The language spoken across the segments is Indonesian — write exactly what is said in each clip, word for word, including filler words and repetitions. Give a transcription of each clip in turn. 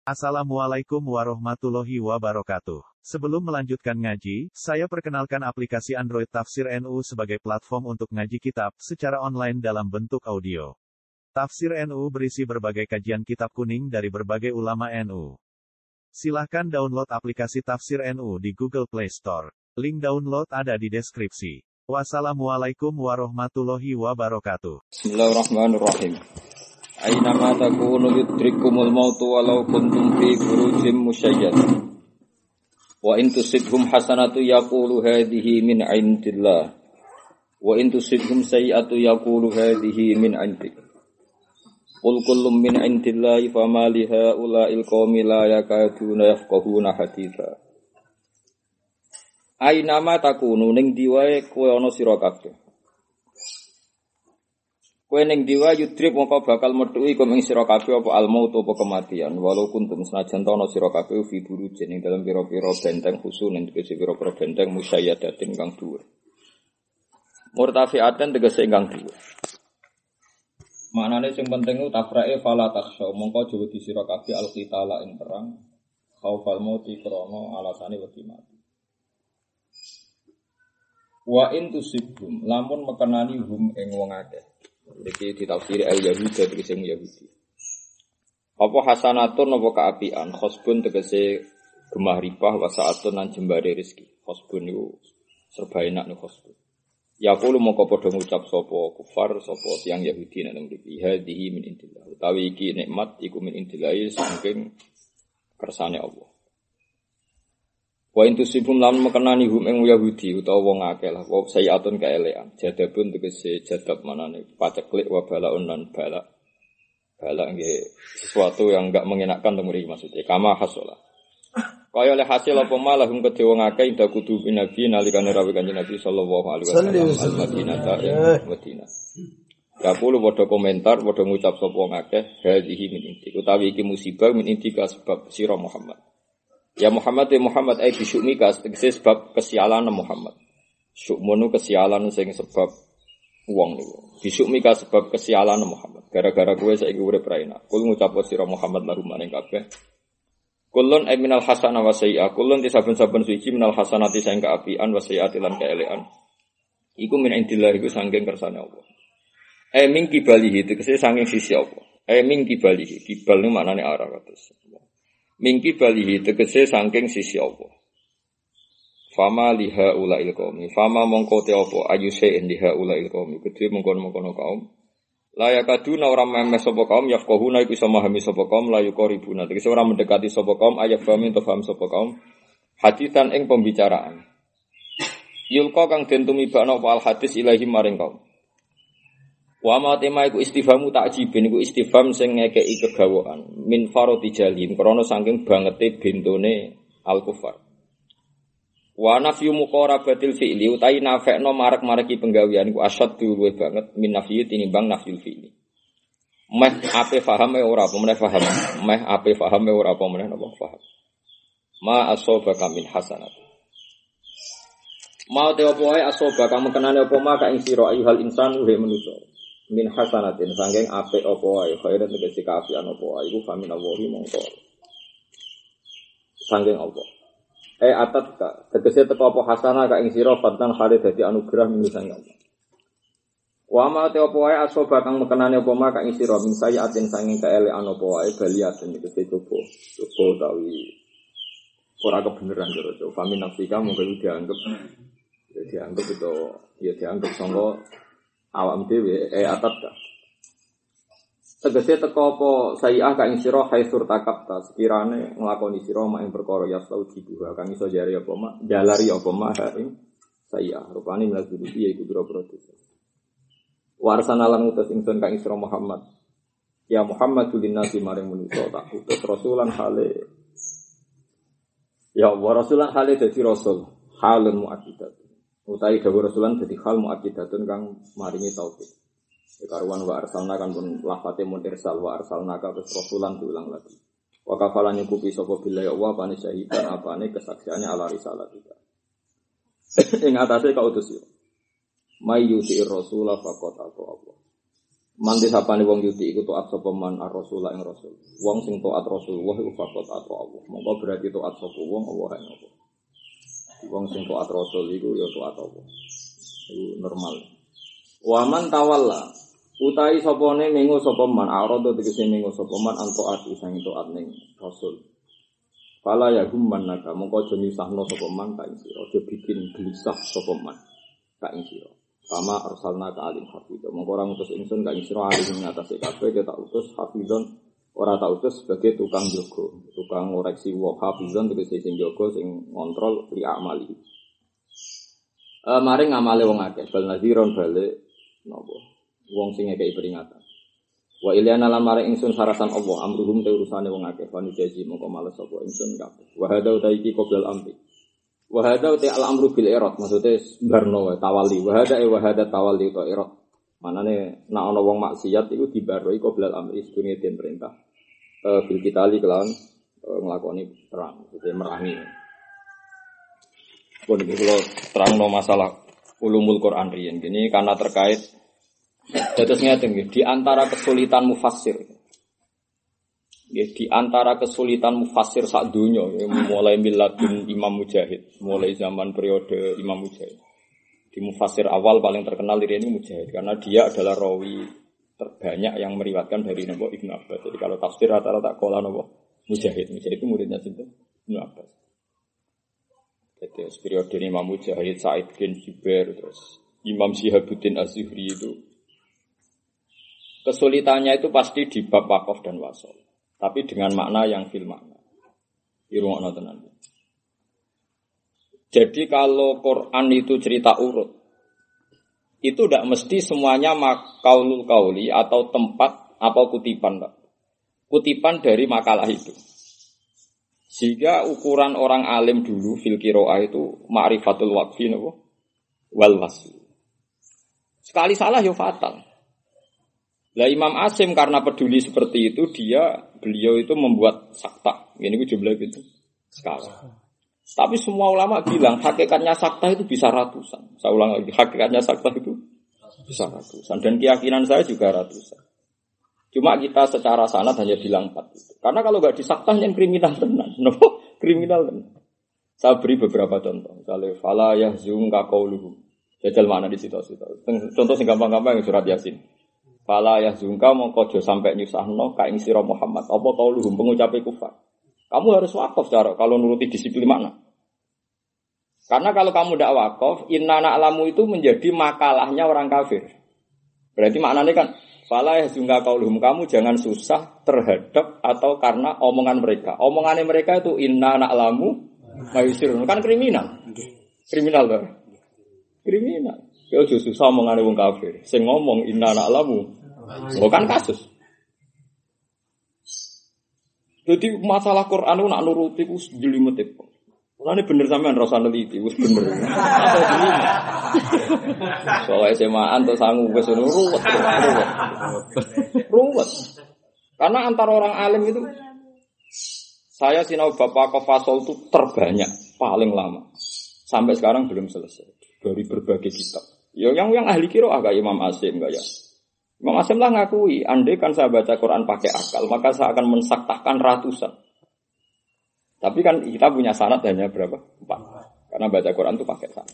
Assalamualaikum warahmatullahi wabarakatuh. Sebelum melanjutkan ngaji, saya perkenalkan aplikasi Android Tafsir N U sebagai platform untuk ngaji kitab secara online dalam bentuk audio. Tafsir N U berisi berbagai kajian kitab kuning dari berbagai ulama N U. Silahkan download aplikasi Tafsir N U di Google Play Store. Link download ada di deskripsi. Wassalamualaikum warahmatullahi wabarakatuh. Bismillahirrahmanirrahim. Aina ma takunu yudrikumul mautu walau kuntum fi burujim musyayyad. Wa in tusibhum hasanatu yaqulu hadhihi min indillah. Wa in tusibhum sayyi'atu yaqulu hadhihi min indik. Qul kullun min indillahi fama li haula'il qaumi la yakaduna yafqahuna haditha. Aina ma takunu ning diwae kowe ana sira kabeh. Kowe ning diwa yudrib mongko bakal metuki kum ing sira kabeh apa al-maut apa kematian walau kuntum senajan ana sira kabeh fi burujin ing dalem pira-pira benteng khusus ing tegese pira-pira benteng musayyadatin kang dhuwur. Murtafi'atan tegese kang dhuwur. Maknane sing penting ku tafra'e fala takhsha mongko aja wedi sira kabeh al-qitala ing perang khaufal mauti krana alasane wedi mati. Wa in tusibhum lamun mekenani hum ing wong akeh. Iki ditafsiri al-Yahudi tegese Yahudi. Apa hasanatun apa kaapian, khosbun tegese gemah ripah wa saatun lan jembare rezeki. Khosbun niku serba enak niku khosbun. Ya kulo mongko padha ngucap sapa kufar sapa tiyang Yahudi nek mriki hadhihi min indillah. Utawi iki nikmat iku min indillah saking kersane Allah. Wa intusibum lam mekenani hum ing Yahudi utawa wong akeh lah wa sayiatun kaelean jadabun tegese jadab manane paceklik wa balaun lan balak balak nggih sesuatu yang enggak mengenakkan temuri maksudnya kama hasola kaya oleh hasil apa malah hum kedhe wong akeh inda kudu nabi nalikane rawuh kanjeng Nabi sallallahu alaihi wasallam al-Madinah ta Madinah ya kulo padha komentar padha ngucap sapa wong akeh hadhihi min inti utawi iki musibah min inti ka sebab sira Muhammad. Ya Muhammad ya Muhammad ai bisyumika tegese sebab kesialan Muhammad. Syukmunu kesialan sing sebab wong niku. Bisyumika sebab kesialan Muhammad. Gara-gara kowe saiki urip ra enak. Kul ngucap sira Muhammad lahum maring kabeh. Kulun ay minal hasanah wa sayyi'ah. Kulun disaben-saben suci minal hasanati sing kaapian wa sayyi'ati lan kaelean. Iku min indillah iku saking kersane Allah. Ai min kibalihi tegese saking sisi Allah. Ai min kibalihi. Kibal niku maknane arah kados. Mingki balihi tegese saking sisi Allah. Fama liha ulail qaumi. Fama mongko te apa ayuse liha ulail qaumi. Kedhe mongkon-mongkon kaum. La yakaduna ora memes sapa kaum yafqahuna iku iso memahami sapa kaum la yuqribuna. Tegese ora mendekati sapa kaum ayat fahmi to faham sapa kaum. Hadisan ing pembicaraan. Yulqa kang den tumibakno al hadis ilahi maring kaum. Wa ma tema iku istifhamu takjibin iku istifham sing ngekeki kegawaan min farati jalin krana saking bangete bentone al-kufar. Wa nafyu muqarabatil fi'li utawi nafekno marek-mareki penggawean iku asyad luwih banget min nafyi tinimbang nafyul fi'li. Meh ape fahame ora apa meneh paham. Meh ape fahame ora apa meneh napa paham. Ma asobaka min hasanat. Ma te opo ae asobaka mekenane apa ma ka ing sira ayyuhal insanu he manusa. Min hasanatin sangking apik apa wae khairan tegese kaapian apa wae iku famin Allahi mongko sangking apa eh atat ka tegese teko apa hasanah ka ing sira fatan khali dadi anugerah min sangking Allah wa ma te apa wae asoba kang mekenane apa ma ka ing sira min sayatin sangking kaelekan apa wae baliaten tegese coba coba utawi ora kebenaran karo famin nafsika mongko dianggap ya dianggap itu ya dianggap sangka awam dhewe eh atat ta tegese teko apa sayi'ah ka ing sira haitsur takabta sekirane nglakoni sira mak ing perkara yasau dibuha kang iso jare apa mak jalari apa mak ing sayi'ah rupane mlaku iki iku pira-pira dosa warsana lan utus ingsun ka ing sira Muhammad ya Muhammadul linnasi maring manusa tak utus rasulan hale ya wa rasulan hale dadi rasul halun muakkidat utai dawuh rasulan dadi hal muakkidatun kang maringi taufik. Karuan wa arsalna kan pun lafate mun irsal wa arsalna ka rasulan diulang lagi. Wa kafalan nyukupi sapa billahi wa bani syahidan apane kesaksiane ala risalah kita. Ing atase kautus yo. May yuti rasula faqat Allah. Manti sapane wong yuti iku taat sapa man ar-rasul ing rasul. Wong sing taat Rasulullah iku fakot taat Allah. Monggo berarti taat sapa wong Allah ing Allah. Wong sing taat Rasul iku ya taat Allah. Iku normal. Wa man tawalla utahi sapane mengo sapa man arada tegese mengo sapa man antaat isang taat ning Rasul. Fala ya gumman naka mongko aja nyusahno sapa man ka ing sira. Aja bikin gelisah sapa man ka ing sira. Sama arsalna ka alim hafidz. Mongko ora ngutus ingsun ka ing sira alim ing atase kabeh kita utus hafizon ora tak utus sebagai tukang jaga, tukang ngoreksi wa hafizon tegese sing jaga sing ngontrol li amali. Eh mari ngamale wong akeh bal nadhiron balik napa wong sing ngekeki peringatan. Wa ilyana lan mari ingsun sarasan Allah amruhum te urusane wong akeh wani jaji mongko males sapa ingsun kabeh. Wa hada utaiki qoblal amri. Wahada te al amru bil irad maksudnya barno tawali wahada e wahada tawali to irad manane nek ana wong maksiat iku dibaroi qoblal amri sedurunge den perintah eh bil kitali kelawan e, nglakoni perang maksudnya merangi pun iki kula terangno masalah ulumul Quran riyen gini karena terkait dados ngeten nggih di antara kesulitan mufassir ya, di antara kesulitan mufassir sak donya ya, mulai miladun Imam Mujahid, mulai zaman periode Imam Mujahid. Di mufassir awal paling terkenal diri ini Mujahid karena dia adalah rawi terbanyak yang meriwayatkan dari Nabi Ibnu Abbas. Jadi kalau tafsir rata-rata qala Nabi Mujahid. Mujahid itu muridnya sinten? Ibnu Abbas. Jadi periode Imam Mujahid, Sa'id bin Jubair terus Imam Syihabuddin Az-Zuhri itu kesulitannya itu pasti di bab wakaf dan wasol. Tapi dengan makna yang fil makna. Irungokno tenan. Jadi kalau Quran itu cerita urut, itu tidak mesti semuanya makaulul kauli atau tempat apa kutipan, Pak. Kutipan dari makalah itu. Sehingga ukuran orang alim dulu fil qiraah itu ma'rifatul waqfi napa wal wasl. Sekali salah ya fatal. Lah Imam Asim karena peduli seperti itu dia beliau itu membuat sakta. Ini ku jumlah itu sekali. Tapi semua ulama bilang hakikatnya sakta itu bisa ratusan. Saya ulang lagi hakikatnya sakta itu bisa ratusan dan keyakinan saya juga ratusan. Cuma kita secara sanad hanya bilang empat itu. Karena kalau enggak disakta yang kriminal tenan. No, kriminal tenan. Saya beri beberapa contoh. Misalnya fala yahzunka qauluhum. Jajal mana di situ-situ. Contoh sing gampang-gampang surat Yasin. Fala yahzunka mongko aja sampai nyusahno ka ing sira Muhammad apa kauluhum pengucape kufar. Kamu harus wakaf cara kalau nuruti disiplin makna. Karena kalau kamu tidak wakaf, inna na'lamu itu menjadi makalahnya orang kafir. Berarti maknanya kan fala yahzunka kauluhum kamu jangan susah terhadap atau karena omongan mereka. Omongannya mereka itu inna na'lamu mayusirun kan kriminal. Kriminal loh. Kriminal. Ya justru susah omongane wong kafir. Sing ngomong inna na'lamu. Bukan kasus. Jadi masalah Quran itu nak nuruti ku jelimet itu. Mulane bener sampean ora usah neliti, wis bener. Soale S M A-an to sangu wis ruwet. Ruwet. Karena antara orang alim itu saya sinau Bapak Kofasol itu terbanyak, paling lama. Sampai sekarang belum selesai dari berbagai kitab. Ya yang yang ahli qiraah agak Imam Asim enggak ya. Imam Asim lah ngakui, andai kan saya baca Quran pakai akal, maka saya akan mensaktakan ratusan. Tapi kan kita punya sanad hanya berapa? Empat. Karena baca Quran itu pakai sanad.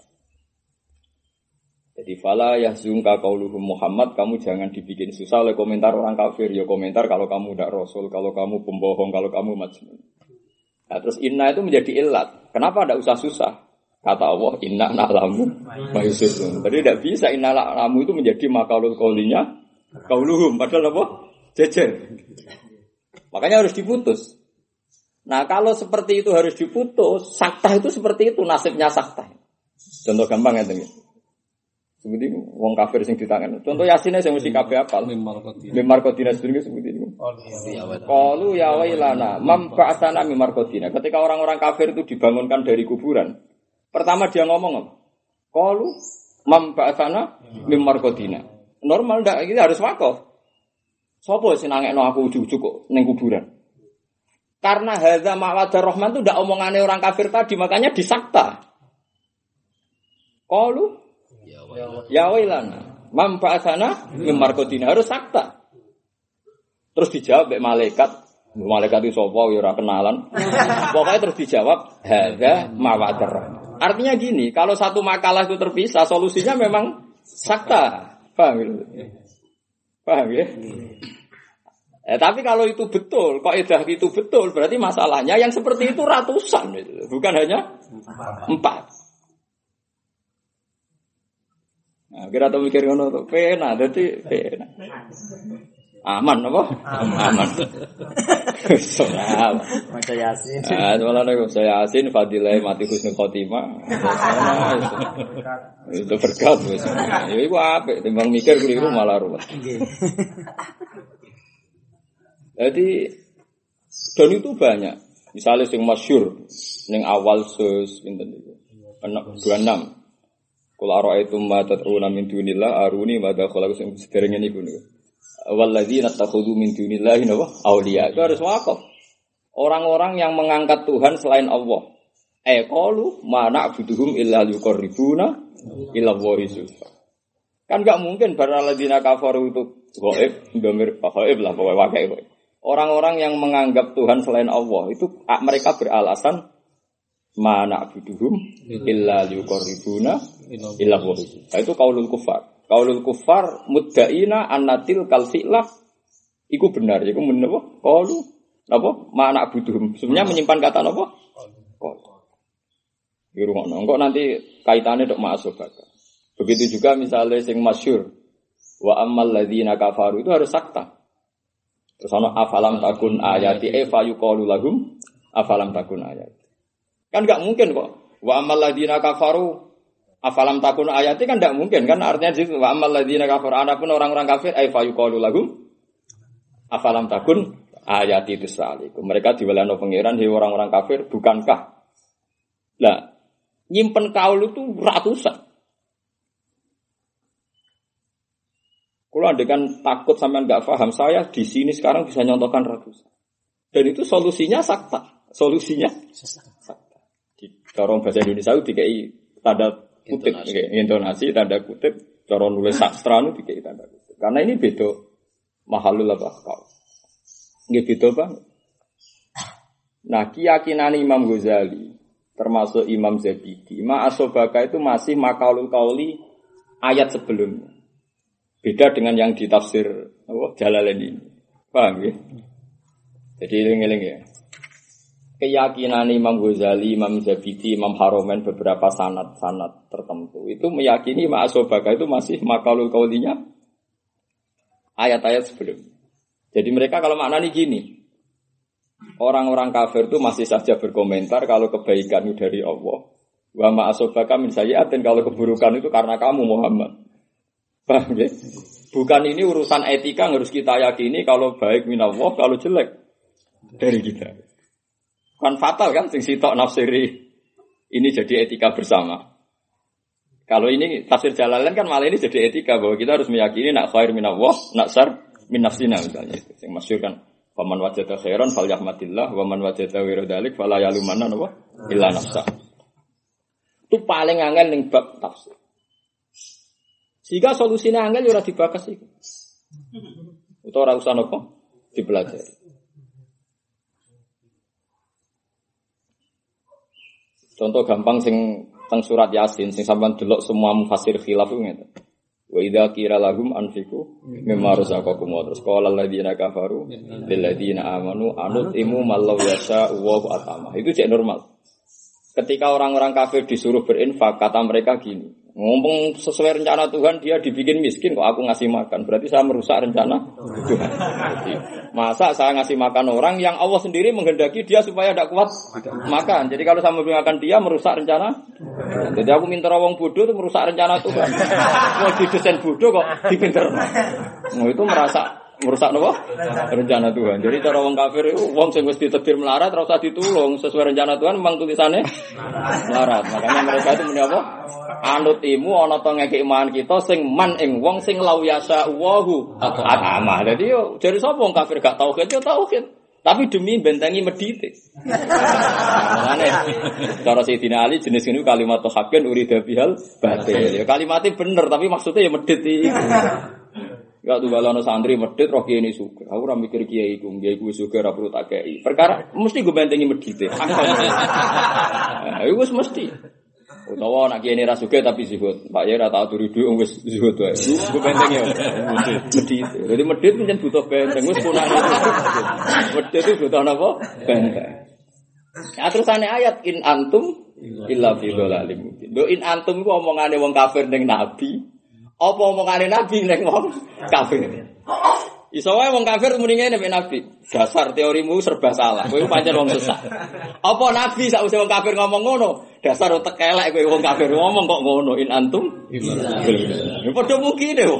Jadi fala yahzunka qauluhum Muhammad, kamu jangan dibikin susah oleh komentar orang kafir. Ya komentar kalau kamu tidak rasul, kalau kamu pembohong, kalau kamu majnun. Nah terus inna itu menjadi ilat. Kenapa tidak usah susah? Kata Allah, inna na'lamu mayusirun. Jadi tidak bisa inna na'lamu itu menjadi makalul qaulinya qauluhum. Padahal apa? Jejer. Makanya harus diputus. Nah kalau seperti itu harus diputus, sakta itu seperti itu, nasibnya sakta. Contoh gampang ya teman. Seperti itu, wong kafir sing ditangan. Contoh Yasinnya yang mesti kabeh apal. Mimar kodina sedurunge seperti itu. Qalu ya wailana mam ba'atsana mimar kodina. Ketika orang-orang kafir itu dibangunkan dari kuburan, pertama dia ngomong apa? Qalu mam ba'atsana mimar kodina. Normal ndak iki harus wakaf. Sopo sing nangekno aku ujug-ujug kok ning kuburan? Karena hadza ma'wadur rahman itu ndak omongane orang kafir tadi, makanya disakta. Qalu ya wailana Man ba'atsana min marqadina harus sakta. Terus dijawab mbek malaikat, malaikat itu sapa ya ora kenalan. Pokoknya terus dijawab hadza mawadar. Artinya gini, kalau satu makalah itu terpisah, solusinya memang sakta. Paham ya? Paham ya? Eh, tapi kalau itu betul, kaidah itu betul, berarti masalahnya yang seperti itu ratusan, bukan hanya empat. Nah, kira tuh mikir ngono tuh, pena, jadi pena. Aman apa? Aman. Soal. Maca Yasin. Ah, malah nek saya Yasin fadilah mati husnul khotimah. Itu berkat wis. Ya iku apik, timbang mikir keliru malah ruwet. Nggih. Jadi dan itu banyak. Misalnya sing masyhur ning awal sus pinten niku. dua puluh enam. Qul ara'aytum ma tad'una min dunillah aruni ma dakhala sing sederenge niku niku. Walladzina takhudhu min dunillahi awliya. Itu harus wakaf. Orang-orang yang mengangkat Tuhan selain Allah. Eh qalu ma na'buduhum illa liqarribuna ila Allahi zulfa. Kan enggak mungkin para alladzina kafaru itu gaib, ndomir gaib lah pokoknya wakai. Orang-orang yang menganggap Tuhan selain Allah itu mereka beralasan ma na'buduhum illa liqarribuna ila Allahi. Itu qaulul kufar. Qaulul kufar muddaina annatil kalfilah iku benar iku menapa qaulu napa mana butuh sebenarnya menyimpan kata napa qaul iku ngono engko nanti kaitane tok ma'asubaka begitu juga misalnya sing masyhur wa ammal ladzina kafaru itu harus sakta terus ana afalam takun ayati e fa yuqalu lahum afalam takun ayati kan enggak mungkin kok wa ammal ladzina kafaru afalam takun ayati kan tidak mungkin kan artinya di situ wa amal ladzina kafir adapun orang-orang kafir ay fa yuqalu lahum afalam takun ayati tusalikum mereka diwelano pangeran he orang-orang kafir bukankah lah nyimpen kaul itu ratusan kalau andekan takut sampean enggak paham saya di sini sekarang bisa nyontohkan ratusan dan itu solusinya sakta solusinya sakta di dorong bahasa Indonesia itu dikai tanda kutip, intonasi. intonasi, tanda kutip, cara nulis sastra itu dikei tanda kutip. Karena ini beda mahalul apa kau. Ini beda banget. Nah, keyakinan Imam Ghazali, termasuk Imam Zabidi, ma'asobaka itu masih makalul kauli ayat sebelumnya. Beda dengan yang ditafsir oh, Jalalain ini. Paham ya? Jadi eling-eling ya. Keyakinan Imam Ghazali, Imam Zabidi, Imam Haromen beberapa sanad-sanad tertentu itu meyakini ma'asobaka itu masih makalul kaulinya ayat-ayat sebelum. Jadi mereka kalau maknanya gini, orang-orang kafir itu masih saja berkomentar kalau kebaikan itu dari Allah. Wa ma'asobaka min sayyi'atin kalau keburukan itu karena kamu Muhammad. Paham ya? Bukan ini urusan etika yang harus kita yakini kalau baik minallah, kalau jelek dari kita. Kan fatal kan sing sitok nafsiri ini jadi etika bersama. Kalau ini tafsir Jalalain kan malah ini jadi etika bahwa kita harus meyakini nak khair minallah, nak syar min nafsina misalnya itu. Yang masyhur kan faman wajada khairan falyahmadillah wa man wajada ghaira dzalik fala yalumanna wa illa nafsa. Itu paling angel ning bab tafsir. Sehingga solusinya angel ora dibakas iku. Utawa ora usah napa dipelajari. Contoh gampang sing teng surat Yasin sing sampean delok semua mufassir khilaf ku ngene. Wa idza qira lahum anfiqu mimma razaqakum wa terus qala alladziina kafaru lil ladziina amanu anutimu mallau yasha wa atama. Itu cek normal. Ketika orang-orang kafir disuruh berinfak, kata mereka gini, ngomong sesuai rencana Tuhan dia dibikin miskin kok aku ngasih makan, berarti saya merusak rencana Tuhan. Jadi, masa saya ngasih makan orang yang Allah sendiri menghendaki dia supaya tidak kuat makan. Jadi kalau saya memberikan dia merusak rencana. Jadi aku minta wong bodoh itu merusak rencana Tuhan. Mau didesain bodoh kok dipinter. Nah, itu merasa merusak apa? Rencana Tuhan. Jadi cara wong kafir itu wong sing wis ditedir melarat ora usah ditulung, sesuai rencana Tuhan memang tulisannya melarat. Makanya mereka itu muni apa? Anutimu ana to ngekek iman kita sing man ing wong sing lau yasa wahu atama. Jadi yo jare sapa wong kafir gak tauhid yo tauhid. Tapi demi bentengi medite. Makane cara Sayyidina Ali jenis ini kalimat haqqan urida bihal batil. Ya kalimatnya bener tapi maksudnya ya medit iki. Ya tuh kalau santri medit roh kiai ini suka. Aku ora mikir kiai iku, kiai ku suka ora perlu tak kei. Perkara mesti gue bentengi medite. Nah, iku wis mesti. Utawa nak kiai ini ra suka tapi zuhud. Pak ya ora tau turu dhuwit wis zuhud wae. Gue bentengi ya. Medit. Jadi medit pancen butuh benteng wis punane. Medit itu butuh napa? Benteng. Nah, terusane ayat in antum illa fi dhalalim mubin. Do in antum ku omongane wong kafir ning nabi. Apa omongane nabi ning wong kafir? Iso wae wong kafir muni ngene nek nabi. Dasar teorimu serba salah. Kowe pancen wong sesat. Apa nabi sakwise wong kafir ngomong ngono? Dasar utek elek kowe wong kafir ngomong kok ngono in antum. Ya padha mungkin wong.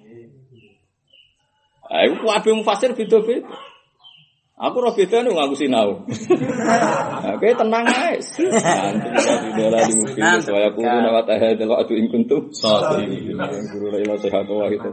Ayo kabeh mufasir beda-beda. Aku ora bedane ngaku sinau. Oke tenang ae. Antum dola di mungkin saya kudu nawat ahadul adu in kuntum. Guru la ilaha sehat wa kita.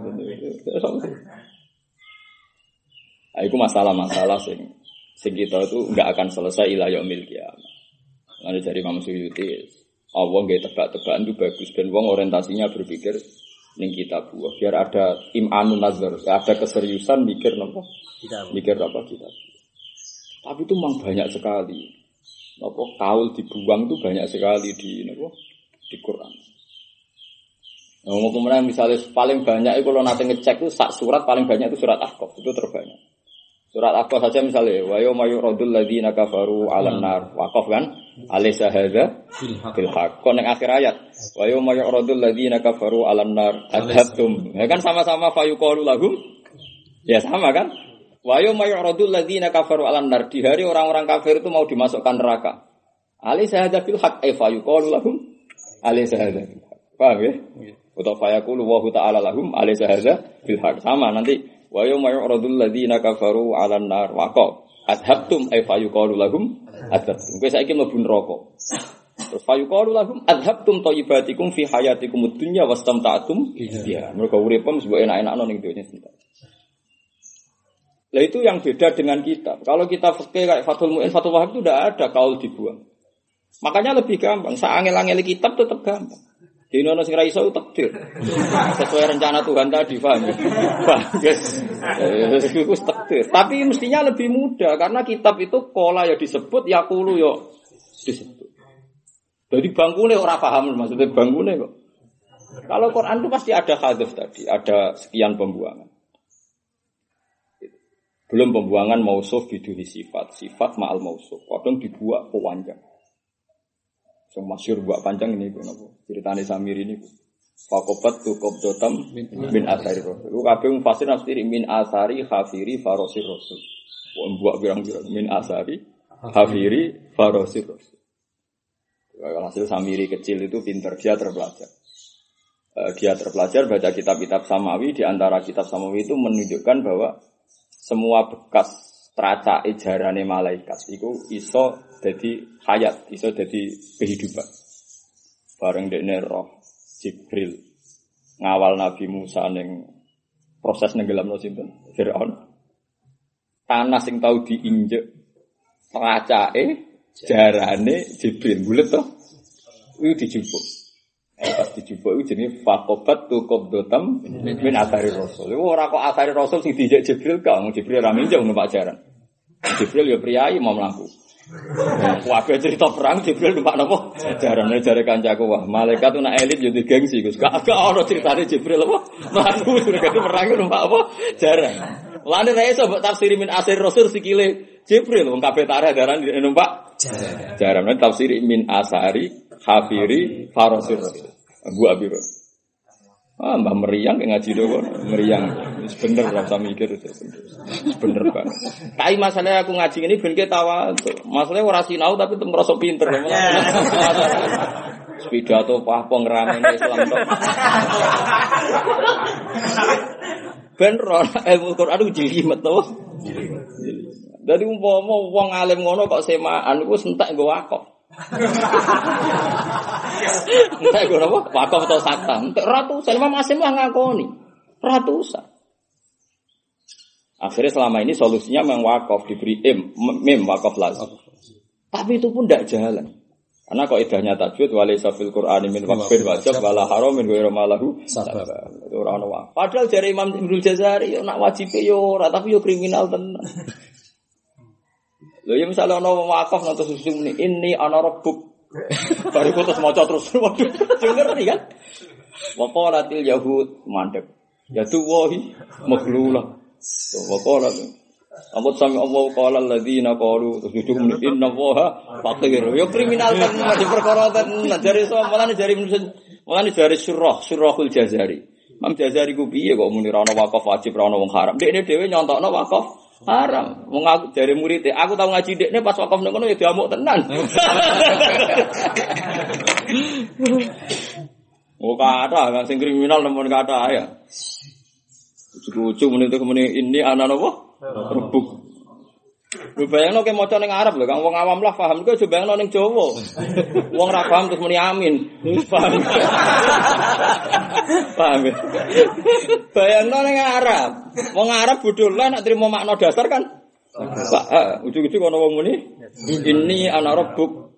Iku masalah-masalah sing sing kita itu enggak akan selesai ila yaumil qiyamah. Lalu dari Imam Suyuti, Allah nggak tebak-tebakan itu bagus dan wong orientasinya berpikir ning kitab buah biar ada imanun nazar, ada keseriusan mikir apa? Mikir apa kita. Tapi itu memang banyak sekali. Apa kaul dibuang itu banyak sekali di apa? Di Quran. Nah, kemudian misalnya paling banyak itu kalau nanti ngecek itu sak surat paling banyak itu surat Ahqaf itu terbanyak. Surat Ahqaf saja misalnya wa yauma yuradul ladzina kafaru 'alan nar waqaf kan alaysa hadza bil haqq ning akhir ayat wa yauma yuradul ladzina kafaru 'alan nar adhabtum ya kan sama-sama fayuqalu lahum ya sama kan wa yauma yuradul ladzina kafaru 'alan nar di hari orang-orang kafir itu mau dimasukkan neraka alaysa hadza bil haqq ay fayuqalu lahum alaysa hadza bil haqq paham ya atau fayaqulu wa ta'ala lahum alaysa hadza bil haqq sama nanti wa yawma yu'radul ladzina kafaru 'alan nar waqaf adhabtum ay fayuqalu lahum adhabtum kowe saiki mlebu neraka terus fayuqalu lahum adhabtum thayyibatikum fi hayatikumud dunya wastamta'tum ya mergo uripem mbok enak-enakno ning donya sebentar. Lah itu yang beda dengan kita. Kalau kita fikih kayak Fathul Mu'in, Fathul Wahab itu tidak ada kaul dibuang. Makanya lebih gampang. Saangel-angel kitab tetap gampang. Di Indonesia sing ra iso takdir. Sesuai rencana Tuhan tadi, paham ya? Bagus. Itu takdir. Tapi mestinya lebih mudah karena kitab itu kola ya disebut, yaqulu ya disebut. Jadi bangkune ora paham maksudnya bangkune kok. Kalau Quran itu pasti ada hadaf tadi, ada sekian pembuangan. Belum pembuangan mausuf biduhi sifat, sifat ma'al mausuf. Kadang dibuat pewanjang. Yang masyhur buat panjang ini kenapa? Ceritane Samir ini. Faqabat tu qabdatam min athari rasul. Ku kabeh mufasir nafsiri min athari khafiri farosir rasul. Wong buat birang-birang min athari khafiri farosir rasul. Kalau hasil Samiri kecil itu pintar, dia terpelajar. Dia terpelajar baca kitab-kitab Samawi, di antara kitab Samawi itu menunjukkan bahwa semua bekas teraca ejarane malaikat itu iso jadi hayat, iso jadi kehidupan. Bareng dekne roh Jibril ngawal Nabi Musa ning proses nenggelamno sinten Firaun. Tanah sing tau diinjek teracake jarane Jibril bulet to. Iku dijupuk. Eh pas dijupuk iku jenenge faqabat tu qabdatam min athari rasul. Iku ora kok athari rasul sing dijek Jibril kok Jibril ra minjem numpak jaran. Jibril ya priayi mau mlaku. Kabeh cerita perang Jibril numpak napa? Jarane jare kancaku wah malaikat nak elit yo digengsi Gus. Gak ono critane Jibril apa? Mlaku mereka perang numpak apa? Jaran. Lane ra iso mbok tafsiri min asir rasul sikile Jibril wong kabeh tareh daran numpak jaran. Jaran tafsiri min asari khafiri farosir rasul. Abu Abir. Ah, mbah meriang kayak ngaji doang, meriang. Bener lah, saya mikir itu bener banget. Tapi masalahnya aku ngaji ini ben ketawa. Masalahnya orang sinau tapi tetap merasa pinter. Sepeda atau apa pengeramai Islam tuh. Bener, ilmu Quran itu jelimet tuh. Jadi umpama wong alim ngono kok semaan, aku sentak gue wakaf. Entek ora apa? Wakaf atau sakta. Entek ratusan Imam Asim lah ngakoni. Ratusan. Akhirnya selama ini solusinya memang wakaf, diberi im, mem wakaf lazim. Tapi itu pun tidak jalan. Karena kok idahnya tajwid walaysa fil Qur'ani min waqfin wajib wala haramin ghairu malahu sabab. Itu ora ono wae. Padahal jare Imam Ibnu Jazari nak wajibe yo ora tapi yo kriminal tenan. Lho ya misale ono wakaf nang terus muni ini ana rabbuk. Baru terus maca terus. Waduh, ngerti kan? Wa qalatil yahud mandek. Ya tuwahi maghlulah. Wa qala Amut sami Allah qala alladziina qalu tujuhum inna Allaha faqir. Yo kriminal kan di perkara tenan jare sampeyan jare mulane jare surah surahul Jazari. Imam Jazari ku piye kok muni ora ono wakaf wajib ora ono wong haram. Dekne dhewe nyontokno wakaf haram. Wong aku jare murid aku tau ngaji dekne pas wakaf nang kono ya diamuk tenan. Oh kata kan sing kriminal nemen kata ya. Ujug-ujug muni muni ini ana napa? Rebuk. Lu bayangno ke maca ning Arab lho, Kang wong awam lah paham iku aja bayangno ning Jawa. Wong ra paham terus muni amin. Paham. Paham. Bayangno ning Arab. Wong Arab bodho lah nek trimo makna dasar kan. Pak, ujug-ujug ana wong muni ini ana rebuk.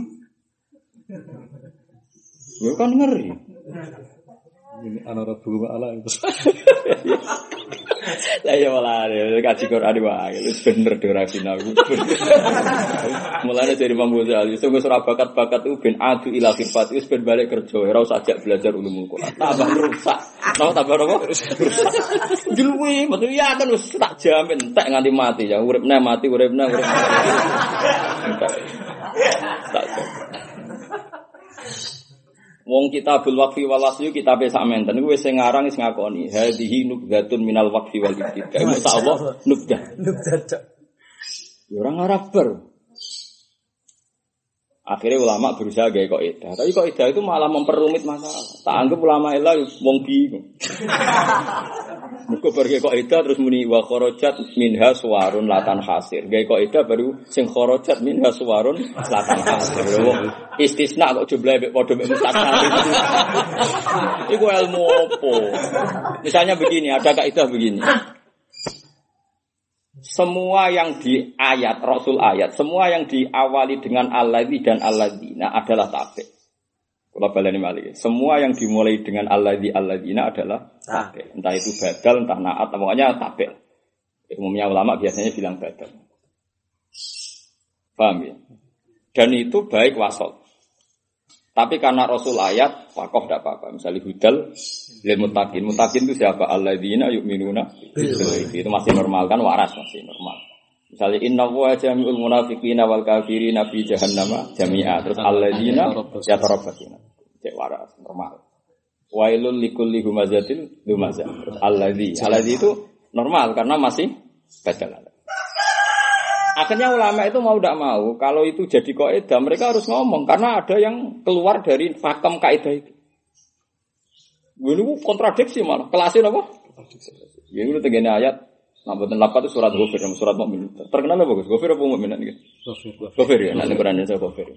Yo kan ngeri. Ini ana rebuk ala itu. Lah ya malah kaji Quran wae wis bener durasi aku. Mulane dari Imam Ghazali sing wis ora bakat-bakat itu ben adu ila khifat wis ben balik kerja ora usah ajak belajar ulumul Quran. Tambah rusak. Napa tambah apa? Rusak. Julwi, betul ya kan wis tak jamin entek nganti mati ya uripne mati uripne urip. Tak. Wong kitabul waqfi wal wasyu kitabe samenten iku wis sing ngarang wis ngakoni hadhihi nubdatun minal waqfi wal ibtida. Masyaallah nubdah. Nubdah. Ya ora ngarep ber. Akhirnya ulama berusaha gawe kaidah. Tapi kaidah itu malah memperumit masalah. Tak anggap ulama ila wong bingung. Muga pergi kaidah terus muni wa kharajat minha suwarun latan hasir. Gawe kaidah baru sing kharajat minha suwarun latan hasir. Istisna kok jumlahe mek padha mek mustasna. Iku ilmu opo? Misalnya begini, ada kaidah begini. Semua yang di ayat Rasul ayat, semua yang diawali dengan alladzi dan alladzina adalah tabe. Kula baleni malih. Semua yang dimulai dengan alladzi alladzina adalah tabe. Entah itu badal, entah naat, pokoknya tabe. Umumnya ulama biasanya bilang badal. Paham ya? Dan itu baik wasol. Tapi karena Rasul ayat, wakaf tidak apa-apa. Misalnya hudal, lil muttaqin. Muttaqin itu siapa? Alladzina yu'minuna bil-ghaibi. Itu masih normal kan, waras masih normal. Misalnya inna wa jami'ul munafiqina wal kafirina fi jahannama jami'a. Terus alladzina yatarabbatsuna. Cek waras, normal. Wailul likulli humazatin lumazah. Terus alladzi. Alladzi itu normal karena masih bacalah. Akhirnya ulama itu mau tidak mau, kalau itu jadi kaidah, mereka harus ngomong karena ada yang keluar dari pakem kaidah itu. Ini kontradiksi malah. Kelasnya apa? Ya itu tegene ayat. Nah, betul lapat itu surat Ghafir, surat Mukmin. Terkenal apa Gus? Ghafir apa Mukmin iki? Ghafir. Ghafir ya, nanti Quran itu Ghafir.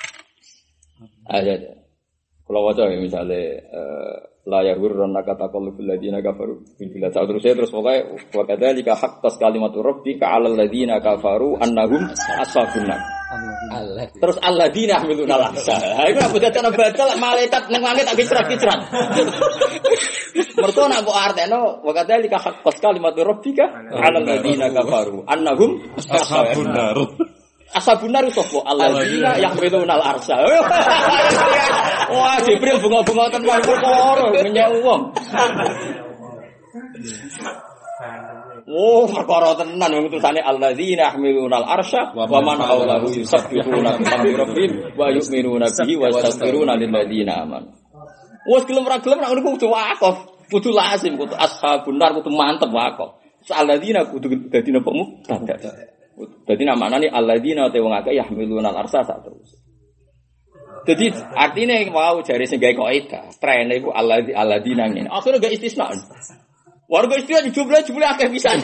Ayat. Kalau waca ya misalnya la yahurrannaka taqallubul ladina kafaru bil bilad terus terus pokoke wa kadzalika haqqas kalimatu rabbika 'alal ladina kafaru annahum ashabun nar. Terus alladina hamiluna al-ahsa. Ha iku apa dadi badal malaikat ning langit tak kicrat-kicrat. Mergo nek kok arteno wa kadzalika haqqas kalimatu rabbika 'alal ladina kafaru annahum ashabun nar. Ashabun nar sapa alladzina yahmiluna al-arsha. Wah, Jibril bunga-bunga tenan perkara menyang wong. Oh, perkara tenan wong tulisane alladzina yahmiluna al-arsha wa man hawlahu yusabbihuna bi rabbihim wa yu'minuna bihi wa yastaghfiruna lil ladzina amanu. Wes gelem ra gelem nek ngono kudu wakaf, kudu lazim, kudu ashabun nar kudu mantep wakaf. Alladzina kudu dadi napa mubtada. Dadi namane alladzina te wong akeh yahmiluna al-arsha sak terus. Jadi artinya wow jari sing gawe kaidah, trene iku alladzi alladzina ngene. Akhire gak istisna. Warga istisna dijumlah-jumlah akeh pisan.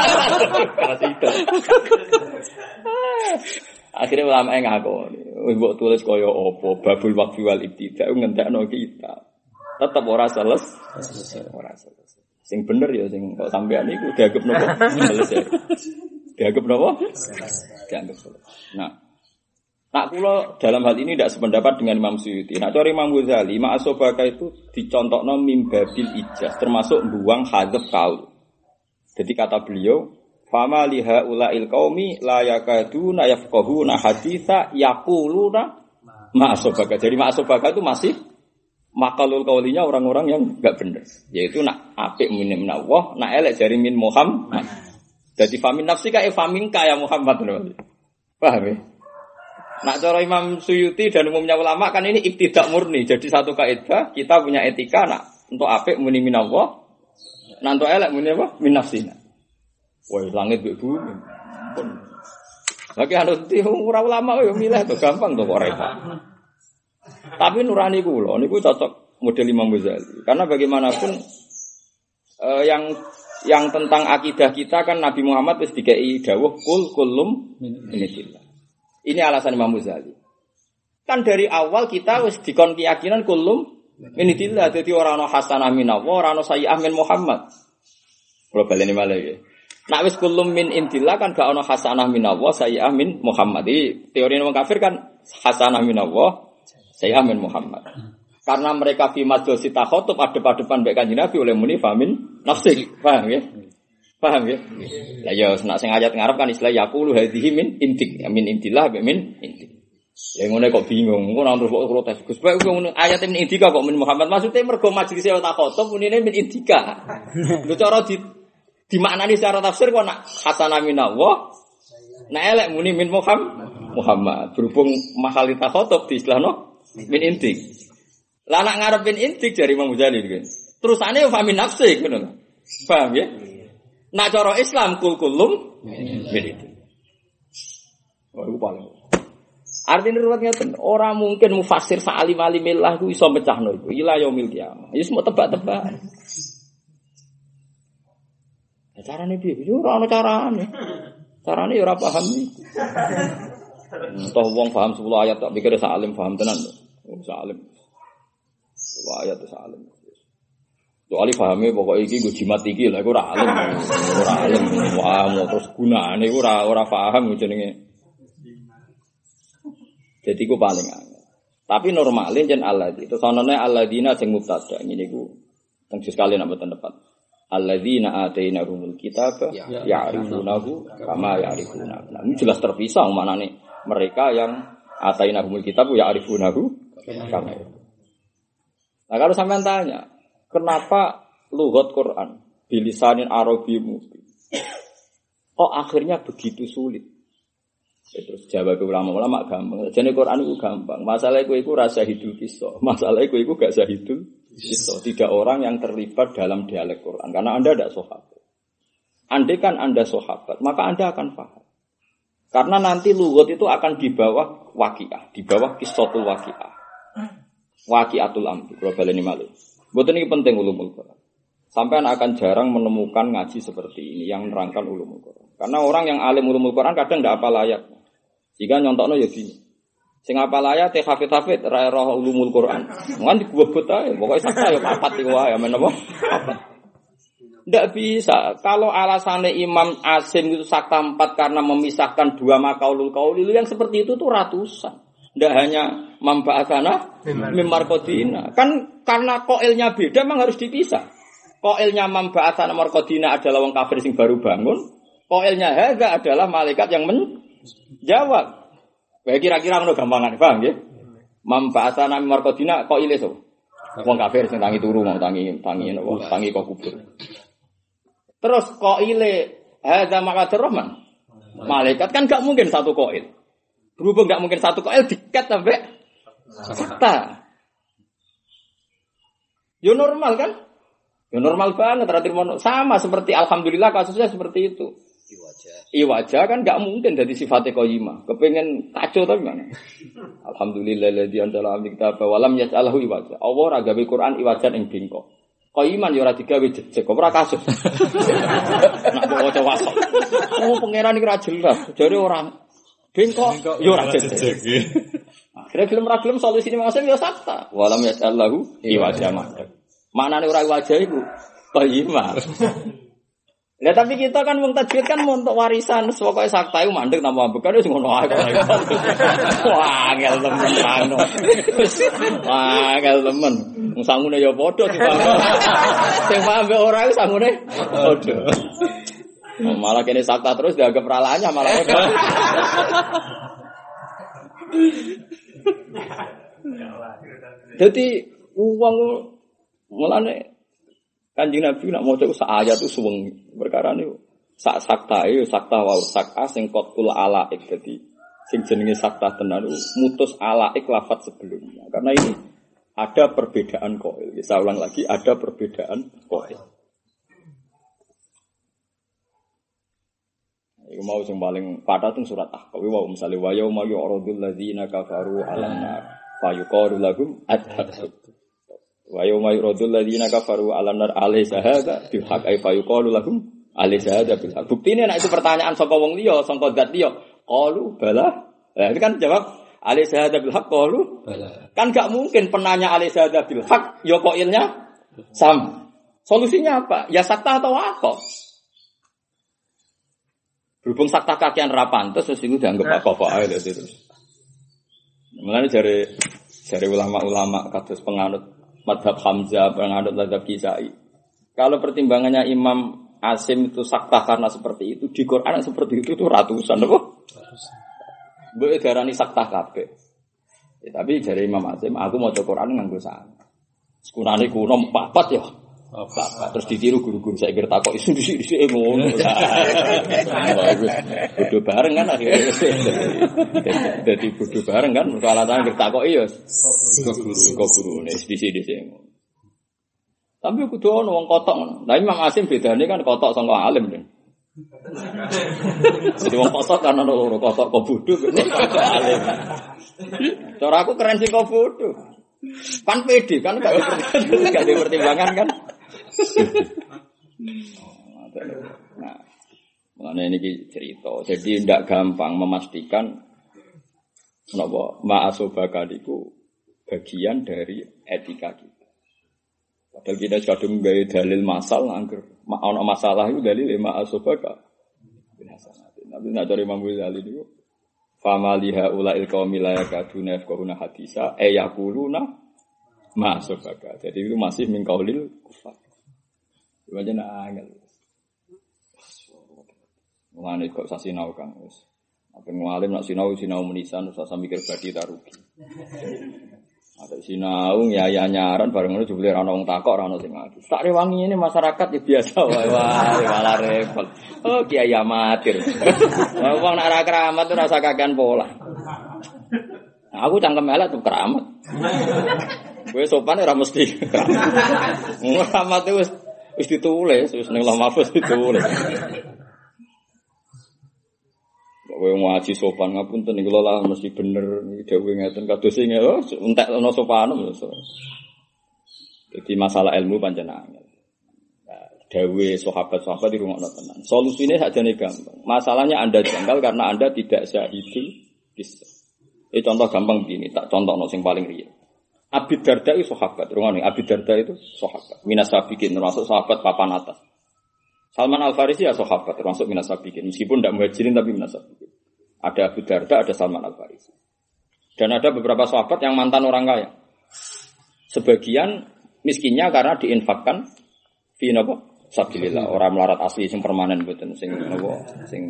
Akhire ulama ngakoni, wis mbok tulis kaya apa babul waqfi wal ibtida ngentekno kita. Tetep ora selesai, ora selesai. Sing bener ya sing kok sampean iku dianggap napa? Selesai. Dianggap napa? Dianggap selesai. Nah, nak kula dalam hal ini tidak sependapat dengan Imam Suyuti. Nak cari Imam Ghazali, ma'asobaka itu dicontohno mimbabil ijaz, termasuk buang hadzaf kaul. Jadi kata beliau, fama liha ulail qaumi la yakaduna yafqahuna haditsa yaquluna ma'asobaka. Jadi ma'asobaka itu masih makalul kaulinya orang-orang yang enggak benar. Yaitu nak apik min Allah, nak elek jari min Muhammad. Jadi famin nafsika e famin kaya Muhammad. Paham ya? Nak cara Imam Suyuti dan umumnya ulama kan ini ibtidak murni. Jadi satu kaidah kita punya etika nak untuk apik muni min Allah, nak untuk elek muni apa? Min nafsina. Wah, langit mbek bumi. Pun. Lagi harus di ora ulama yo milih to gampang to kok repot. Tapi nurani kula niku cocok model Imam Ghazali. Karena bagaimanapun eh, yang yang tentang akidah kita kan Nabi Muhammad wis dikei dawuh kul kullum minillah. Ini alasan Imam Ghazali. Kan dari awal kita wis dikon keyakinan kullum minillah, dadi ora ana hasanah minallah, ora ana sayyi'ah min Muhammad. Kula baleni malih iki. Nek wis kullum min indillah kan gak ana hasanah minallah, sayyi'ah min Muhammad. Iki teori wong kafir kan hasanah minallah, sayyi'ah min Muhammad. Karena mereka fi majlis takhotub adep-adepan mbek Kanjeng Nabi oleh muni famin nafsi. Paham ya? Paham ya? Lah ya nek sing ayat ngarep kan istilah yaqulu hadhihi min intik, min intillah mbek min intik. Ya ngene kok bingung, ngono terus kok protes. Gus Pak ngono ayat min indika kok min Muhammad maksudnya mergo majlis takhotub munine min indika. Lho cara di dimaknani secara tafsir kok nak hasanah minallah, nek elek muni min Muhammad. Muhammad berhubung mahal takhotub di istilahno min intik. Lah nak ngarepin intik dari Imam Ghazali gitu. Terusane yo famin nafsi ngono. Paham ya? Nak cara Islam kul kulum min intik. Oh, iku paling. Artine ruwet ngeten, ora mungkin mufassir sa'alim-alimillah ku iso mecahno iku. Ila yaumil qiyamah. Ya semua tebak-tebak. Ya carane piye? Yo ora ana carane. Carane yo ora paham iki. Entah wong paham sepuluh ayat tak pikir sa'alim paham tenan. Oh, sa'alim. Wah, ya terus alim. Soale pahame pokoke iki nggo jimat iki lha iku ora alim. Ora alim. Wah, mau terus gunane iku ora ora paham jenenge. Jadi iku paling angel. Tapi normale jen alladzina. Terus anane alladzina sing mubtada ngene iku teng sekali nek mboten tepat. Alladzina atainahumul kitaba ya'rifunahu kama ya'rifuna. Nah, ini jelas terpisah maknane mereka yang atainahumul kitab ya'rifunahu kama ya'rifuna. Nah kalau sampean tanya, kenapa lughat Quran bilisanin Arabi mubin? Kok akhirnya begitu sulit? Ya, terus jawab ulama-ulama gampang. Jadi Quran itu gampang. Masalah itu itu rasa hidul kisah. Masalah itu itu gak sahidul kisah. Tidak orang yang terlibat dalam dialek Quran. Karena Anda tidak sahabat. Andai kan Anda sahabat, maka Anda akan paham. Karena nanti lughat itu akan di bawah waqiah, di bawah qissatul waqiah. Waqiatul amri, kalau baleni malih. Mboten iki penting ulumul Quran. Sampean akan jarang menemukan ngaji seperti ini yang nerangkan ulumul Quran. Karena orang yang alim ulumul Quran kadang ndak hafal ayat. Jika nyontakno ya gini. Sing hafal ayat teh hafid-hafid ra roh ulumul Quran. Mungkin digobot ae, pokoke sakta ya papat iki wae men apa? Papat. Ndak bisa. Kalau alasannya Imam Asim itu sakta empat karena memisahkan dua makaulul qauli yang seperti itu tuh ratusan. Tidak hanya membahasana mimarkodina. Kan karena koilnya beda memang harus dipisah. Koilnya membahasana markodina adalah wong kafir sing baru bangun. Koilnya hadza adalah malaikat yang menjawab. Baik kira-kira ngono gampangan, paham nggih? Membahasana mimarkodina koile so. Wong kafir sing tangi turu mau tangi tangi napa tangi kok kubur. Terus koile hadza maqadur rahman. Malaikat kan gak mungkin satu koil. Berhubung enggak mungkin satu koil dikat sampai sakta. Yo normal kan? Yo normal banget terakhir sama seperti alhamdulillah kasusnya seperti itu. Iwaja. Iwaja kan enggak mungkin dari sifatnya qayyimah. Kepengen kacau tapi mana? Alhamdulillahilladzi anzala al-kitaba wa lam yaj'alhu iwaja. Allah ora gawe Quran iwajan ing bengkok. Qaiman yo ora digawe jejeg, ora kasus. Nak waca wasok. Oh pangeran iki ora jelas. Jare orang bengkok yo ora jejeg. Akhire film ra film solusine maksud yo sakta. Walam yaj'alhu iwaja. Maknane ora iwaja iku qayyimah. Lah tapi kita kan wong tajwid kan mau untuk warisan, pokoke sakta iku mandek nambah bekan wis ngono ae. Wah, angel temen ngono. Wah, angel temen. Wong sangune ya padha dipaham. Sing paham mbek ora iku sangune padha. Malah kene sakta terus dianggap ralanya malah padha. Jadi uang mulane Kanjeng Nabi nak maca sak ayat itu suwengi. Perkara niku sak sakta ya sakta wae sakta sing qatul alaik dadi sing jenenge sakta tenan mutus alaik lafaz sebelumnya. Karena ini ada perbedaan qail. Saya ulang lagi ada perbedaan qail. Iku mau sing paling padha teng surat Ahqaf wa misale wa yauma yu'radul ladzina kafaru 'alan nar fayuqalu lahum adhab. Wa yauma yuradul ladzina kafaru 'alan nar alaysa hadza bil haqq ay fayuqalu lahum alaysa hadza bil haqq. Buktine nek itu pertanyaan saka wong liya, saka zat liya, qalu bala. Lah itu kan jawab alaysa hadza bil haqq qalu bala. Kan gak mungkin penanya alaysa hadza bil haqq ya qailnya sama. Solusinya apa? Ya sakta atau waqa. Berhubung sakta kakean ra pantes terus iku dianggap apa ae lho terus. Mulane jare jare ulama-ulama kados penganut madhab Hamzah, penganut madhab Kisai. Kalau pertimbangannya Imam Asim itu sakta karena seperti itu, di Quran seperti itu itu ratusan, apa? Ratusan. Mbok darani sakta kabeh. Ya, tapi dari Imam Asim, aku mau maca Quran nganggo sana. Sekunane kuno papat ya. Papat terus ditiru guru-guru saya kira takok isu dhisik-dhisik ngono. Bodoh bareng kan akhirnya. Dadi bodoh bareng kan peralatan kira takok iya. Kok guru, kok guru nek dhisik-dhisik ngono. Tapi kudu ono wong kotok. Lah Imam Asim bedane kan kotok sangka alim kan. Jadi wong kotok kan ono loro kotok kok bodoh alim. Cara aku keren sing kok bodoh. Pan pede kan gak ada pertimbangan kan. Nah, mengenai ini cerita. Jadi tidak gampang memastikan napa ma'asobaka itu bagian dari etika kita. Padahal kita kadung gawe dalil masal angger ana masalah itu dalil ma'asobaka. Tapi nek dari Imam Ghazali itu famaliha ulail qaumil la yakaduna yafqahuna hadisa ayaquluna ma'asobaka. Jadi itu masih min qaulil kufar. Wajan angel. Mulane kok sasinau Kang wis. Apa ngalim nak sinau sinau menisan usah mikir badi ta rugi. Ada sinau ya ya nyaran bareng ngono jebule ora ono wong takok ora ono sing ngaji. Tak rewangi ini masyarakat ya biasa wae wae malah repot. Oh kiai amatir. Wong nak ora keramat ora usah kakean pola. Nah, aku cangkem elek tuh keramat. Kowe sopan ora mesti keramat. Keramat wis wis ditulis, wis ning Lauh Mahfuz ditulis. Kowe ngaji sopan ngapunten niku lha mesti bener iki dawuh ngeten kados sing oh entek ana sopan. Jadi masalah ilmu pancen angel. Nah, dawuh sahabat-sahabat dirungokno tenan. Solusine sakjane gampang. Masalahnya Anda janggal karena Anda tidak syahidul kisah. Ini contoh gampang begini, tak contohno sing paling real. Abi Darda itu sahabat, rungokne Abi Darda itu sahabat. Minas sabiqin termasuk sahabat papan atas. Salman Al-Farisi ya sahabat termasuk minas sabiqin, meskipun tidak muhajirin tapi minas sabiqin. Ada Abu Darda, ada Salman Al-Farisi. Dan ada beberapa sahabat yang mantan orang kaya. Sebagian miskinnya karena diinfakkan fi napa? Sabilillah, orang melarat asli sing permanen mboten sing napa sing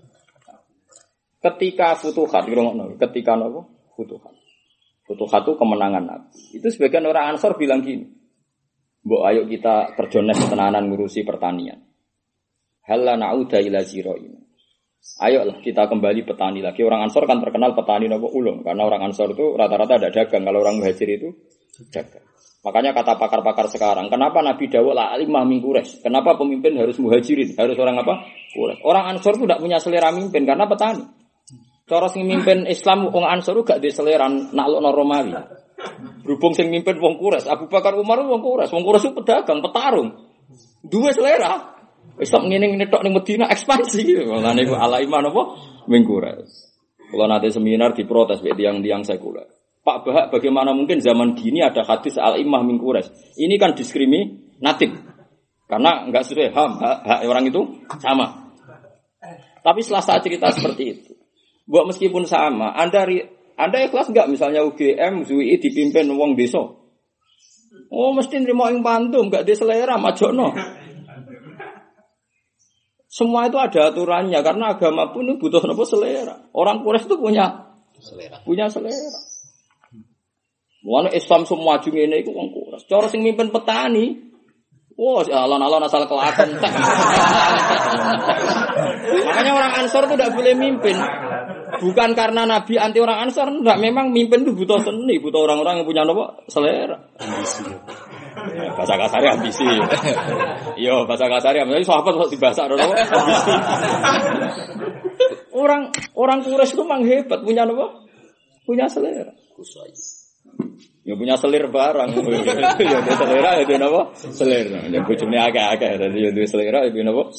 ketika futuhat rungokno, ketika napa? Futuhat. Futuhat itu kemenangan Nabi. Itu sebagian orang Ansor bilang gini, mbok ayo kita terjones tenanan ngurusi pertanian. Halla na'uda ila zira'in. Ayolah kita kembali petani lagi. Orang Ansor kan terkenal petani napa ulung, karena orang Ansor itu rata-rata ada dagang, kalau orang Muhajir itu dagang. Makanya kata pakar-pakar sekarang, kenapa Nabi dawuh la alimah min Quraisy? Kenapa pemimpin harus Muhajirin? Harus orang apa? Quraisy. Orang Ansor itu tidak punya selera mimpin karena petani. Cara sing mimpin Islam wong Ansor gak di selera naklukno Romawi. Berhubung sing mimpin wong Quraisy, Abu Bakar Umar wong Quraisy, wong Quraisy pedagang, petarung. Dua selera. Islam ngene-ngene tok ning Madinah ekspansi. Lah niku ala iman apa? Min Quraisy. Kalau nanti seminar diprotes mbek tiang-tiang sekuler. Pak Bahak, bagaimana mungkin zaman gini ada hadis al-imah min Quraisy? Ini kan diskriminatif. Karena enggak sesuai ham, hak, hak orang itu sama. Tapi setelah saya cerita seperti itu, buat meskipun sama, Anda Anda ikhlas enggak misalnya U G M, Z U I dipimpin wong desa? Oh, mesti nerima ing pantum, enggak diselera majono. Semua itu ada aturannya karena agama pun itu butuh apa selera. Orang Quraisy itu punya selera. Punya selera. Mulane Islam semua maju ngene iku wong Quraisy. Cara sing mimpin petani wah, wow, alon-alon asal kelakon. Makanya orang Ansor itu tidak boleh mimpin. Bukan karena Nabi anti orang Ansor, enggak. Memang mimpin itu butuh seni, butuh orang-orang yang punya apa? Selera. Ambisi. Ya, bahasa kasarnya ambisi. Iya, bahasa kasarnya ambisi. Sahabat kok dibahasa apa? Ambisi. Orang orang Quraisy itu memang hebat, punya apa? Punya selera. Kusai. Ya punya selir barang. Ya ada selera, ya ada apa? Selera. Ya bojone agak-agak, jadi ya ada selera, ya ada apa?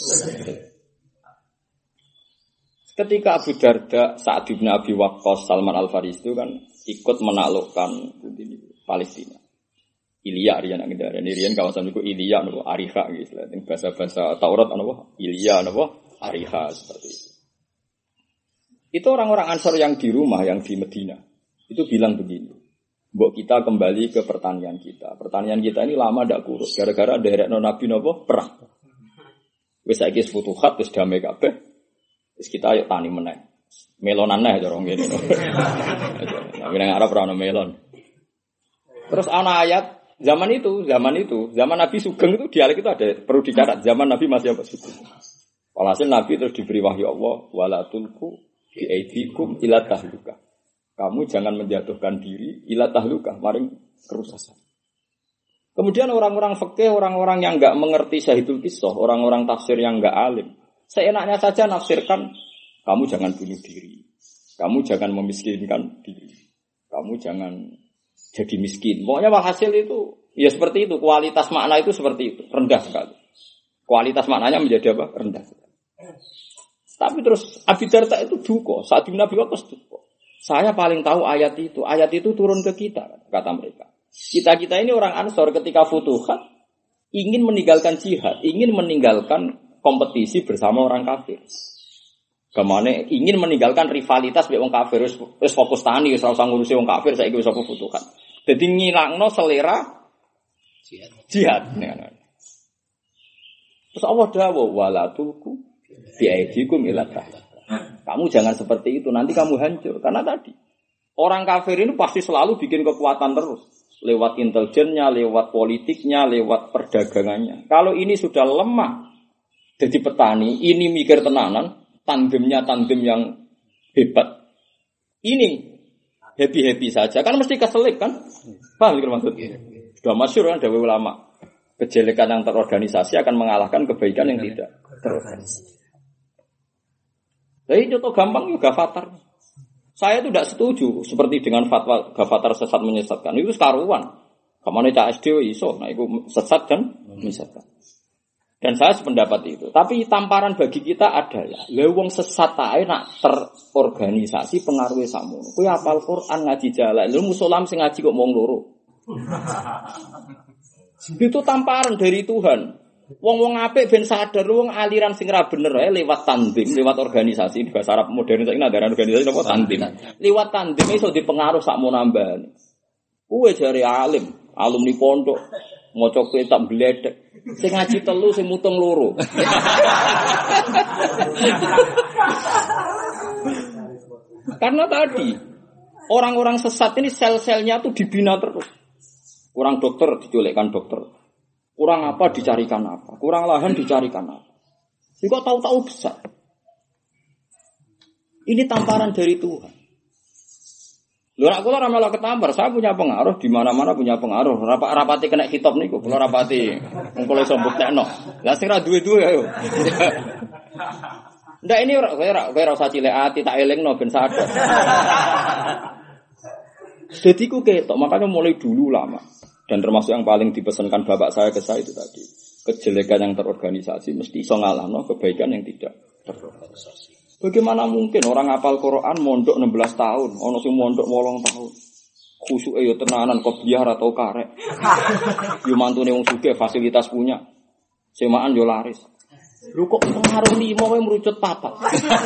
Ketika Abu Darda, Sa'ad bin Abi Waqqas, Salman Al-Farisi itu kan ikut menaklukkan Palestina. Ilya riyan nang ndare riyan kawasan iku Ilya napa Ariha gitu. Ning bahasa-bahasa Taurat napa Ilya napa Ariha seperti itu. Itu orang-orang Ansor yang di rumah, yang di Medina. Itu bilang begini. Mbok kita kembali ke pertanian kita. Pertanian kita ini lama ndak kurus gara-gara nderekno Nabi napa perang. Wis saiki futuhat wis damai kabeh. Wis kita ayo tani meneh. Melonan neh cara ngene. Nek nang Arab ora ono melon. Terus ana ayat zaman itu, zaman itu, zaman Nabi Sugeng itu dialek itu ada perlu dicatat. Zaman Nabi masih apa Sugeng. Walhasil Nabi terus diberi wahyu Allah wala tulku bi aidikum ila tahlukah. Kamu jangan menjatuhkan diri ila tahlukah, maring kerusakan. Kemudian orang-orang fikih, orang-orang yang enggak mengerti syahidul qissah, orang-orang tafsir yang enggak alim, seenaknya saja nafsirkan kamu jangan bunuh diri. Kamu jangan memiskinkan diri. Kamu jangan jadi miskin. Pokoknya hasil itu ya seperti itu, kualitas makna itu seperti itu, rendah sekali. Kualitas maknanya menjadi apa? Rendah sekali. Tapi terus Abi Darda itu duka, saat di Nabi Waqqas duka. Saya paling tahu ayat itu. Ayat itu turun ke kita, kata mereka. Kita-kita ini orang Ansor ketika futuhat ingin meninggalkan jihad, ingin meninggalkan kompetisi bersama orang kafir. Kemana ingin meninggalkan rivalitas dengan orang kafir, terus fokus tani, terus usah ngurusi orang kafir, saya ingin fokus futuhat. Jadi ngilangno selera jihad. Jihad. Terus Allah dawuh wala tulku bi aidikum ila tahluka. Kamu jangan seperti itu, nanti kamu hancur. Karena tadi, orang kafir ini pasti selalu bikin kekuatan terus. Lewat intelijennya, lewat politiknya, lewat perdagangannya. Kalau ini sudah lemah, jadi petani, ini mikir tenanan, tandemnya tandem yang hebat. Ini happy-happy saja. Kan mesti keselip kan? Paham mikir maksudnya? Sudah masyhur kan, dari ulama. Kejelekan yang terorganisasi akan mengalahkan kebaikan yang tidak terorganisasi. Jadi contoh gampang juga Ghafatar. Saya itu tidak setuju seperti dengan fatwa Ghafatar sesat menyesatkan. Itu sekaruan. Kemana Cak S D iso, nah itu sesat dan menyesatkan. Dan saya sependapat itu. Tapi tamparan bagi kita adalah, lewong sesat tae nak terorganisasi pengaruhnya sakmono. Kowe hafal Quran ngaji jalan, lu musolam sing ngaji kok mung loro. Itu tamparan dari Tuhan. Wong-wong apik ben sadar wong aliran sing ra bener ae lewat tandim, lewat organisasi di bahasa Arab modern saiki ada organisasi apa tandim. Lewat tandim iso dipengaruh sakmono nambah. Kuwe jare alim, alumni pondok, maca kitab bledek. Sing ngaji telu sing mutung loro. Karena tadi orang-orang sesat ini sel-selnya tuh dibina terus. Kurang dokter diculikkan dokter. Kurang apa dicarikan apa, kurang lahan dicarikan apa. Ini kok tahu-tahu besar. Ini tamparan dari Tuhan. Lho nek kula ora malah ketampar, saya punya pengaruh di mana-mana punya pengaruh. Rapat rapati kena hitop niku, kula rapati wong kula iso mbuktekno. Lah sing ra duwe-duwe ayo. Ndak ini ora kowe ora kowe ora usah cilik ati tak elingno ben sadar. Jadi ku ketok, makanya mulai dulu lama. Dan termasuk yang paling dipesankan bapak saya ke saya itu tadi. Kejelekan yang terorganisasi mesti iso ngalahno kebaikan yang tidak terorganisasi. Bagaimana mungkin orang hafal Quran mondok enam belas tahun, ono sing mondok wolong tahun. Khusuke yo tenanan kok biar atau karek. Yo mantune wong sugih fasilitas punya. Semaan yo laris. Lho kok pengaruh lima wae merucut papat.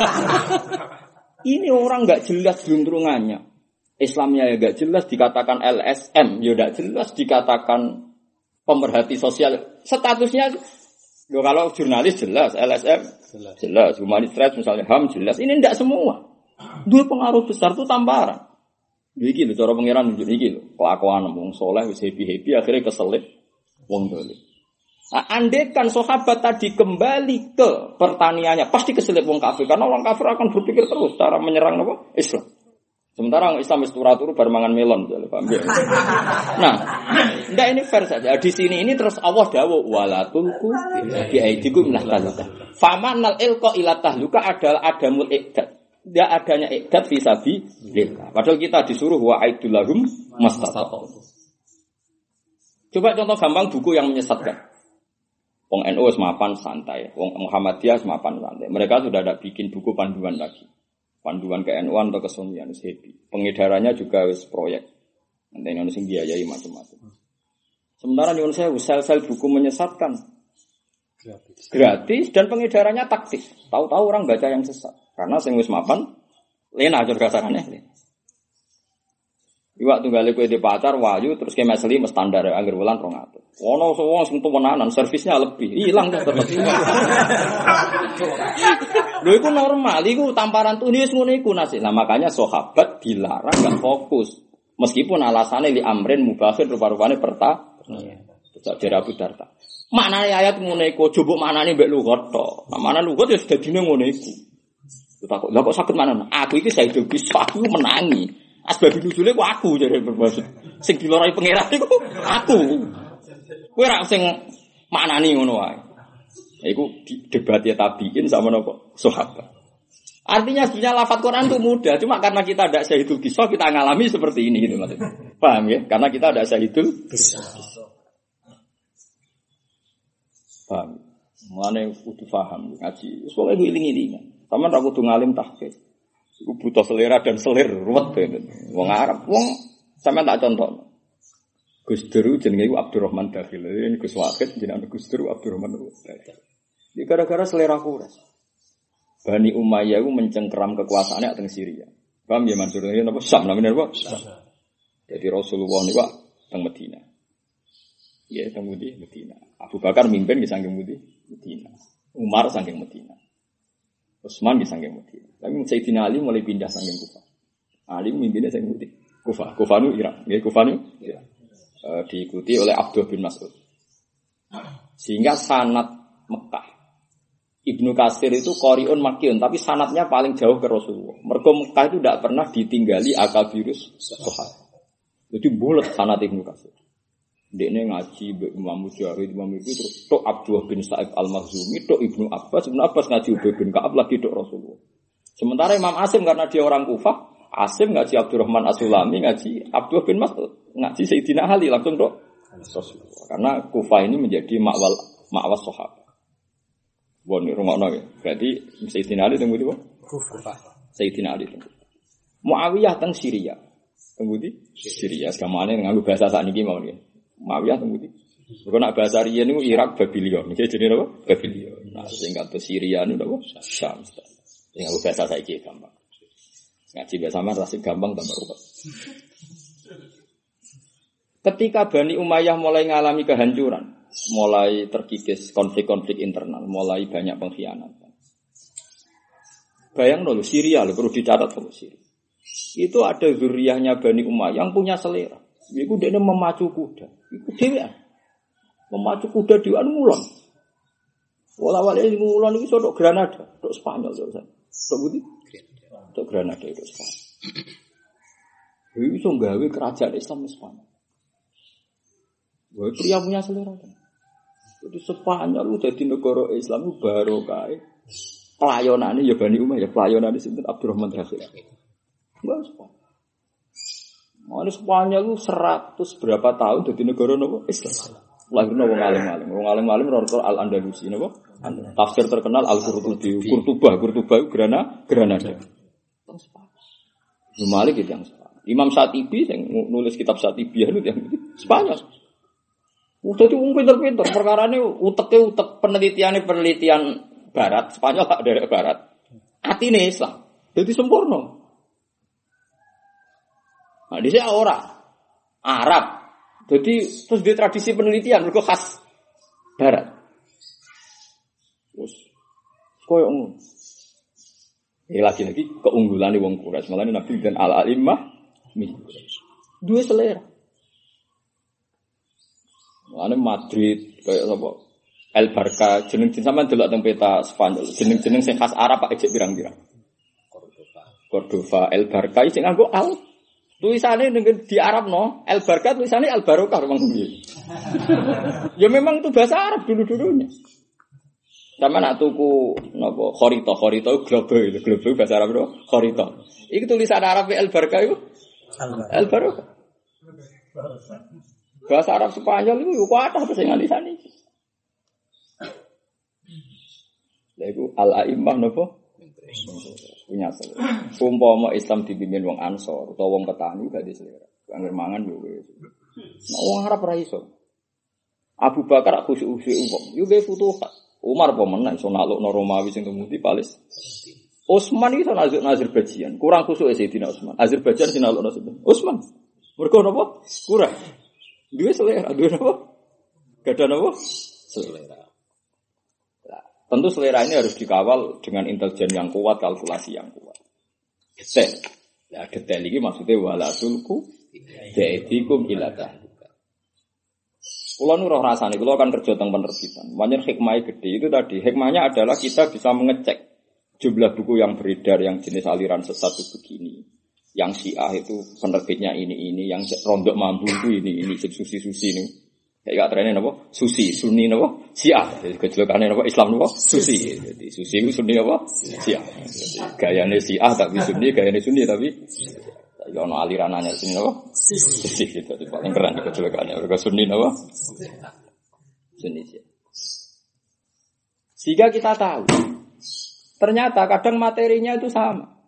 Ini orang enggak jelas gelundrungannya. Islamnya ya enggak jelas, dikatakan L S M ya enggak jelas, dikatakan pemerhati sosial. Statusnya lho kalau jurnalis jelas, L S M jelas, jelas. Humanis rights misalnya H A M jelas. Ini enggak semua. Dua pengaruh besar itu tamparan. Iki lho cara pangeran nunjuk iki lho. Kelakuan wong saleh wis happy-happy akhirnya keselip wong dolim. Nah, andekan sahabat tadi kembali ke pertaniannya, pasti keselip wong kafir karena orang kafir akan berpikir terus cara menyerang apa? Islam. Sementara orang Islam wis turu-turu bar mangan melon, paham ya? Nah, ndak ini fair saja. Di sini ini terus Allah dawuh wala tulqu bi aidikum minal tahlukah. Famanal ilqa ila tahluka adalah adamul iqdad. Tidak adanya iqdad fi sabilillah. Padahal kita disuruh wa aidul lahum mastata'u. Coba contoh gampang buku yang menyesatkan. Wong N U semapan santai, Wong Muhammadiyah semapan santai. Mereka sudah ada bikin buku panduan lagi. Panduan ke N U atau ke Sunnian happy. Pengedarannya juga wis proyek. Nanti Indonesia biayai macam-macam. Sementara di Indonesia sel-sel buku menyesatkan. Gratis. Gratis dan pengedarannya taktis. Tahu-tahu orang baca yang sesat. Karena sing wis mapan lena aja kasarane. Iwak tunggale kowe di pacar wayu terus ke meseli mes standar angger wulan rong atus. Ono wong sing tumenanan servisnya lebih. Hilang tetep. Lho iku normal, iku tamparan tuh wis ngono iku nasib. Nah makanya sahabat dilarang gak fokus. Meskipun alasannya li amrin mubahir rupa-rupane perta. Iya. Cak jare Abu Darda. Maknane ayat ngono iku, coba maknane mbek lugat tok. Nah mana lugat ya dadine ngono iku. Takut, lha kok sakit mana? Aku iki Sayyidul Qisah, aku menangi. Asbab nuzule ku aku jare bermaksud. Sing dilorai pangeran iku aku. Kowe ra sing maknani ngono wae. Iku debat ya tabiin sama napa? Sahabat. Artinya sebenarnya lafaz Quran itu mudah, cuma karena kita ada Sayyidul Qisah kita ngalami seperti ini gitu maksudnya. Paham ya? Karena kita ada Sayyidul Qisah. Paham. Mulane kudu paham ngaji. Soale iku iling-ilingan. Sampeyan ra kudu ngalim tahqiq. Iku butuh selera dan selir ruwet ben. Wong Arab, wong sampean tak contoh. Gus Dur jenenge iku Abdurrahman Dakhil. Ini Gus Wakid jenenge Gus Dur Abdurrahman Dakhil. Iki gara-gara selera kuras. Bani Umayyah iku mencengkeram kekuasaannya teng Syria. Paham ya Mansur? Ini napa Syam namanya napa? Syam. Jadi Rasulullah niku teng Madinah. Ya teng Madinah. Abu Bakar mimpin di saking Madinah. Umar saking Madinah. Utsman di saking Madinah. Tapi Sayyidina Ali mulai pindah saking Kufah. Ali mimpinnya saking Kufah. Kufah nu Irak. Nggih Kufah nu Irak. E, diikuti oleh Abdullah bin Mas'ud. Sehingga sanad Mekah. Ibnu Katsir itu qari'un makkiyun, tapi sanadnya paling jauh ke Rasulullah. Mergo Mekah itu tidak pernah ditinggali akabirus sahabat. Jadi bulat sanad Ibnu Katsir. Dekne ngaji mbek Imam Mujahid, Imam itu terus tok Abdullah bin Sa'id Al-Makhzumi, tok Ibnu Abbas, Ibnu Abbas ngaji Ubay bin Ka'ab lagi tok Rasulullah. Sementara Imam Asim karena dia orang Kufah, Asim ngaji Abdurrahman As-Sulami, ngaji Abdullah bin Mas'ud, ngaji Sayyidina Ali langsung tok Rasulullah. Karena Kufah ini menjadi makwal makwas sahabat. Bon rumahno ya. Berarti Sayyidina Ali teng pundi, Pak? Kufah. Sayyidina Ali teng. Muawiyah teng Syria. Teng pundi? Syria. Sekamane nganggo bahasa sakniki mawon ya. Muawiyah teng pundi? Kok nak bahasa riyen niku Irak Babylon. Iki jenenge apa? Babylon. Nah, sing kados Syria niku apa? Syam. Yang aku bahasa saiki gampang. Ngaji bahasa man rasih gampang tambah ruwet. Ketika Bani Umayyah mulai mengalami kehancuran, mulai terkikis konflik-konflik internal, mulai banyak pengkhianatan. Bayang dulu Syria, lho perlu dicatat kalau Syria. Itu ada zuriyahnya Bani Umayyah yang punya selera. Iku dene memacu kuda. Iku dhewean. Memacu kuda dhewean ngulon. Wala-wala iki ngulon iki tok Granada, tok Spanyol to. Tok budi? Tok Granada itu Spanyol. Iki iso gawe kerajaan Islam di Spanyol. Wah, pria punya selera kan. Jadi Spanyol lu jadi negara Islam itu baru kae. Pelayanane ya Bani Umayyah, pelayanane sinten Abdurrahman Dakhil. Wah, Spanyol. Mau Spanyol lu seratus berapa tahun jadi negara nopo Islam. Lahirna wong alim-alim, wong alim-alim rata Al-Andalusi napa? Tafsir terkenal Al-Qurtubi, Qurtubah, Qurtubah Granada, Granada. Teng Spanyol. Malik itu yang Spanyol. Imam Syatibi yang nulis kitab Syatibiyah itu yang Spanyol. Udah tuh pinter-pinter perkara ini utek utek penelitian penelitian Barat Spanyol dari Barat. Hati nih Islam, jadi sempurna. Nah di sini orang Arab, jadi terus di tradisi penelitian mereka khas Barat. Terus koyo ngono. Ya lagi-lagi keunggulan di wong Quraisy, malah Nabi dan al-alimah dua selera. Ane Madrid kayak apa? El Barca jeneng-jeneng sampean delok teng peta Spanyol. Jeneng-jeneng sing khas Arab Pak ejek pirang-pirang. Cordoba. Cordoba, El Barca sing nganggo al. Tulisane ning di Arab no, El Barca tulisane Al Barokah memang piye. Ya memang itu bahasa Arab dulu-dulunya. Sama nak tuku napa kharita, kharita itu globe itu, globe bahasa Arab itu kharita. Iki tulisan Arab El Barca itu El Barokah. Bahasa Arab Spanyol itu yo kuatah terus sing nganisani. Lha iku al-a'immah napa? Punya selera. Umpama Islam dipimpin wong Ansor utawa wong petani gak di selera. Angger mangan yo wis. Nek wong Arab ra iso. Abu Bakar khusyuk-khusyuk wong. Yo ge futuhat. Umar pemenang iso naklukno Romawi sing temudi Palis. Utsman itu nazuk Azerbaijan. Kurang khusyuk Sayyidina Utsman. Azerbaijan sinalukno sinten? Utsman. Mergo napa? Kurang. Duwe selera, duwe napa? Gadah napa? Selera. Nah, tentu selera ini harus dikawal dengan intelijen yang kuat, kalkulasi yang kuat. Detail. Ya detail iki maksudnya wala tulku bi'aidikum ila tahluka. Kula nu roh rasane kula kan kerja teng penerbitan. Manjen hikmahnya gede itu tadi. Hikmahnya adalah kita bisa mengecek jumlah buku yang beredar yang jenis aliran sesat itu begini. Yang Syiah itu penerbitnya ini ini, yang Rondok Mambu itu ini ini, susi-susi ini. Kayak trennya napa? Susi, Sunni napa? Syiah. Jadi kejelekannya napa? Islam napa? Susi. Jadi susi itu Sunni apa? Syiah. Jadi gayane Syiah tapi Sunni, gayane Sunni tapi ya ono aliranane sini napa? Susi itu paling keren kejelekannya. Mereka Sunni napa? Sunni Syiah. Sehingga kita tahu ternyata kadang materinya itu sama.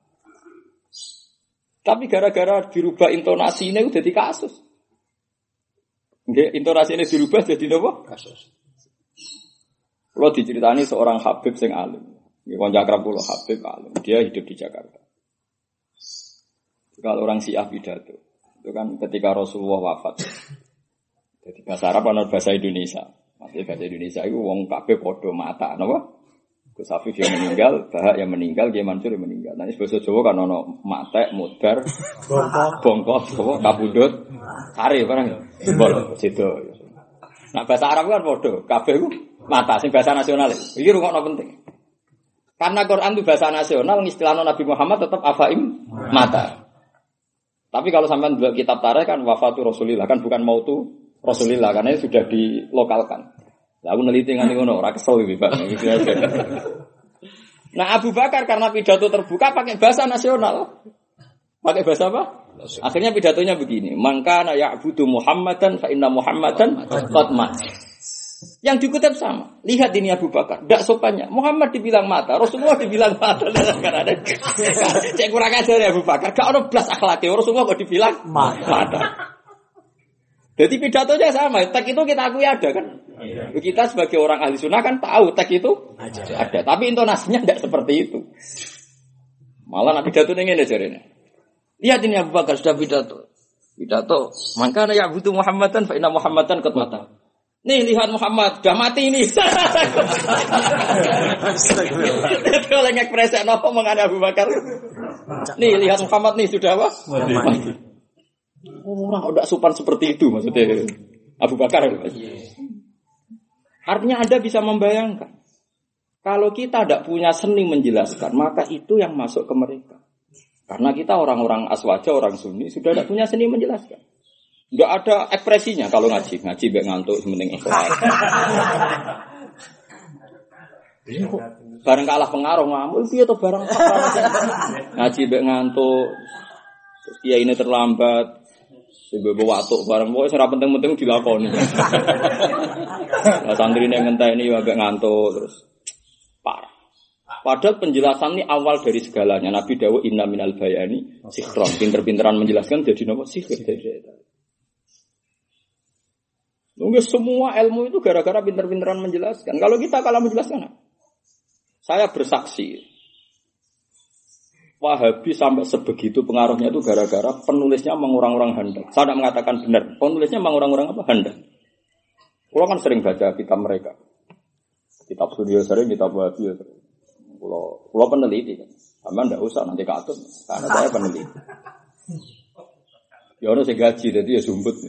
Tapi gara-gara dirubah intonasi ini udah jadi kasus. Nggih, intonasi ini dirubah jadi apa? Kasus. Kalau diceritani seorang Habib sing alim. Nggih kanca akrab kula Habib alim. Dia hidup di Jakarta. Kalau orang Syiah pidato, itu kan ketika Rasulullah wafat. Jadi bahasa Arab atau bahasa Indonesia. Maksudnya bahasa Indonesia itu wong kabeh padha mata, napa? Gus Afif yang meninggal, Bahak yang meninggal, Kiai Mansur yang meninggal. Nah, ini bahasa Jawa kan ono matek, mudar, bongkos, kabudut, kari barang. Bol, situ. Nah, bahasa Arab kan padha, kabeh ku mata sing bahasa nasional. Iki rungokno penting. Karena Quran itu bahasa nasional, istilahnya Nabi Muhammad tetap afaim mata. Tapi kalau sampean dua kitab tarikh kan wafatu Rasulillah, kan bukan mautu Rasulillah, karena itu sudah dilokalkan. Lah aku neliti ngene ngono, ora kesel iki, Pak. Nah, Abu Bakar karena pidato terbuka pakai bahasa nasional. Pakai bahasa apa? Akhirnya pidatonya begini, "Mangkana ya'budu Muhammadan fa inna Muhammadan qad mat." Yang dikutip sama. Lihat ini Abu Bakar, ndak sopannya. Muhammad dibilang mata, Rasulullah dibilang mata. Kan ada. Cek kurang ajar ya Abu Bakar. Gak ono blas akhlake, Rasulullah kok dibilang mata. Jadi pidatonya sama, teks itu kita akui ada kan. Iya. Kita sebagai orang ahli sunnah kan tahu teks itu ada, ada. Tapi intonasinya tidak seperti itu. Malah nak pidato ini ngene jarene. Lihat ini Abu Bakar sudah pidato. Pidato, "Mangkana ya'budu Muhammadan fa inna Muhammadan qad mata." Nih lihat Muhammad sudah mati ini. Itu oleh ekspresi apa mengane Abu Bakar. Nih lihat Muhammad nih sudah apa? Mati. Orang udah sopan seperti itu maksudnya Abu Bakar. Artinya Anda bisa membayangkan kalau kita tidak punya seni menjelaskan, maka itu yang masuk ke mereka. Karena kita orang-orang aswaja, orang Sunni sudah tidak punya seni menjelaskan. Tidak ada ekspresinya kalau ngaji, ngaji baik ngantuk sementing ikhlas. Bareng kalah pengaruh ngamuk, piye to bareng ngaji baik ngantuk. Terus kiai ini terlambat. Sebab watuk barang pokoknya serap penting-penting dilakoni. Nah, santri ini ngenteni agak ngantuk terus parah. Padahal penjelasan ini awal dari segalanya. Nabi dawuh inna minal bayani sikhron. Pinter-pinteran menjelaskan jadi napa sihir dari. Nggak semua ilmu itu gara-gara pinter-pinteran menjelaskan. Kalau kita kalah menjelaskan, saya bersaksi. Wahabi sampai sebegitu pengaruhnya itu gara-gara penulisnya mengurang-urang hendak. Saya tidak mengatakan benar. Penulisnya mengurang-urang apa? Hendak. Kalau kan sering baca kitab mereka. Kitab Studio sering, kitab Wahabi sering. Kalau kalau peneliti kan. Sama tidak usah nanti katut. Karena saya peneliti. Ya orang saya gaji, jadi ya sumput.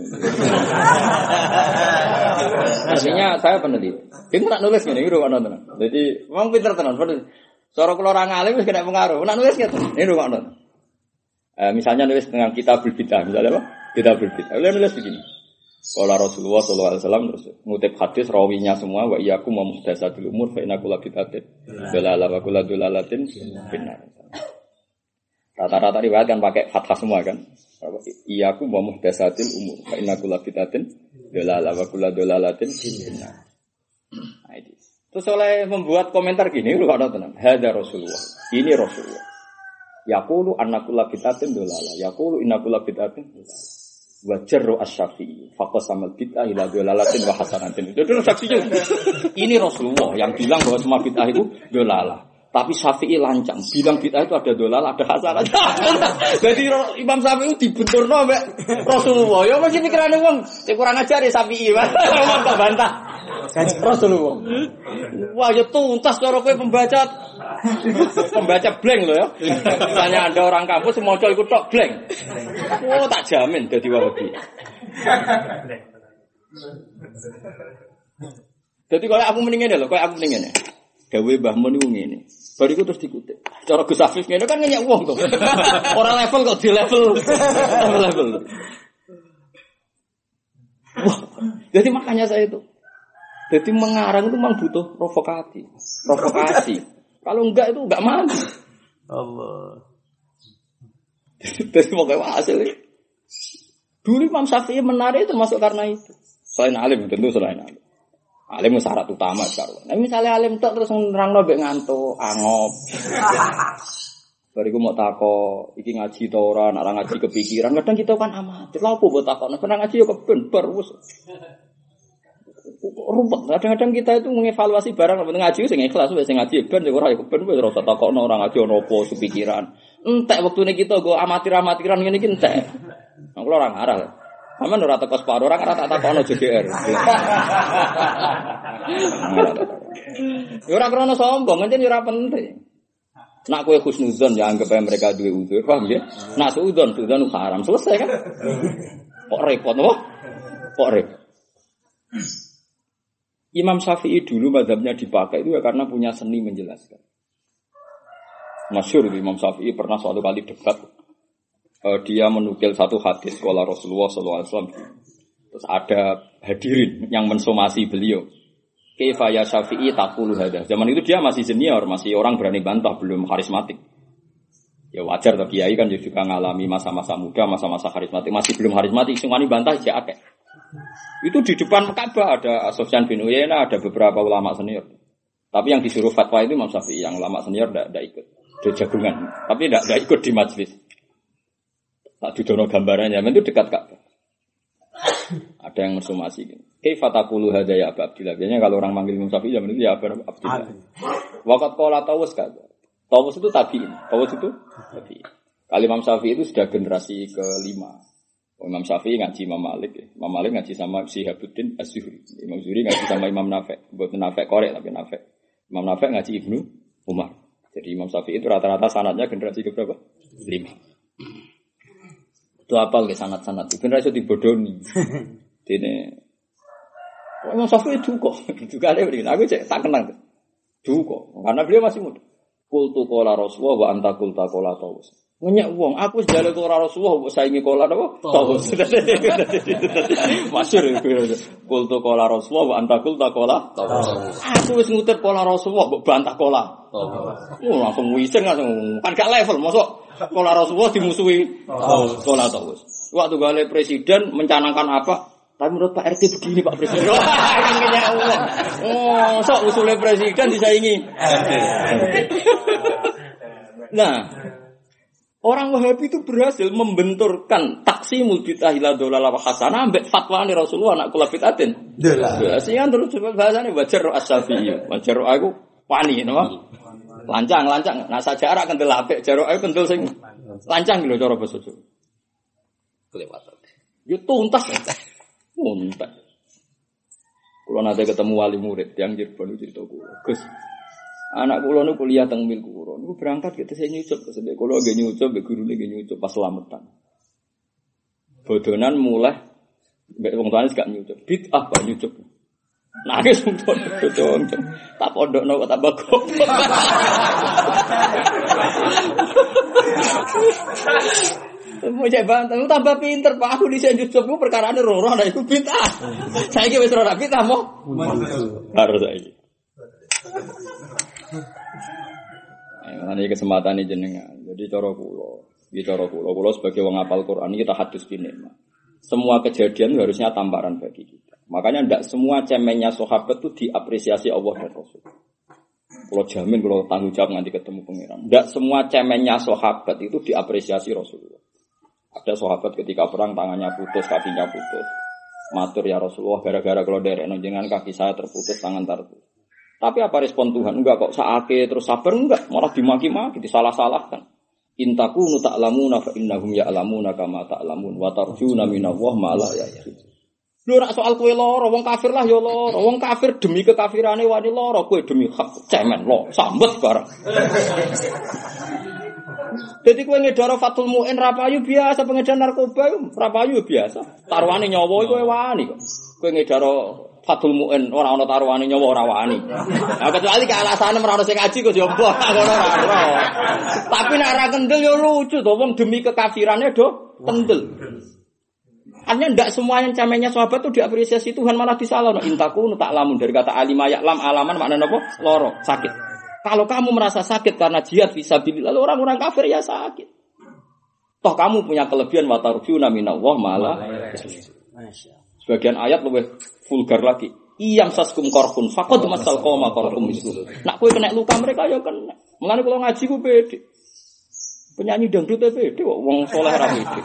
Artinya saya peneliti. Dia tak nulis gini, gitu kan nonton. Jadi memang pinter tenan. Cara kalau orang alim wis kena pengaruh. Nak nulis gitu. Ini rumah nonton. Eh, misalnya nulis dengan Kitabul Bidah, misalnya apa? Kitabul Bidah. Boleh nulis begini. Qala Rasulullah sallallahu alaihi wasallam terus ngutip hadis rawinya semua wa iyyakum wa muhdatsatil umur fa inna kulla bid'atin dalalah wa kullu dalalatin finnar. Rata-rata riwayat kan pakai fathah semua kan. Iyyakum wa muhdatsatil umur fa inna kulla bid'atin dalalah wa kullu dalalatin finnar. Nah itu. Terus oleh membuat komentar gini, lu ada tenang. Hada Rasulullah. Ini Rasulullah. Yaqulu annakulla bid'atin dalalah. Yaqulu innakulla bid'atin dalalah. Wa jarru asy-Syafi'i faqasamal bid'ah ila dalalatin wa hasanatin. Itu adalah saksinya. Ini Rasulullah yang bilang bahwa semua bid'ah itu dalalah. Tapi Syafi'i lancang, bilang bid'ah itu ada dalalah, ada hasanah. Jadi Imam Syafi'i dibenturno mbek Rasulullah. Ya mesti pikirane wong, sing kurang ajar ya Syafi'i. Wong kok bantah. Rasulullah. Wah, ya tuntas cara kowe pembaca pembaca blank loh ya. Misalnya ada orang kampus maca iku tok blank. Oh, tak jamin dadi Wahabi. Dadi koyo aku mending ngene lho, koyo aku mending ngene. Dawe Mbah Mun niku ngene. Bariku terus dikutip. Cara Gus Afif ngene kan ngenyek wong to. Ora level kok di level. Level. Wah, jadi makanya saya itu jadi mengarang itu memang butuh provokasi. Provokasi. Kalau enggak itu enggak mandi. Allah. Jadi pokoknya hasilnya. Dulu Imam Syafi'i menarik termasuk karena itu. Selain alim tentu selain alim. Alim syarat utama sekarang. Nah misalnya alim tak terus nerangno mbek ngantuk, angop. Bariku mau tako, iki ngaji ta ora, nek ngaji kepikiran. Kadang kita kan amatir. Lha opo mbok takokno? Nek ngaji yo keben bar wis. Rumput. Kadang-kadang kita itu mengevaluasi barang penting ngaji sing ikhlas wis sing ngaji ben ora ya ben wis ora usah takokno orang ngaji ono apa sepikiran. Entek wektune kita go amatir-amatiran ngene iki entek. Nang kula ora ngarah. Sampeyan ora teko separo ora ora tak takokno J D R. Ya ora krono sombong, pancen ora penting. Nak kowe husnuzon ya anggap ae mereka duwe udzur, paham ya? Nak suudzon, suudzon haram, selesai kan? Kok repot apa? Kok repot? Imam Syafi'i dulu mazhabnya dipakai itu ya karena punya seni menjelaskan. Masyhur Imam Syafi'i pernah suatu kali debat, uh, dia menukil satu hadis qala Rasulullah sallallahu alaihi wasallam. Terus ada hadirin yang mensomasi beliau. Kaifa ya Syafi'i taqulu hadza. Zaman itu dia masih senior, masih orang berani bantah, belum karismatik. Ya wajar toh kiai kan juga ngalami masa-masa muda, masa-masa karismatik, masih belum karismatik, sing wani bantah ya akeh. Itu di depan Ka'bah ada Sufyan bin Uyainah, ada beberapa ulama senior. Tapi yang disuruh fatwa itu Imam Syafi'i, yang ulama senior tidak ikut. Dia jagungan, tapi tidak ikut di majelis. Tak didono gambarannya, itu dekat Ka'bah. Ada yang mensomasi gitu. Kaifa taqulu hadza ya Abu Abdillah. Biasanya kalau orang manggil Imam Syafi'i zaman itu ya Abu Abdillah. Waqat qala Tawus kan. Tawus itu tabi'in. Tawus itu tabi'in. Kalau Imam Syafi'i itu sudah generasi kelima. Imam Syafi'i ngaji Imam Malik, ya. Imam Malik ngaji sama Syihabuddin Az-Zuhri. Imam Zuhri ngaji sama Imam Nafi'. Buat Nafi' korek tapi Nafi'. Imam Nafi' ngaji Ibnu Umar. Jadi Imam Syafi'i itu rata-rata sanadnya generasi ke berapa? Lima. Itu apa ke sanad-sanad? Generasi dibodoni. Dene Imam Syafi'i duka. Duka ada begini. Aku cek tak kenal. Duka. Karena beliau masih muda. Qultu qala Rasulullah wa anta qulta qala Tawus. Ngenyek wong, aku sejaluk ora Rasulullah mbok saingi kola napa? Tawus. Masyhur iku. Qultu qala Rasulullah wa anta qulta qala Tawus. Aku wis ngutir kola Rasulullah mbok bantah kola. Tawus. Oh, langsung wiseng langsung. Kan gak level, mosok kola Rasulullah dimusuhi Tawus. Kola Tawus. Waktu gale presiden mencanangkan apa? Tapi menurut Pak R T begini Pak Presiden. Kan ngenyek wong. Oh, sok usule presiden disaingi. Nah, Orang Wahabi itu berhasil membenturkan taksimul bid'ah ila dhalalah wa hasanah ambek fatwane Rasulullah nak kula bid'atin. Dhalalah. Sing terus coba bahasane wajar as-Syafi'i. Wajar aku wani napa? Lancang, lancang. Nah sajarak kendel apik, jaruk ae kendel sing lancang lho cara basa Jawa. Kelewatan. Yo tuntas. Tuntas. Kula nate ketemu wali murid yang Cirebon cerita kula. Gus, anak kula nu kuliah teng mil kula. Niku berangkat gitu saya nyucup ke sedek kula nggih nyucup, mbek gurune nggih nyucup pas slametan. Bodonan mulai mbek wong tuane gak nyucup. Bid'ah kok nyucup. Nangis wong tuane bodoh. Tak pondokno kok tambah goblok. Mau coba tambah pinter Pak, aku dhisik nyucup ku perkarane roh-roh nek iku bid'ah. Saiki wis ora bid'ah mo. Harus saiki. Ini kesempatan ini jenengan. Jadi cara kula, iki cara kula, kula sebagai wong hafal Quran kita hadis binema. Semua kejadian harusnya tamparan bagi kita. Makanya ndak semua cemennya sahabat itu diapresiasi Allah dan Rasul. Kula jamin kula tanggung jawab nanti ketemu pangeran. Ndak semua cemennya sahabat itu diapresiasi Rasulullah. Ada sahabat ketika perang tangannya putus, kakinya putus. Matur ya Rasulullah gara-gara kula derekno jenengan kaki saya terputus, tangan terputus. Tapi apa respon Tuhan? Enggak kok sakit terus sabar enggak, malah dimaki-maki, disalah-salahkan. Intakunu ta'lamuna fa innahum ya'lamuna kama ta'lamun wa tarjuna minallah ma la ya'lamun. Lho nek soal kowe lara, wong kafir lah ya lara. Wong kafir demi kekafirane wani lara, kowe demi hak cemen lo, sambet bareng. Jadi kowe ngedaro Fathul Mu'in ra payu biasa, pengedar narkoba ra payu biasa. Taruhane nyawa kowe wani kok. Kowe ngedaro Fathul Mu'in ora ana taruhane nyawa ora wani. Nah kecuali ke alasane ora ono sing ngaji kok jomblo ngono ora. Tapi nek ora kendel ya lucu to wong demi kekafirane do kendel. Artinya ndak semua yang camennya sahabat itu diapresiasi Tuhan malah disalahno. Intakunu ta'lamun dari kata alima ya'lam alaman maknane apa? Loro, sakit. Kalau kamu merasa sakit karena jihad fisabilillah, orang-orang kafir ya sakit. Toh kamu punya kelebihan wa tarjuna minallah malah. Sebagian ayat lebih vulgar lagi. Iyam saskum korhun faqad masal qoma korhum mislu. Nak kowe kena luka mereka ya kena. Mulane kula ngaji ku pede. Penyanyi dangdut pede kok wong saleh ra pede.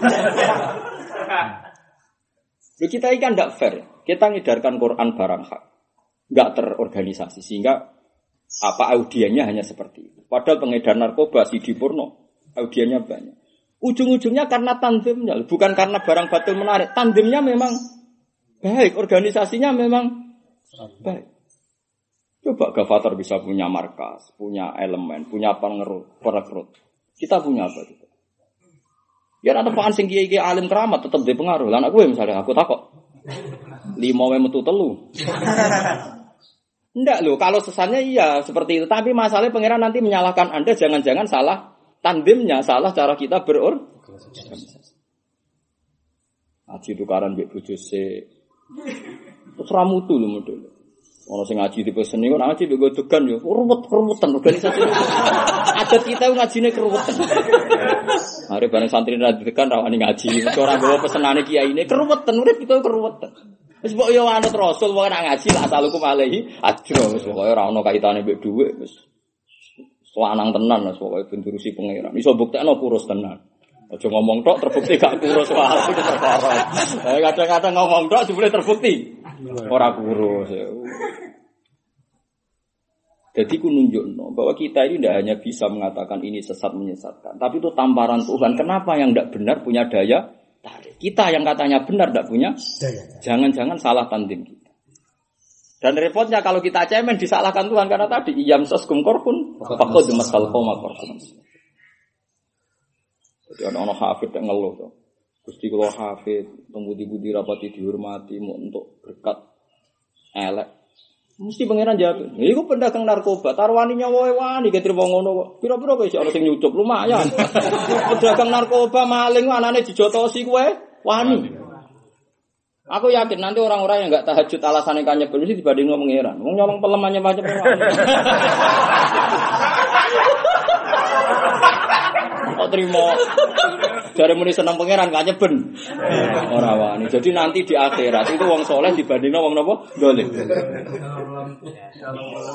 Jadi kita ini kan tidak fair. Kita ngedarkan Quran barang hak. Tidak terorganisasi. Sehingga apa audiennya hanya seperti itu. Padahal pengedar narkoba, Sidi Purno, audiennya banyak. Ujung-ujungnya karena tandemnya. Bukan karena barang batil menarik. Tandemnya memang baik. Organisasinya memang baik. Coba Gavatar bisa punya markas, punya elemen, punya perekrut. Kita punya apa juga? Ya ada apaan sing kiai-kiai alim keramat tetap dia pengaruh. Lah aku misalnya aku takok. Lima wae metu telu. Enggak loh, kalau sesannya iya seperti itu. Tapi masalahnya pangeran nanti menyalahkan Anda jangan-jangan salah tandemnya, salah cara kita berorganisasi. Aji tukaran mbek bojo se. Terus ra mutu lho model. Ono sing ngaji tipe seni kok ngaji mbek godogan yo ruwet-ruwetan organisasi. Adat kita ngajine keruwetan. Are bareng santri ra dekan rawani ngaji, ora nggawa pesenane kiyaine keruwetan, urip kita keruwetan. Wis mbok yo anut Rasul wae nak ngaji la asalukum alaihi ajra wis pokoke ora ono kaitane mbek dhuwit wis. Lanang tenan wis pokoke ben durusi pangeran. Iso buktekno kurus tenan. Aja ngomong tok terbukti gak kurus wae itu perkara. Eh kadang-kadang ngomong tok jebule terbukti ora kurus. Jadi ku nunjukno bahwa kita ini tidak hanya bisa mengatakan ini sesat menyesatkan, tapi itu tamparan Tuhan. Kenapa yang tidak benar punya daya tarik? Kita yang katanya benar tidak punya daya. Jangan-jangan salah tandem kita. Dan repotnya kalau kita cemen disalahkan Tuhan karena tadi iyam saskum korpun faqad masal qoma korpun. Jadi ana-ana hafid yang ngeluh to. Gusti kula hafid, tembudi-budi rapati dihormati mau untuk berkat elek. Mesti pangeran jawab. Iku pendagang narkoba, taruhane nyawa wani ketir wong ngono kok. Pira-pira kok iso ana sing nyucup lumayan. Pedagang narkoba maling anane dijotosi kowe wani. Aku yakin nanti orang-orang yang enggak tahajud alasane kanyebel mesti dibandingno pangeran. Wong nyolong pelemannya macam-macam. Kok terima dari muni seneng pangeran kanyeben. Ora wani. Jadi nanti di akhirat itu wong soleh dibandingno wong napa? Dolim.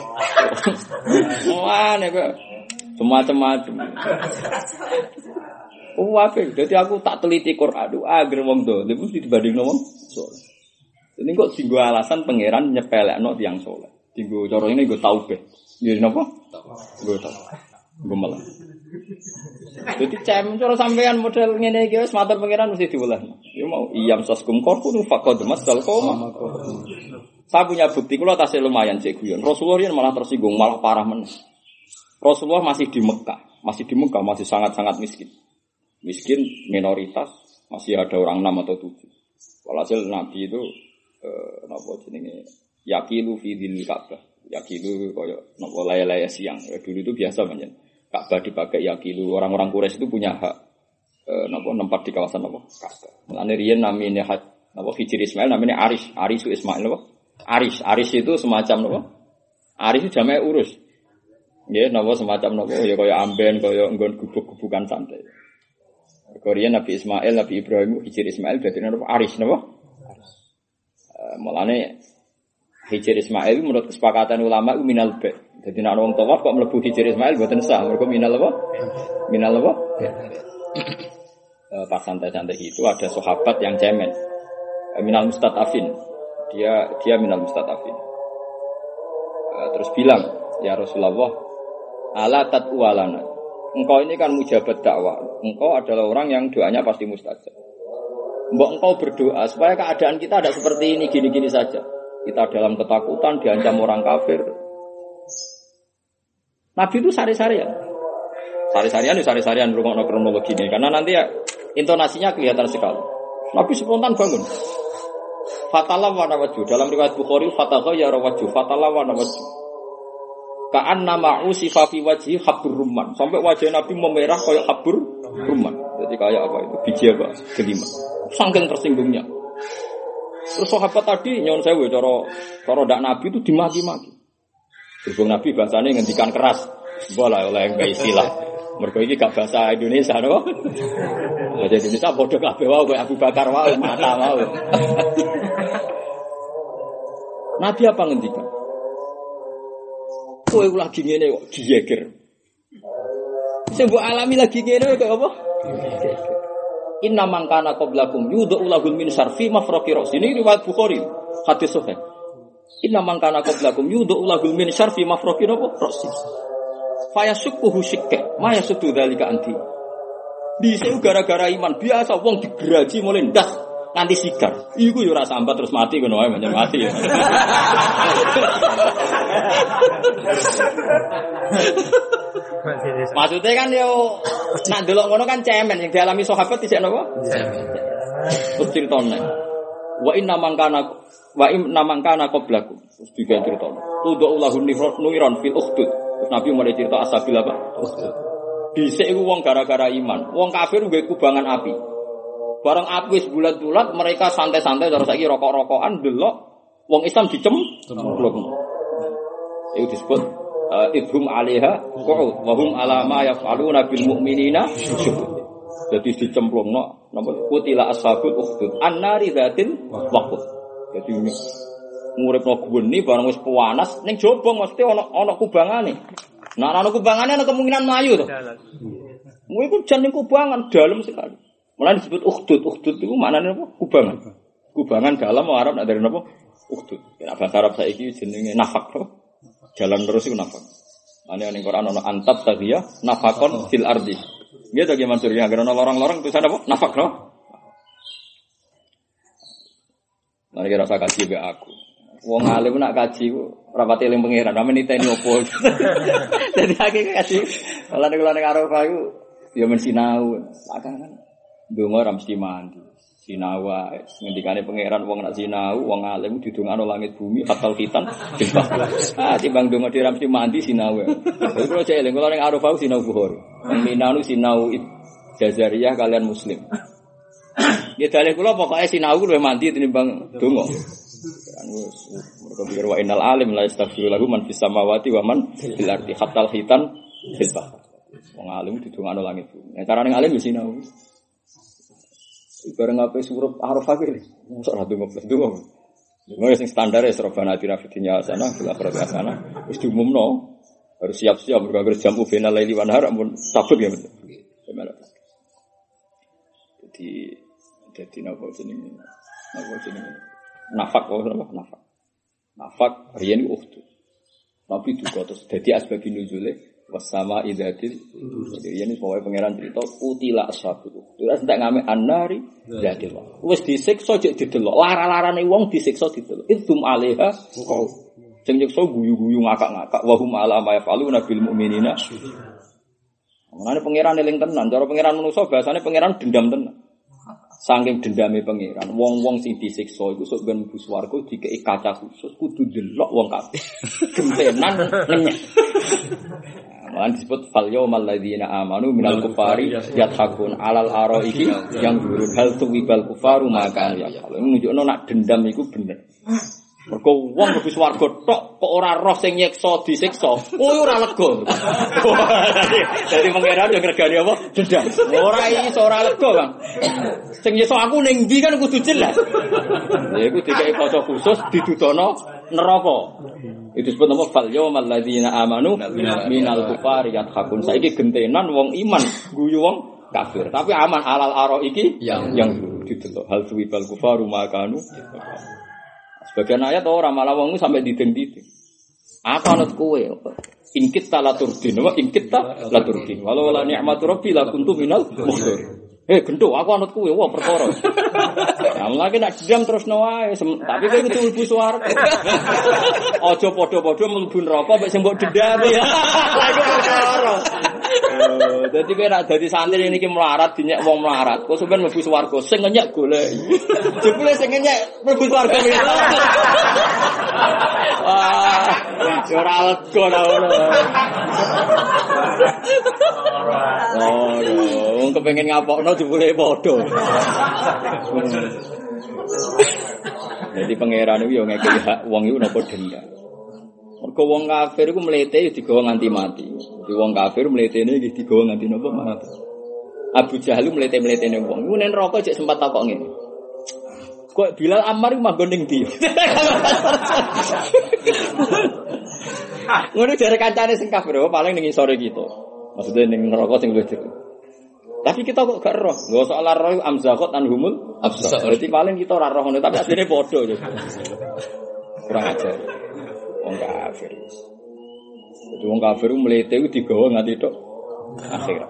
Wah, nek semacam-macam. Oh apik. Dadi aku tak teliti Quran, aduh agar wong dolim mesti dibandingno wong saleh. Ini kok dienggo alasan pangeran nyepelekno tiyang saleh. Dienggo cara ini nggo taubeh. Nggih napa? Nggo taubeh. Nggo malah. Dadi cem cara sampean model ngene iki wis matur pangeran mesti diwelehno. Ya mau iyam saskum korku faqad masal qoma. Saya punya bukti kula tasih lumayan cek guyon. Rasulullah yen malah tersinggung, malah parah men. Rasulullah masih di Mekah, masih di Mekah masih sangat-sangat miskin. Miskin minoritas, masih ada orang enam atau tujuh. Walhasil Nabi itu eh napa jenenge yaqilu fi dzil Ka'bah. Yaqilu koyo napa laya-laya siang. Ya, dulu itu biasa menyen. Ka'bah dipakai yaqilu. Orang-orang Quraisy itu punya hak eh napa nempat di kawasan napa Ka'bah. Mulane riyen namine napa Hijri Ismail namanya Arish, Arish Ismail napa? Arish, Arish itu semacam napa? Arish itu jamae urus. Nggih, napa semacam napa ya kaya amben, kaya nggon gubuk-gubukan santai. Korea Nabi Ismail, Nabi Ibrahim, Hijri Ismail berarti napa? Arish napa? Uh, mulane Hijri Ismail menurut kesepakatan ulama itu minal ba'. Jadi nek wong tawaf kok mlebu Hijri Ismail mboten sah, mergo minal apa? Minal apa? Uh, pas santai-santai itu ada sahabat yang cemen. Uh, minal mustatafin. Dia dia minal mustatafin. Uh, terus bilang, "Ya Rasulullah, ala tatwalana." Engkau ini kan mujabat dakwah. Engkau adalah orang yang doanya pasti mustajab. Mbok engkau berdoa supaya keadaan kita ada seperti ini, gini-gini saja. Kita dalam ketakutan, diancam orang kafir. Nabi itu sari-sarian. Sari-sarian itu sari-sarian rungokno kronologi ini. Karena nanti ya intonasinya kelihatan sekali. Nabi spontan bangun. Fatalah wa nawaju. Dalam riwayat Bukhari, fatagha ya rawaju. Fatalah wa nawaju. Ka'an nama usifa fi wajhi habur rumman. Sampai wajah Nabi memerah kayak habur rumman. Jadi kayak apa itu? Biji apa? Kelima. Saking tersinggungnya. Terus sahabat tadi nyon sewu cara cara ndak Nabi itu dimaki-maki. Berhubung Nabi bahasane ngendikan keras. Bola oleh enggak istilah. Mergo iki gak bahasa Indonesia no. Bahasa Indonesia padha kabeh wae koyo Abu Bakar wae mata wae. Nabi apa ngendikan? Kowe lagi ngene kok diyeger. Sing mbok alami lagi ngene kok apa? Inna man kana qablakum yudhu lahum min syarfi mafraqi ras. Ini riwayat Bukhari, hadis sahih. Inna man kana qablakum yudhu lahum min syarfi mafraqi ras. Fa yasukkuhu shikka, ma yasuddu dzalika anti. Dise gara-gara iman biasa wong digeraji mulai ndas nanti sigar. Iku yo ora sambat terus mati ngono wae menyang mati. Maksudnya kan yo nak delok ngono kan cemen yang dialami sahabat tidak napa? Cemen. Terus critane. Wa inna mangkana wa inna mangkana qablakum. Terus juga critane. Tudhu lahun nuiron fil ukhdud. Terus Nabi mulai cerita asabil apa? Ukhdud. Dhisik iku wong gara-gara iman. Wong kafir nggawe kubangan api. Barang api wis bulat-bulat mereka santai-santai terus saiki rokok-rokokan delok wong Islam dicem blok. Itu disebut uh, idhum 'alaiha qu'ud wa hum 'ala ma yaf'aluna bil mu'minina syuhud. Jadi dicemplungno napa kutila ashabul ukhdud annari dzatil waqud. Jadi nguripno gweni barang wis panas ning jobong mesti ana ana kubangane. Nah ana kubangane ana kemungkinan mlayu to. Kuwi ku jan ning kubangan dalam sekali. Mulai disebut ukhdud, ukhdud itu maknanya apa? Kubangan. Kubangan dalam orang Arab nak dari apa? Ukhdud. Nek bahasa Arab saiki jenenge nafak to. Jalan terus iku nafak. Ane ning Quran ana antab tadhiya nafakon fil ardi. Nggih to gimana surya agar ana lorong-lorong tulisan apa? Nafak to. Mari kita rasa kaji be aku. Wong alim nak kaji ku rapati eling pangeran, ame niteni opo. Dadi akeh kaji. Lah nek ning Arafah iku ya men sinau. Akan donga ora mesti mandi. Sinau wae. Ngendikane pangeran wong nak sinau, wong alim didongakno langit bumi fatal khitan. Ah timbang donga dhewe mesti mandi sinau wae. Dadi kula cek eling kula ning Arafah sinau Bukhari. Minanu sinau Jazariyah kalian muslim. Ya dalih kula pokoke sinau luwih mandi tinimbang donga. Kan wis mergo pikir wa innal alim la yastaghfiru lahu man fis samawati wa man fil ardi hatta khitan fil bahr. Wong alim didongakno langit bumi. Nek carane alim ya sinau. Bareng apa suruh Arafah iki. Mosok ra donga plus donga. Donga sing standar ya Rabbana atina fid dunya hasanah fil akhirati hasanah. Wis diumumno. Harus siap-siap bergawe jamu final laili wan nahar ampun sabut ya. Jadi jadi napa jenenge? Napa jenenge? Nafak apa napa? Nafak. Nafak riyen ukhtu. Tapi juga terus dadi asbabun nuzule wasama idatil. Jadi riyen pokoke pangeran cerita utila ashabu. Terus ndak ngame annari jadi Allah. Wis disiksa jek didelok. Lara-larane wong disiksa didelok. Idzum alaiha sing nyiksa guyu-guyu ngakak-ngakak wa hum ala ma yafaluna bil mu'minina. Mulane pangeran eling tenan, cara pangeran manusa bahasane pangeran dendam tenan. Saking dendame pangeran, wong-wong sing disiksa iku sok ben mlebu swarga dikeki kaca khusus kudu delok wong kabeh. Gentenan ngenyek. Mulane disebut fal yaumal ladzina amanu minal kufari yathakun alal araiki yang durun hal tuwibal kufaru maka ya. Kalau nunjukno nak dendam iku bener. Mergo wong mlebu swarga tok kok ora roh sing nyiksa disiksa. Oh ora lega. Dadi pangeran yo ngregani apa? Dendam. Ora iso ora lega, Bang. Sing nyiksa aku ning ndi kan kudu jelas. Ya iku dikeki kaca khusus didudono neraka. Itu disebut nama fal yaumal ladzina amanu minal kufari yathakun. Saiki gentenan wong iman guyu wong kafir. Tapi aman halal aro iki yang yang didelok hal suwibal kufaru makanu. Sebagian ayat orang malah wong sampai dideng-dideng. Apa anut kowe? Ingkit ta laturdin, wa ingkit ta laturdin. Walau la ni'matu rabbi la kuntu minal mukhtir. Eh gendho aku anut kowe, wah perkara. Ya lagi nak dendam terus no wae, tapi kowe kudu mlebu swarga. Aja padha-padha mlebu neraka mek sing mbok dendami. Lah iku perkara. Oh, dadi kowe nek dadi santri niki melarat dinyek wong melarat, kok sampean mlebu swarga sing nyek golek. Jebule sing nyek mlebu swarga. Wah, ora lega ora. Oh, wong kepengin ngapokno jebule padha. Jadi pangeran iku yo ngekeki hak wong iku napa dendam. Mergo wong kafir iku mlete digawa nganti mati. Jadi wong kafir mletene iki digawa nganti napa mati. Abu Jahal mlete-mletene wong. Iku nen neraka cek sempat takok ngene. Kok Bilal Ammar iku manggon ning ndi? Ngono jare kancane sing kafir paling ning isore kita. Maksudnya ning neraka sing luwih jero. Tapi kita kok gak roh. Enggak soal roh amzaqat anhumul absar. Berarti paling kita ora roh ngono tapi asline padha. Kurang ajar. Wong kafir. Jadi wong kafir mlete iku digawa nganti tok akhirat.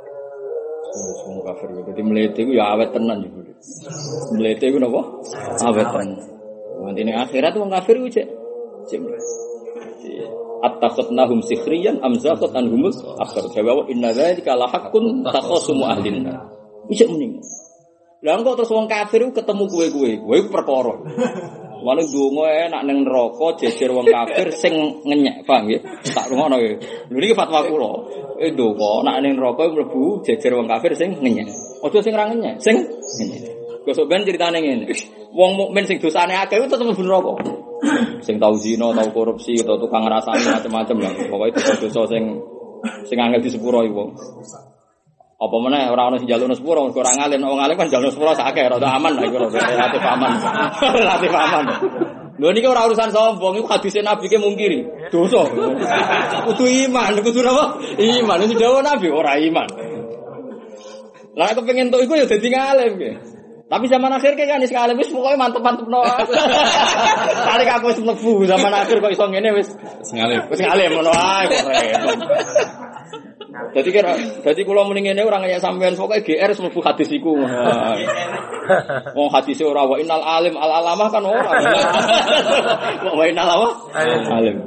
Wong kafir dadi mlete iku ya awet tenan iku. Mlete iku napa? Awet tenan. Nganti ning akhirat wong kafir iku cek cek mlete. Attakhadnahum sikhriyan amzaqat anhumul akhir. Jawa inna dzalika la haqqun takhasumu ahlina. Isuk mending. Lah kok terus wong kafir iku ketemu kowe-kowe. Kowe iku perkara. Wong ndonga enak ning neraka jejer wong kafir sing ngenyek, paham nggih? Tak rungono nggih. Lho niki fatwa kula. Eh ndonga nek ning neraka mlebu jejer wong kafir sing ngenyek. Aja sing ra ngenyek, sing ngenyek. Gosok ben critane ngene. Wong mukmin sing dosane akeh iku tetep mlebu neraka. Sing tau zina, tau korupsi, tau tukang ngrasani macam-macam lah. Pokoke dosa-dosa sing sing angel disepuro iku. Apa meneh ora ono sing njalukno sepuro, ora ngalim, wong alim kan njalukno sepuro sak akeh, rada aman lah iku, relatif aman. Relatif aman. Lho niki ora urusan sombong, iku hadise Nabi ke mungkiri. Dosa. Kudu iman, kudu apa? Iman, iki dawuh Nabi ora iman. Lah aku pengen tok iku ya dadi ngalim ge. Tapi zaman akhir kayak kan sekali wis pokoke mantep-mantep no. Kali aku wis mlebu zaman akhir kok iso ngene wis ngalim. Wis ngalim ngono ae kok repot. Dadi kira dadi kula muni ngene ora ngeyak sampean pokoke G R mlebu hadis iku. Wong hadise ora wa innal alim al alamah kan ora. Wa innal apa? Alim.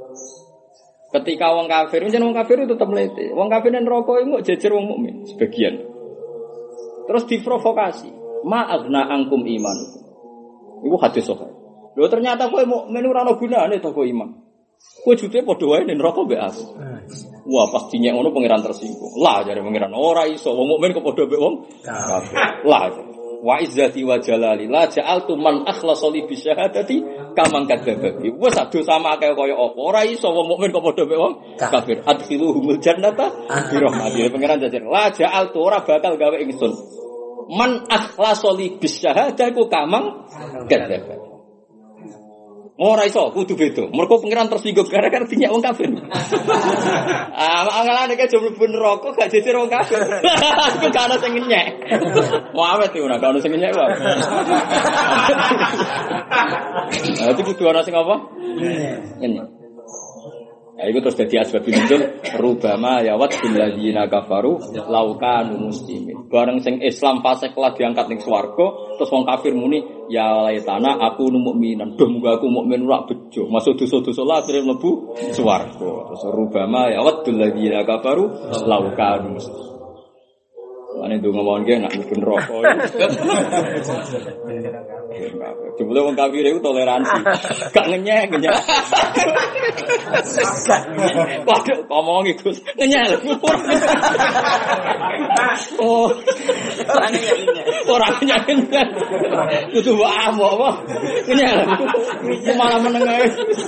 Ketika wong kafir, jeneng wong kafir itu tetep mlete. Wong kafir ning neraka iku jejer wong mukmin sebagian. Terus diprovokasi. Ma'agna angkum imanukum. Iku hadis sahih. Lho ternyata kowe mukmin ora ana gunane to kowe iman. Kowe jute padha wae ning neraka mbek aku. Wah, pas dinyek ngono pangeran tersinggung. Lah jare pangeran ora iso wong mukmin kok padha mbek wong kafir. Lah. Wa izzati wa jalali la ja'altu man akhlasa li bi syahadati kamang kadzabati. Wes ado sama kaya kaya apa. Ora iso wong mukmin kok padha mbek wong kafir. Adkhiluhumul jannata bi rahmatil. Pangeran jajar la ja'altu ora bakal gawe ingsun. Man akhlasa li bi syahadati kamang kadzabati. Ora iso, kudu beda. Mergo pengiran tersinggung gara-gara dinyek wong kafir. Ah, mangalane ke jomblo ben neraka gak jejer wong kafir. Iku gak ono sing nyek. Wawet iki ora gak ono sing nyek wae. Ah, itu kudu ono sing apa? Nyek. Ya itu terus jadi asbab nuzul rubama ya wat billadzina kafaru laukanu muslimin. Bareng sing Islam fasik lah diangkat ning swarga, terus wong kafir muni ya laitana aku mukminan. Duh muga aku mukmin ora bejo. Masuk dosa-dosa lah akhire mlebu swarga. Terus rubama ya wat billadzina kafaru laukanu muslimin. Ane ndonga mawon ge nak mlebu neraka. Jebule wong kafir iku toleransi. Gak ngenyek, ngenyek. Waduh, ngomong iku ngenyek. Oh. Ora ngenyek. Ora ngenyek. Kudu wae apa? Ngenyek. Malah meneng ae.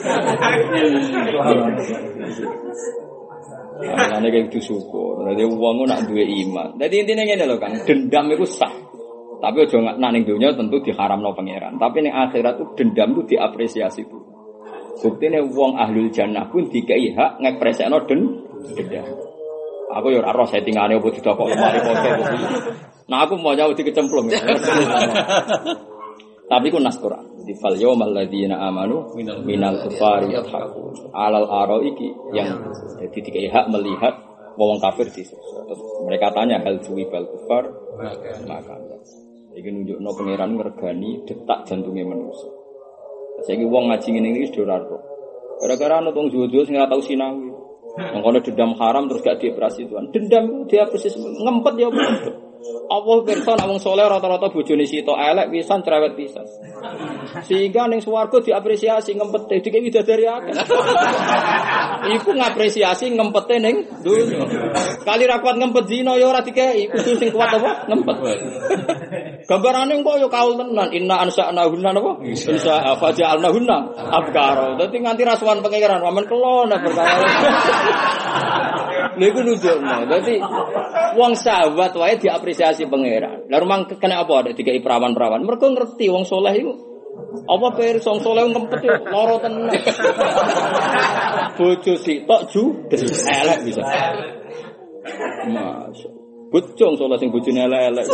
Ana nek kudu syukur. Dadi wong nak duwe iman. Dadi intine ngene lho Kang, dendam iku sah. Tapi aja nak ning donya tentu diharamno pangeran. Tapi ning akhirat itu dendam itu diapresiasi itu. Buktine wong ahlul jannah pun dikai hak ngepresekno den dendam. Aku yo ora roh settingane opo didokok lemari foto opo. Nah aku mau jauh dikecemplung. Tapi ku nas Quran. Di fal yaumal ladzina amanu minal kufari yadhakun. Alal araiki yang jadi dikai hak melihat wong kafir di situ. Terus mereka tanya hal suwibal kufar maka iki nunjukno pangeran ngregani detak jantunge manusa. Saiki wong ngaji ngene iki wis ora ro. Gara-gara ana wong jowo-jowo sing ora tau sinau. Mengkono dendam haram terus gak dioperasi Tuhan. Dendam ku dia persis ngempet ya apa. Apa pirsa nek wong saleh rata-rata bojone sitok elek pisan cerewet pisan. Sehingga ning swarga diapresiasi ngempete dikek widadari akeh. Iku ngapresiasi ngempete ning donya. Kali ra kuat ngempet zina ya ora dikeki, kudu sing kuat apa ngempet. Gambarane kok ya kaul tenan inna ansa'na hunna napa? Insya faja'alna hunna abkara. Dadi nganti rasuwan pangeran wamen kelon perkara. Lha iku nunjukno. Dadi wong sahabat wae diapresiasi pangeran. Lah rumang kena apa ada dikai perawan-perawan. Mergo ngerti wong saleh iku apa pirsa wong saleh ngempet yo lara tenan. Bojo sitok judes elek bisa. Mas bocong saleh sing bojone elek-elek.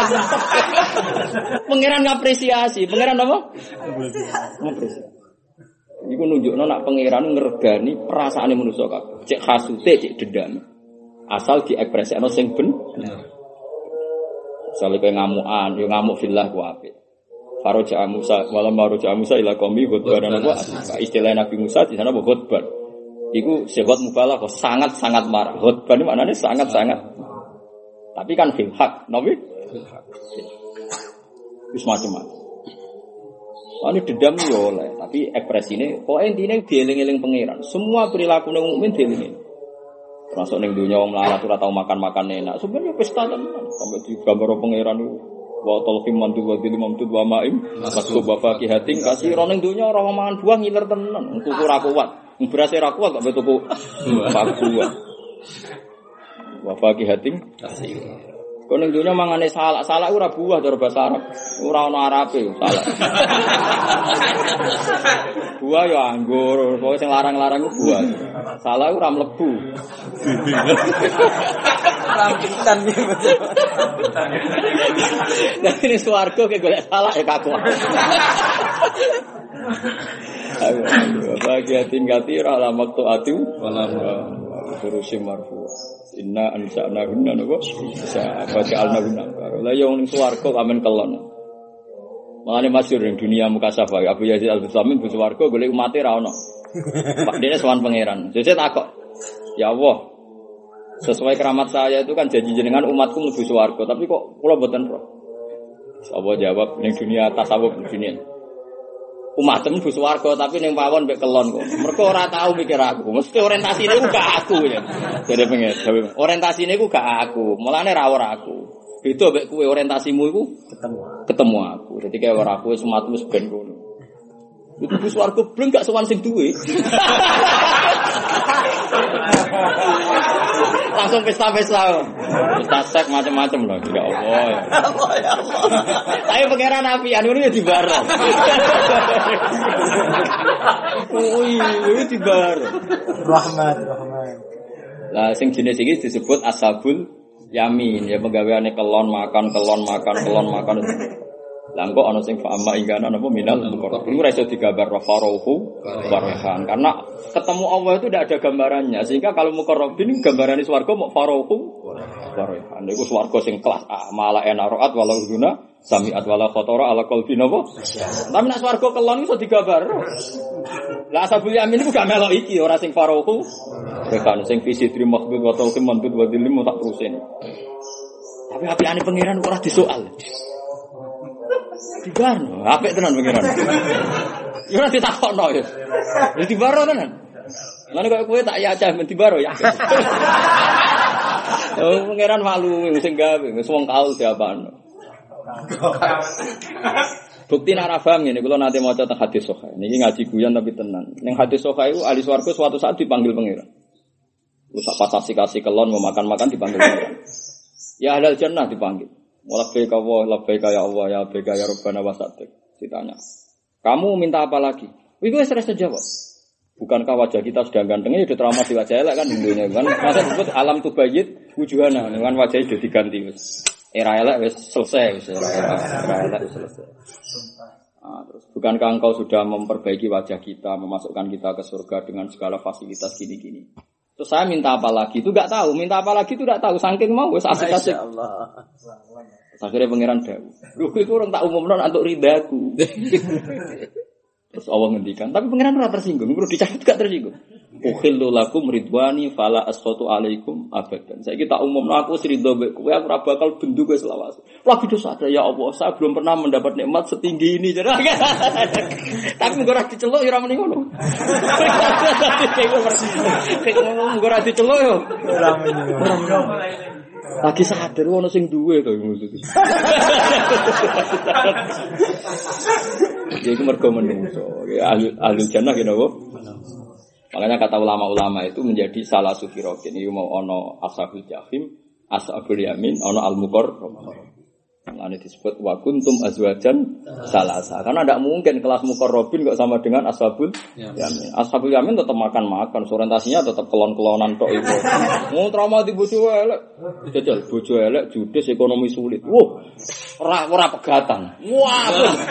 Pangeran ngapresiasi, pangeran apa? Ngapresiasi. Iku nunjukno nak pangeran ngregani perasaane manusa kabeh. Cek hasute, cek dendam. Asal diekspresikno sing bener. Misale kowe ngamukan, yo ngamuk fillah ku apik. Faraja Musa, malam Faraja Musa ila qaumi ghadban apa? Istilah Nabi Musa di sana ghadban. Iku sehat mubalagh sangat-sangat marah. Ghadban maknane sangat-sangat. Tapi kan fil hak, nabi fil hak. Wis macam-macam. Ane dendam yo oleh, tapi ekspresine pokoke intine dieling-eling pangeran. Semua perilaku ning mukmin dieling. Termasuk ning dunya wong melarat ora tau makan-makan enak. Sebenarnya pesta tenan sampai digambar pangeran niku. Wa talqim mantu wa dilim mamtud wa ma'im masuk bapak kihating kasih ro ning dunya ora mangan buah ngiler tenan. Tuku ora kuat. Berase ora kuat kok tuku buah. Wa fakihatin kasih. Kok ning dunya mangane salak, salak ora buah cara basa Arab. Ora ana Arabe salak. Buah ya anggur, pokoke sing larang-larang ku buah. Salak ora mlebu. Rambutan iki betul. Nek ini swarga ke golek salak ya kaku. Ayo, fakihatin katira la maqtu atu wala furusim marfu. Inna ansa'na hunna napa bisa bacaalna hunna la yo ning swarga kamen kelon makane masyhur ning dunia mukasafah Abu Yazid Al-Bustami bu swarga golek umate ra ono Pak dene sowan pangeran sesuk takok ya Allah sesuai keramat saya itu kan janji jenengan umatku mlebu swarga tapi kok kula mboten roh sapa jawab ning dunia tasawuf dunia umatem bu swarga tapi ning pawon mek kelon kok. Mergo ora tau mikir aku. Mesti orientasine ku gak aku ya. Jadi pengen orientasine ku gak aku. Mulane ra ora aku. Beda mek kowe orientasimu iku ketemu. Ketemu aku. Dadi kaya ora aku sematu wis ben ngono. Itu bu swarga bleng gak sowan sing duwe. Langsung pesta-pesta. Pesta sek macam-macam loh. Ya Allah. Ya Allah. Tapi pangeran apian ngono ya dibareng. Oh iya, dibareng. Rahmat, rahmat. Lah sing jenis iki disebut ashabul yamin, ya penggaweane kelon makan, kelon makan, kelon makan. Lah kok ana sing fa'ama ingkana napa minal muqarrab. Iku ora iso digambar farohu barahan karena ketemu Allah itu tidak ada gambarannya. Sehingga kalau muqarrabin gambarane swarga mau farohu barahan. Iku swarga sing kelas A, mala enaroat walau guna sami'at wala khatara ala qalbi napa. Tapi nek swarga kelon iso digambar. Lah ashabul yamin iku gak melok iki ora sing farohu barahan sing fisidri makhbud wa tawqim mandud wa dilim tak terusin. Tapi apiane pangeran ora disoal. Dibarno, apik tenan pengiran. Ya ora ditakokno ya. Ya dibaro tenan. Lan kok kowe tak ya aja men dibaro ya. Oh pengiran malu sing gawe wis wong kaul diapano. Bukti nek ora paham ngene kula nate maca teng hadis sahih. Niki ngaji guyon tapi tenan. Ning hadis sahih iku ahli swarga suatu saat dipanggil pengiran. Wis pas kasih kelon mau makan-makan dipanggil pengiran. Ya ahlul jannah dipanggil. Labbaika Allah, labbaika ya Allah, ya labbaika ya Rabbana wa sa'adik. Ditanya, kamu minta apa lagi? Itu wis rasa jawab. Bukankah wajah kita sudah gantengnya sudah trauma di wajah elek kan dunia kan? Masa disebut alam tubayyid wujuhana, dengan wajahnya sudah diganti wis. Era elek wis selesai, wis era era elek wis selesai. Nah, terus bukankah engkau sudah memperbaiki wajah kita, memasukkan kita ke surga dengan segala fasilitas gini-gini? Terus saya minta apa lagi? Itu enggak tahu. Minta apa lagi itu enggak tahu. Saking mau wis asik-asik. Masyaallah. Akhirnya pangeran dawuh. Lho iku orang tak umumno untuk ridaku. Terus Allah ngendikan, tapi pangeran ora tersinggung, perlu dicatat gak tersinggung. Ukhillu lakum ridwani fala asqatu alaikum abadan. Saiki tak umumno aku ridho mbek kowe aku ora bakal bendu kowe selawase. Lagi dosa ada ya Allah, saya belum pernah mendapat nikmat setinggi ini. Tapi ora diceluk ya ora muni ngono. Ngomong ora diceluk yo. Ora muni ngono. Lagi sadar ono sing duwe to maksud. Jadi mergo menungso. Ahli ahli jannah kene apa? Makanya kata ulama-ulama itu menjadi salah sufirokin. Ini mau ono ashabul jahim, ashabul yamin, ono al-muqarrab. Ini disebut wa kuntum azwajan salasa. Karena tidak mungkin kelas muqarrabin kok sama dengan ashabul yamin. Ashabul yamin tetap makan-makan, orientasinya tetap kelon-kelonan tok itu. Mau trauma di bojo elek. Jajal bojo elek, judes, ekonomi sulit. Wah, ora ora pegatan. Wah.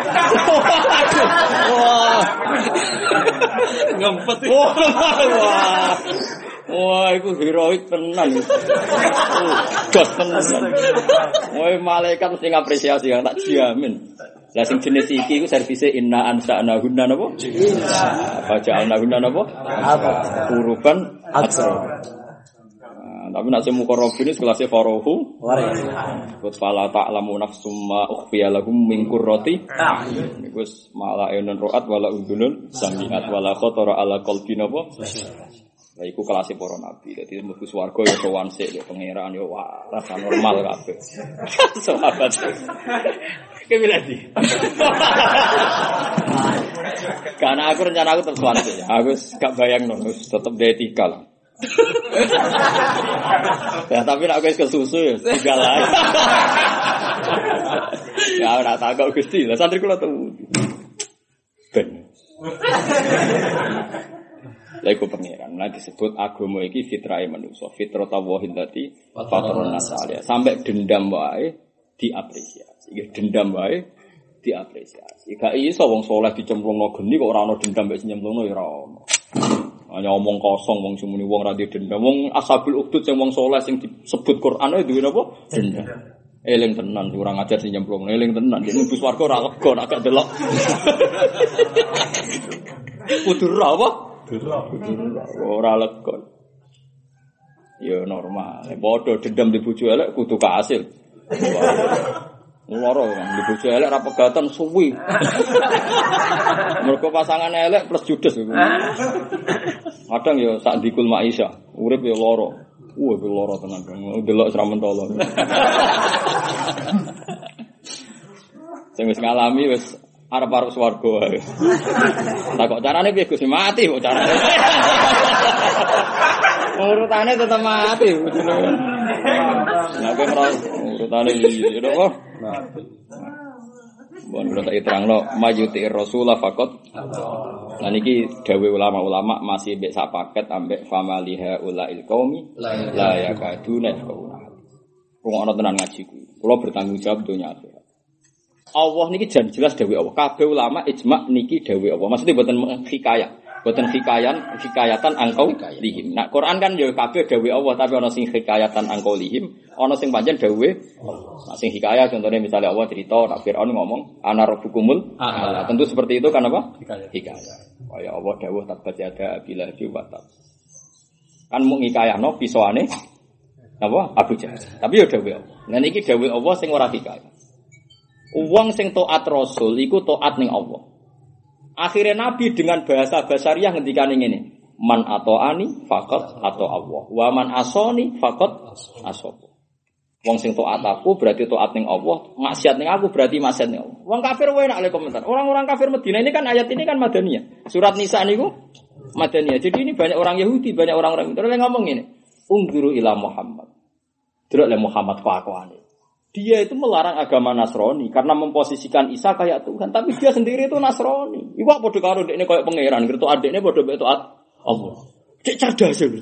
Wah. Ngempet. Wah. Wah, itu heroik tenan. Gas tenan. Wah, malaikat mesti ngapresiasi yang tak jamin. Lah sing jenis iki iku servise inna ansa'nahunna napa? Baca'alnahunna napa? Uruban atsra. Tapi nek semu korobine kelasé farohu wa fala ta'lamu nafsum ma ukhfiya lahum min qurrati niku wis mala enon roat wala udunun samiat wala khatara ala qalbi napa. Lah iku kelas para nabi. Dadi mlebu swarga ya sowan sik ya pangeran ya wah rasa normal kabeh. Sahabat. Kebilati. Karena aku rencana aku terus sowan sik. Aku gak bayangno tetep etika lah. Ya tapi nek wis kesusu ya tinggal ae. Ya ora takok Gusti. Lah santri kula temu. Ben. Lha iku pangeran. Nah disebut agama iki fitrahe manusa, fitratallahi allati fatarana nas-alaiha. Sampai dendam wae diapresiasi. Iki dendam wae diapresiasi. Gak iso wong saleh dicemplungno geni kok ora ono dendam mek nyemplungno ya ora ono. Hanya omong kosong wong sumuni wong ra dendam. Wong ashabul ukhdud sing wong saleh sing disebut Quran duwe napa? Dendam. Eling tenan kurang ajar sing nyemplungno. Eling tenan dene bus warga ora lega nek gak delok. Kudu ra apa? Ora lega. Ya normal. Padha dendam di bojo elek kudu kasil. Loro kan di bojo elek ra pegatan suwi. Mergo pasangan elek plus judes. Kadang ya sak dikul maisha, urip ya loro. Wah, uh, loro tenan. Delok sra mentolo. Sing wis ngalami wis arep-arep swarga wae. Lah kok carane piye Gus mati kok carane. Urutane tetep mati. Lah kowe ora urutane iki lho kok. Bon kula tak terangno majuti Rasulullah faqat. Lah niki dawuh ulama-ulama masih mbek sak paket ambek famaliha ulail qaumi la yakaduna yafqahuna. Rungokno tenan ngaji kuwi. Kula bertanggung jawab donya akhirat. Allah niki jan jelas dawuh Allah. Kabeh ulama ijma niki dawuh Allah. Maksudnya mboten hikayat. Boten hikayan, hikayatan angkau lihim. Nah, Quran kan ya kabeh dawuh Allah, tapi ana sing hikayatan angkau lihim, ana sing pancen dawuh Allah. Nah, sing hikayah contohnya misalnya Allah cerita nak Firaun ngomong ana rabbukumul a'la. Tentu seperti itu kan apa? Hikayah. Hikayah. Kaya Allah dawuh tabat yada bila diwatab. Kan mung hikayahno pisoane apa? Abu Jahal. Tapi ya dawuh Allah. Nah niki dawuh Allah sing ora hikayah. Wong sing taat Rasul iku taat ning Allah. Akhirnya Nabi dengan bahasa basariah ngendikane ngene, man atoani faqat atau Allah, wa man asoni faqat asab. Wong sing taat aku berarti taat ning Allah, maksiat ning aku berarti maksiat ning Allah. Wong kafir wae nak le komentar. Orang-orang kafir Madinah ini kan ayat ini kan Madaniyah. Surat Nisa niku Madaniyah. Jadi ini banyak orang Yahudi, banyak orang-orang itu yang ngomong ngene, ungzuru ila Muhammad. Delok le Muhammad kelakuane. Dia itu melarang agama Nasrani karena memposisikan Isa kayak Tuhan, tapi dia sendiri itu Nasrani. Iku kok padha karo dekne koyo pangeran, ngerti adekne padha mek taat Allah. Cek cerdas ya.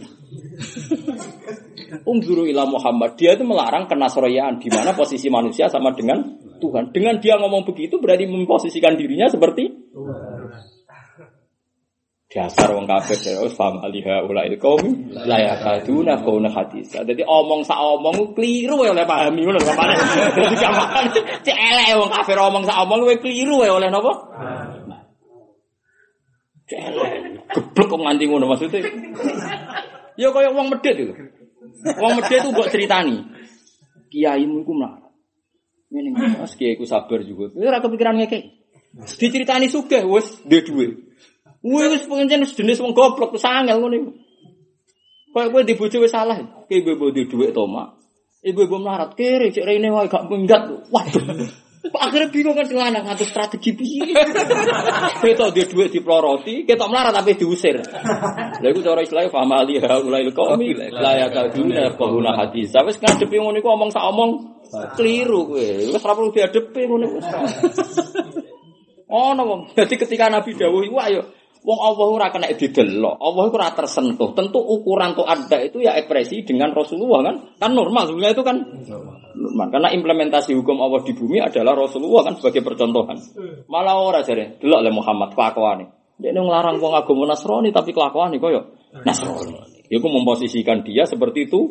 Ungzuru ila Muhammad, dia itu melarang kenasranian di mana posisi manusia sama dengan Tuhan. Dengan dia ngomong begitu berarti memposisikan dirinya seperti Tuhan. Dasar wong kafir terus famaliha ulail qaumi la yakaduna qauna hadis. Dadi omong sak omong kliru oleh pahami ngono sampeyan. Dadi gampang cek elek wong kafir omong sak omong kowe kliru oleh napa? Cek elek geblek kok nganti ngono maksudnya. Ya kaya wong medhit itu. Wong medhit itu mbok critani. Kiaimu iku mlarat. Ngene Mas kiai ku sabar juga. Ora kepikiran ngekek. Diceritani sugih wis duwe dhuwit. Wis pancen jenis wong goblok wis angel ngono iku. Kayak kowe dibojo wis salah. Ki ibu-ibu di dhuwit to, Mak. Ibu-ibu melarat kere cek rene wae gak minggat. Waduh. Akhirnya bingung kan sing lanang ngatur strategi piye. Ketok di dhuwit diploroti, ketok melarat tapi diusir. Lha iku cara Islam famali haulail qaumi la yakaduna qawna hadis. Wis ngadepi ngono iku omong sak omong keliru kowe. Wis ora perlu diadepi ngono iku. Ono wong. Dadi ketika Nabi dawuh iku ayo wong Allah ora kena didelok, Allah iku ora tersentuh. Tentu ukuran to ada itu ya ekspresi dengan Rasulullah kan? Kan normal sebenarnya itu kan normal. Karena implementasi hukum Allah di bumi adalah Rasulullah kan sebagai percontohan. Malah ora jare, delok le Muhammad kelakuane. Dekne nglarang wong agama Nasrani tapi kelakuane koyo Nasrani. Iku memposisikan dia seperti itu.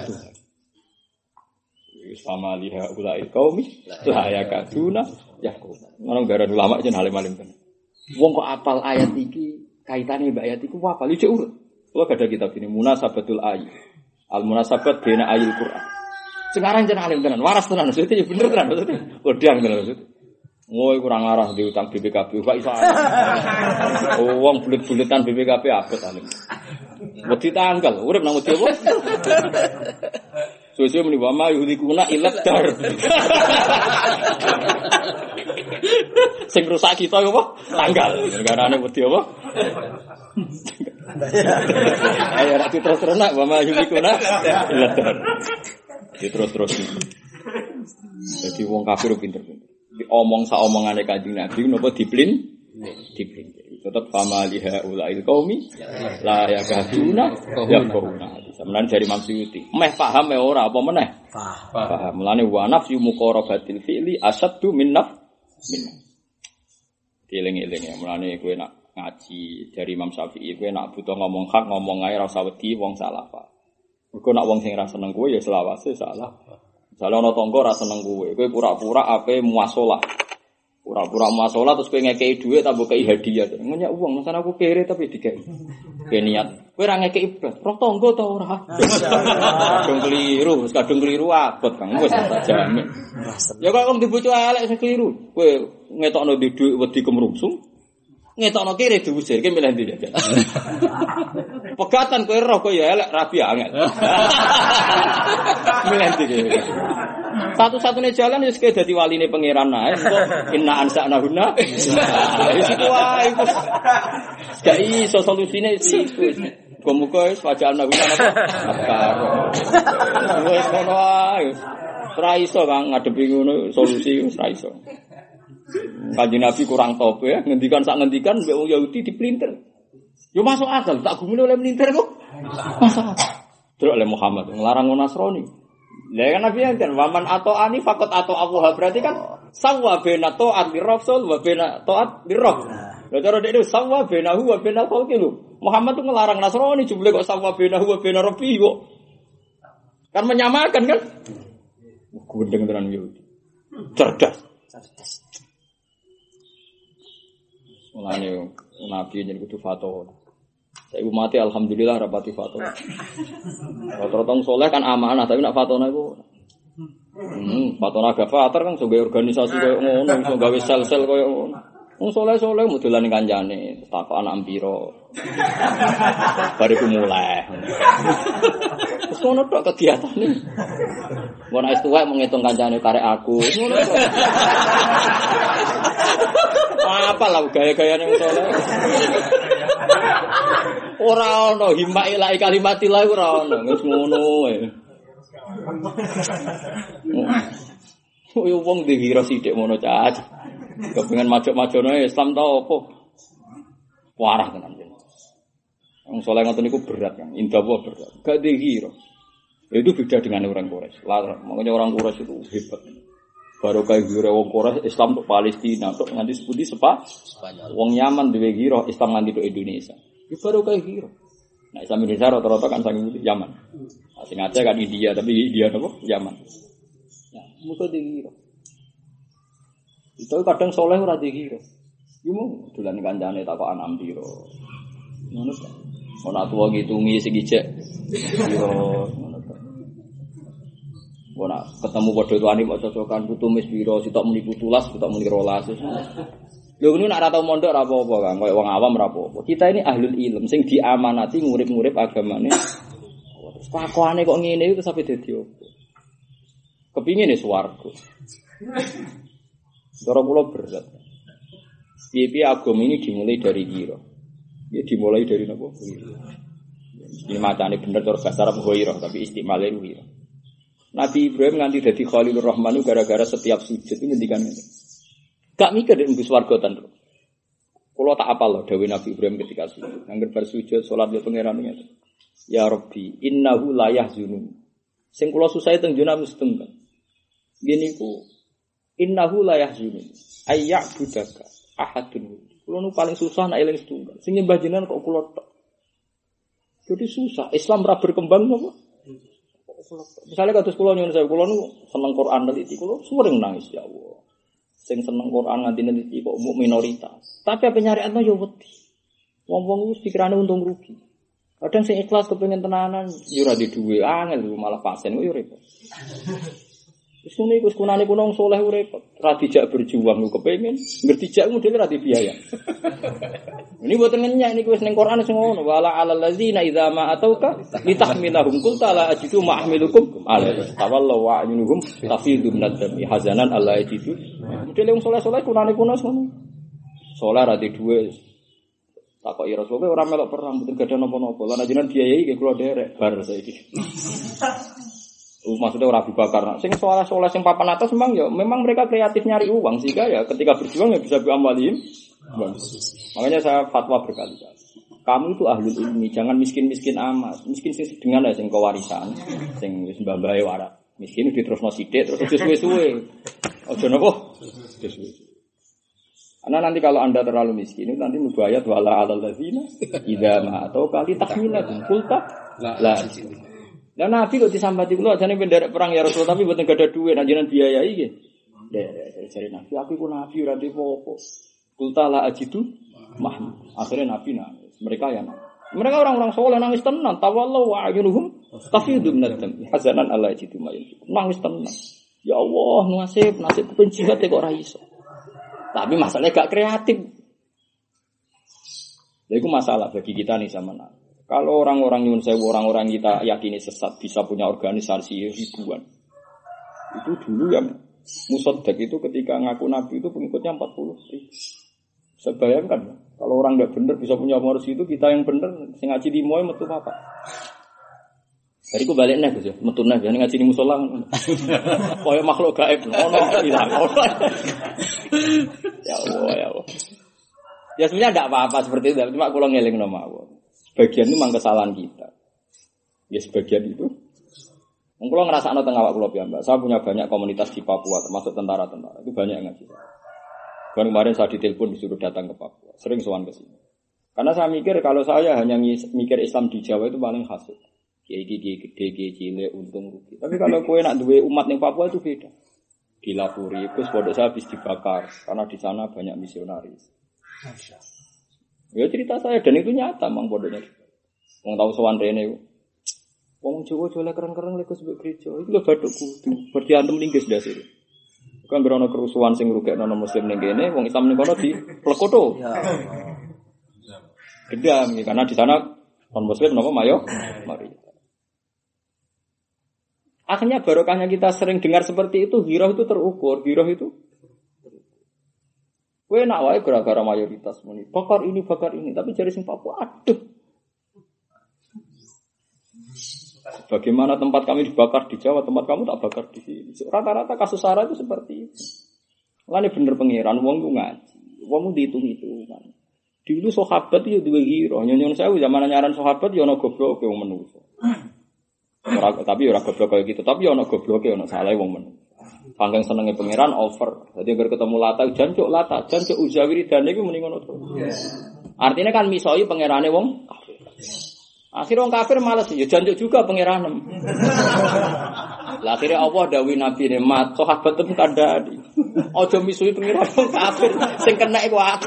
Sama liha ulai qaumi la yakaduna yaquna. Ngono gara ulama jen alim-alim kan. Wong kok apal ayat iki kaitane mbak ayat iku apa lu cek urut. Kula gak ada kitab ini Munasabatul Ayat. Al Munasabat baina ayil Quran. Sekarang jeneng alim tenan, waras tenan maksudnya ya bener tenan maksudnya. Wedang tenan maksudnya. Ngoy kurang arah diutang B P K B, Pak iso. Oh wong bulet-buletan B P K B abot alim. Wedi tanggal, urip nang wedi apa? Suwe-suwe muni wa ma yuhlikuna ilad dar. Sing rusak kita apa? Tanggal. Garane wedi apa? Ayo ra terus-terus nak wa ma yuhlikuna ilad dar. Terus-terus. Jadi wong kafir pinter-pinter. Diomong sak omongane Kanjeng Nabi napa diplin? Diplin. Tetap famaliha ulail qaumi la yakaduna yaquna. Sebenarnya dari Imam Suyuti. Meh paham meh ora apa meneh? Paham. Mulane wa nafsu muqarabatil fi'li asaddu min naf min. Dieling-eling ya. Mulane kowe nak ngaji dari Imam Syafi'i kowe nak butuh ngomong hak ngomong ae ora usah wedi wong salah Pak. Mergo nak wong sing ora seneng kowe ya selawase salah. Misale ana tangga ora seneng kowe, kowe pura-pura ape muasalah. Pura-pura muasalah terus kowe ngekeki dhuwit ta mbok kei hadiah. Ngenyak uang, masane aku kere tapi dikeki. Kowe niat, kowe ora ngekeki iblis, roh tangga ta ora? Kadung keliru, wis kadung keliru abot Kang, wis tak jamin. Ya kok wong dibojo elek sing keliru. Kowe ngetokno di dhuwit wedi kemrungsung. Ngetokno kere diusir, ki milih ndi ya. Pegatan kowe roh kowe ya elek rabi angel. Milih ndi. Satu-satunya jalan ya sekali dadi waline pangeran ae. Inna ansa'nahunna. Wis iku wae. Gak iso solusine iku. Muga-muga wis wajalna guna apa? Karo. Wis ngono ae. Ora iso Kang ngadepi ngono solusi wis ora iso. Kanjeng Nabi kurang tope ya, ngendikan sak ngendikan mbek wong Yahudi dipelintir. Yo masuk akal, tak gumune oleh melintir kok. Masuk akal. Terus oleh Muhammad nglarang Nasrani. Lah kan Nabi kan waman atau ani fakot atau Allah berarti kan sawa bena taat li rasul wa bena taat li rabb. Lah cara dek itu sawa benahu wa bena khalqi lu. Muhammad tuh ngelarang Nasrani jebule kok sawa benahu wa bena rabbi kok. Kan menyamakan kan? Gendeng tenan Yahudi. Cerdas. Cerdas. Mulane Nabi yen kudu fatwa. Saya mati alhamdulillah rapati fatwa. Rata-rata soleh kan amanah tapi nak fatwa iku. Hmm, fatwa gafatar kan sebagai organisasi koyo ngono, iso gawe sel-sel koyo ngono. Wong soleh-soleh modelane kancane, takok anak piro. Bariku mulai. Wis ngono tok kegiatane. Mun wis tuwek menghitung kancane karek aku. Ngono tok. Apa lah gaya-gayane wong soleh. Ora ono himma ila kalimatillah ora ono wis ngono wae. Yo wong dikira sithik ngono cac. Kepengen majok-majokno Islam ta opo? Warah tenan. Wong saleh ngoten niku berat kan, indah berat. Gak dikira. Itu beda dengan orang Quraisy. Lah makanya orang Quraisy itu hebat. Baru kayak gira wong Quraisy Islam untuk Palestina, untuk nganti sepundi sepa Spanyol. Wong Yaman duwe gira Islam nganti untuk Indonesia. Itu baru kayak gira. Nah Islam Indonesia rata-rata kan saking Yaman. Nah, sing Aceh kan India, tapi India napa? Yaman. Ya, muka dikira. Itu kadang soleh ora dikira. Yo mau dolan kancane takok anak piro. Ngono ta. Ana tuwa ngitungi sing ijek. Piro ngono ta. Ora ketemu padha tuane kok cocokan putu mis piro, sitok muni putulas, sitok muni rolas. Lho ngene nek ora tau mondok ora apa-apa Kang, koyo wong awam ora apa-apa. Kita ini ahlul ilm sing diamanati ngurip-ngurip agamane. Terus pakane kok ngene iki terus sampe dadi opo? Kepingin swarga. Cara kula berat. Piye-piye agama ini dimulai dari gira. Ya dimulai dari napa? Gira. Ini macane bener cara bahasa Arab ghirah, tapi istimale gira. Nabi Ibrahim nganti dadi Khalilur Rahman gara-gara setiap sujud itu ngendikan ngene. Gak mikir nek mbus warga ten. Kula tak apal lho dawuh Nabi Ibrahim ketika sujud. Angger bar sujud salat yo pangeran ngene. Ya Rabbi, innahu la yahzunun. Sing kula susahe teng jona musteng. Ngene iku innahu la yahzunun. Ayya'budaka ahadun. Kula nu paling susah nek eling setunggal. Sing nyembah jenengan kok kula tok. Jadi susah. Islam ora berkembang apa? Misalnya kados kula nyuwun saya, kula nu seneng Quran neliti, kula sering nangis ya Allah. Sing seneng Quran nganti neliti kok minoritas. Tapi apa nyariatno yo wedi. Wong-wong wis pikirane untung rugi. Kadang sing ikhlas kepengin tenanan yo ora di duwe, angel malah pasen yo repot. Wis ngene iku kunane kuno wong saleh repot. Ora dijak berjuang ku kepengin, ngerti jak modele ora dibiaya. Ini buat ngenyak ini wis ning Quran sing ngono wala alal ladzina idza ma atauka litahmilahum qul ta'ala ajidu ma'amilukum alaihi tawallu wa ayunuhum tafidu minad-dami hazanan alla ajidu. Modele wong saleh-saleh kunane kuno ngono. Saleh ra di duwe. Takoki Rasulullah ora melok perang mboten gadah napa-napa. Lan ajenengan biayai nggih kula derek bar saiki. Uh, maksudnya orang Abu Bakar. Sing soleh-soleh sing papan atas memang ya memang mereka kreatif nyari uang sehingga ya ketika berjuang ya bisa biamwalim. Makanya saya fatwa berkali-kali. Kamu itu ahlul ilmi, jangan miskin-miskin amat. Miskin sing sedengan ya sing kewarisan, sing wis mbah-mbahe warak. Miskin diterusno sithik terus aja suwe-suwe. Aja napa? Suwe-suwe. Karena nanti kalau Anda terlalu miskin itu nanti mubayat wala alal ladzina idza ma atau kali tahmilatun qulta la. Lah Nabi kok disambati kula ajane penderek perang ya Rasul tapi mboten gadah dhuwit anjenan biayai nggih. Derek jare Nabi aku iku nabi ora ndek apa-apa. Kulta la ajidu mahmud. Akhirnya Nabi nangis. Mereka ya nangis. Mereka orang-orang soleh nangis tenan. Tawallahu wa ayunuhum tafidu minad-dam. Hazanan alla ajidu ma yunfiqun. Nangis tenan. Ya Allah, nasib nasib penjilat kok ora iso. Tapi masalahnya gak kreatif. Lha iku masalah bagi kita nih sama Nabi. Kalau orang-orang nyun sewu orang-orang kita yakini sesat bisa punya organisasi ribuan. Itu dulu yang Musaddaq itu ketika ngaku nabi itu pengikutnya empat puluh ribu. Saya bayangkan, kalau orang nggak benar bisa punya umur itu, kita yang benar, sing ngaji di moy metu apa? Dari ku balik nih Gus ya, metu nih, jangan ngaji di musola. Kaya makhluk gaib, ono hilang. Ya Allah, ya Allah. Ya sebenarnya tidak apa-apa seperti itu, cuma kalau ngeling nama Allah. Sebagian itu memang kesalahan kita. Ya sebagian itu. Kalau ngerasa no tengah awak kulo piyambak, saya punya banyak komunitas di Papua, termasuk tentara-tentara. Itu banyak yang ngaji. Kan kemarin saya ditelepon disuruh datang ke Papua, sering sowan ke sini. Karena saya mikir kalau saya hanya mikir Islam di Jawa itu paling hasil. Kiai kiai gede kiai cilik untung rugi. Tapi kalau kowe nak duwe umat ning Papua itu beda. Dilapuri terus pondok saya habis dibakar karena di sana banyak misionaris. Ya cerita saya dan itu nyata mang pondoknya. Wong tahu sowan rene. Wong Jawa jole keren-keren lek sebab gereja. Itu lho bathuk kudu. Berarti antem linggis dasir. Kan berono kerusuhan sing ngrugekno muslim ning kene, wong Islam ning kono di plekoto. Ya. Gedam karena di sana non muslim napa mayo? Mari. Akhirnya barokahnya kita sering dengar seperti itu, hirah itu terukur, hirah itu. Kowe nak wae gara-gara mayoritas muni. Bakar ini, bakar ini, tapi jare sing Papua aduh. Bagaimana tempat kami dibakar di Jawa, tempat kamu tak bakar di sini. Rata-rata kasus sara itu seperti itu. Lane bener pengiran, wong ku ngaji, wong dihitung-hitungan. Dulu sahabat itu duwe hiro, nyon-nyon sewu zaman nyaran sahabat ya ana gobloke wong menungso. Ora tapi ora goblok kaya gitu, tapi ana gobloke ana salah wong menungso. Panggang senenge pengiran over. Dadi agar ketemu lata jancuk lata, jancuk uzawiridane iku muni ngono to. Artinya kan misoi pengirane wong kafir. Akhirnya orang kafir malas ya janjuk juga pengiranem. Lah akhirnya Allah dawuhi Nabi ne mat sahabat tem kandhani. Aja misuhi pengiran wong kafir sing kena iku aku.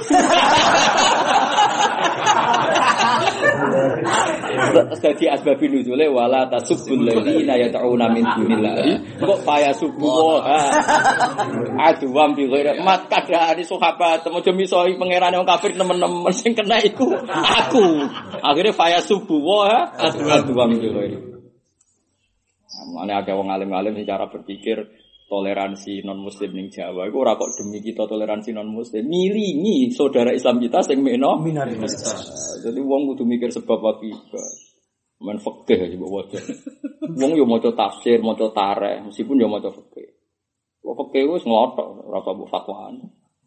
Dadi asbabun nuzule wala tasubbul ladina yad'una min dunillahi kok faya subuh aduwam bi ghairi mat kadhane sahabat aja misuhi pengiran wong kafir temen-temen sing kena iku aku. Akhirnya faya subuh aduwam bi ghairi. Mane akeh wong alim-alim secara berpikir toleransi non muslim ning Jawa iku ora kok demi kita toleransi non muslim milingi saudara Islam kita sing meno minoritas. Jadi wong kudu mikir sebab akibat. Men fikih aja mbok waca. Wong yo maca tafsir, maca tareh, meskipun yo maca fikih. Kok fikih wis nglothok ora usah mbok fatwaan.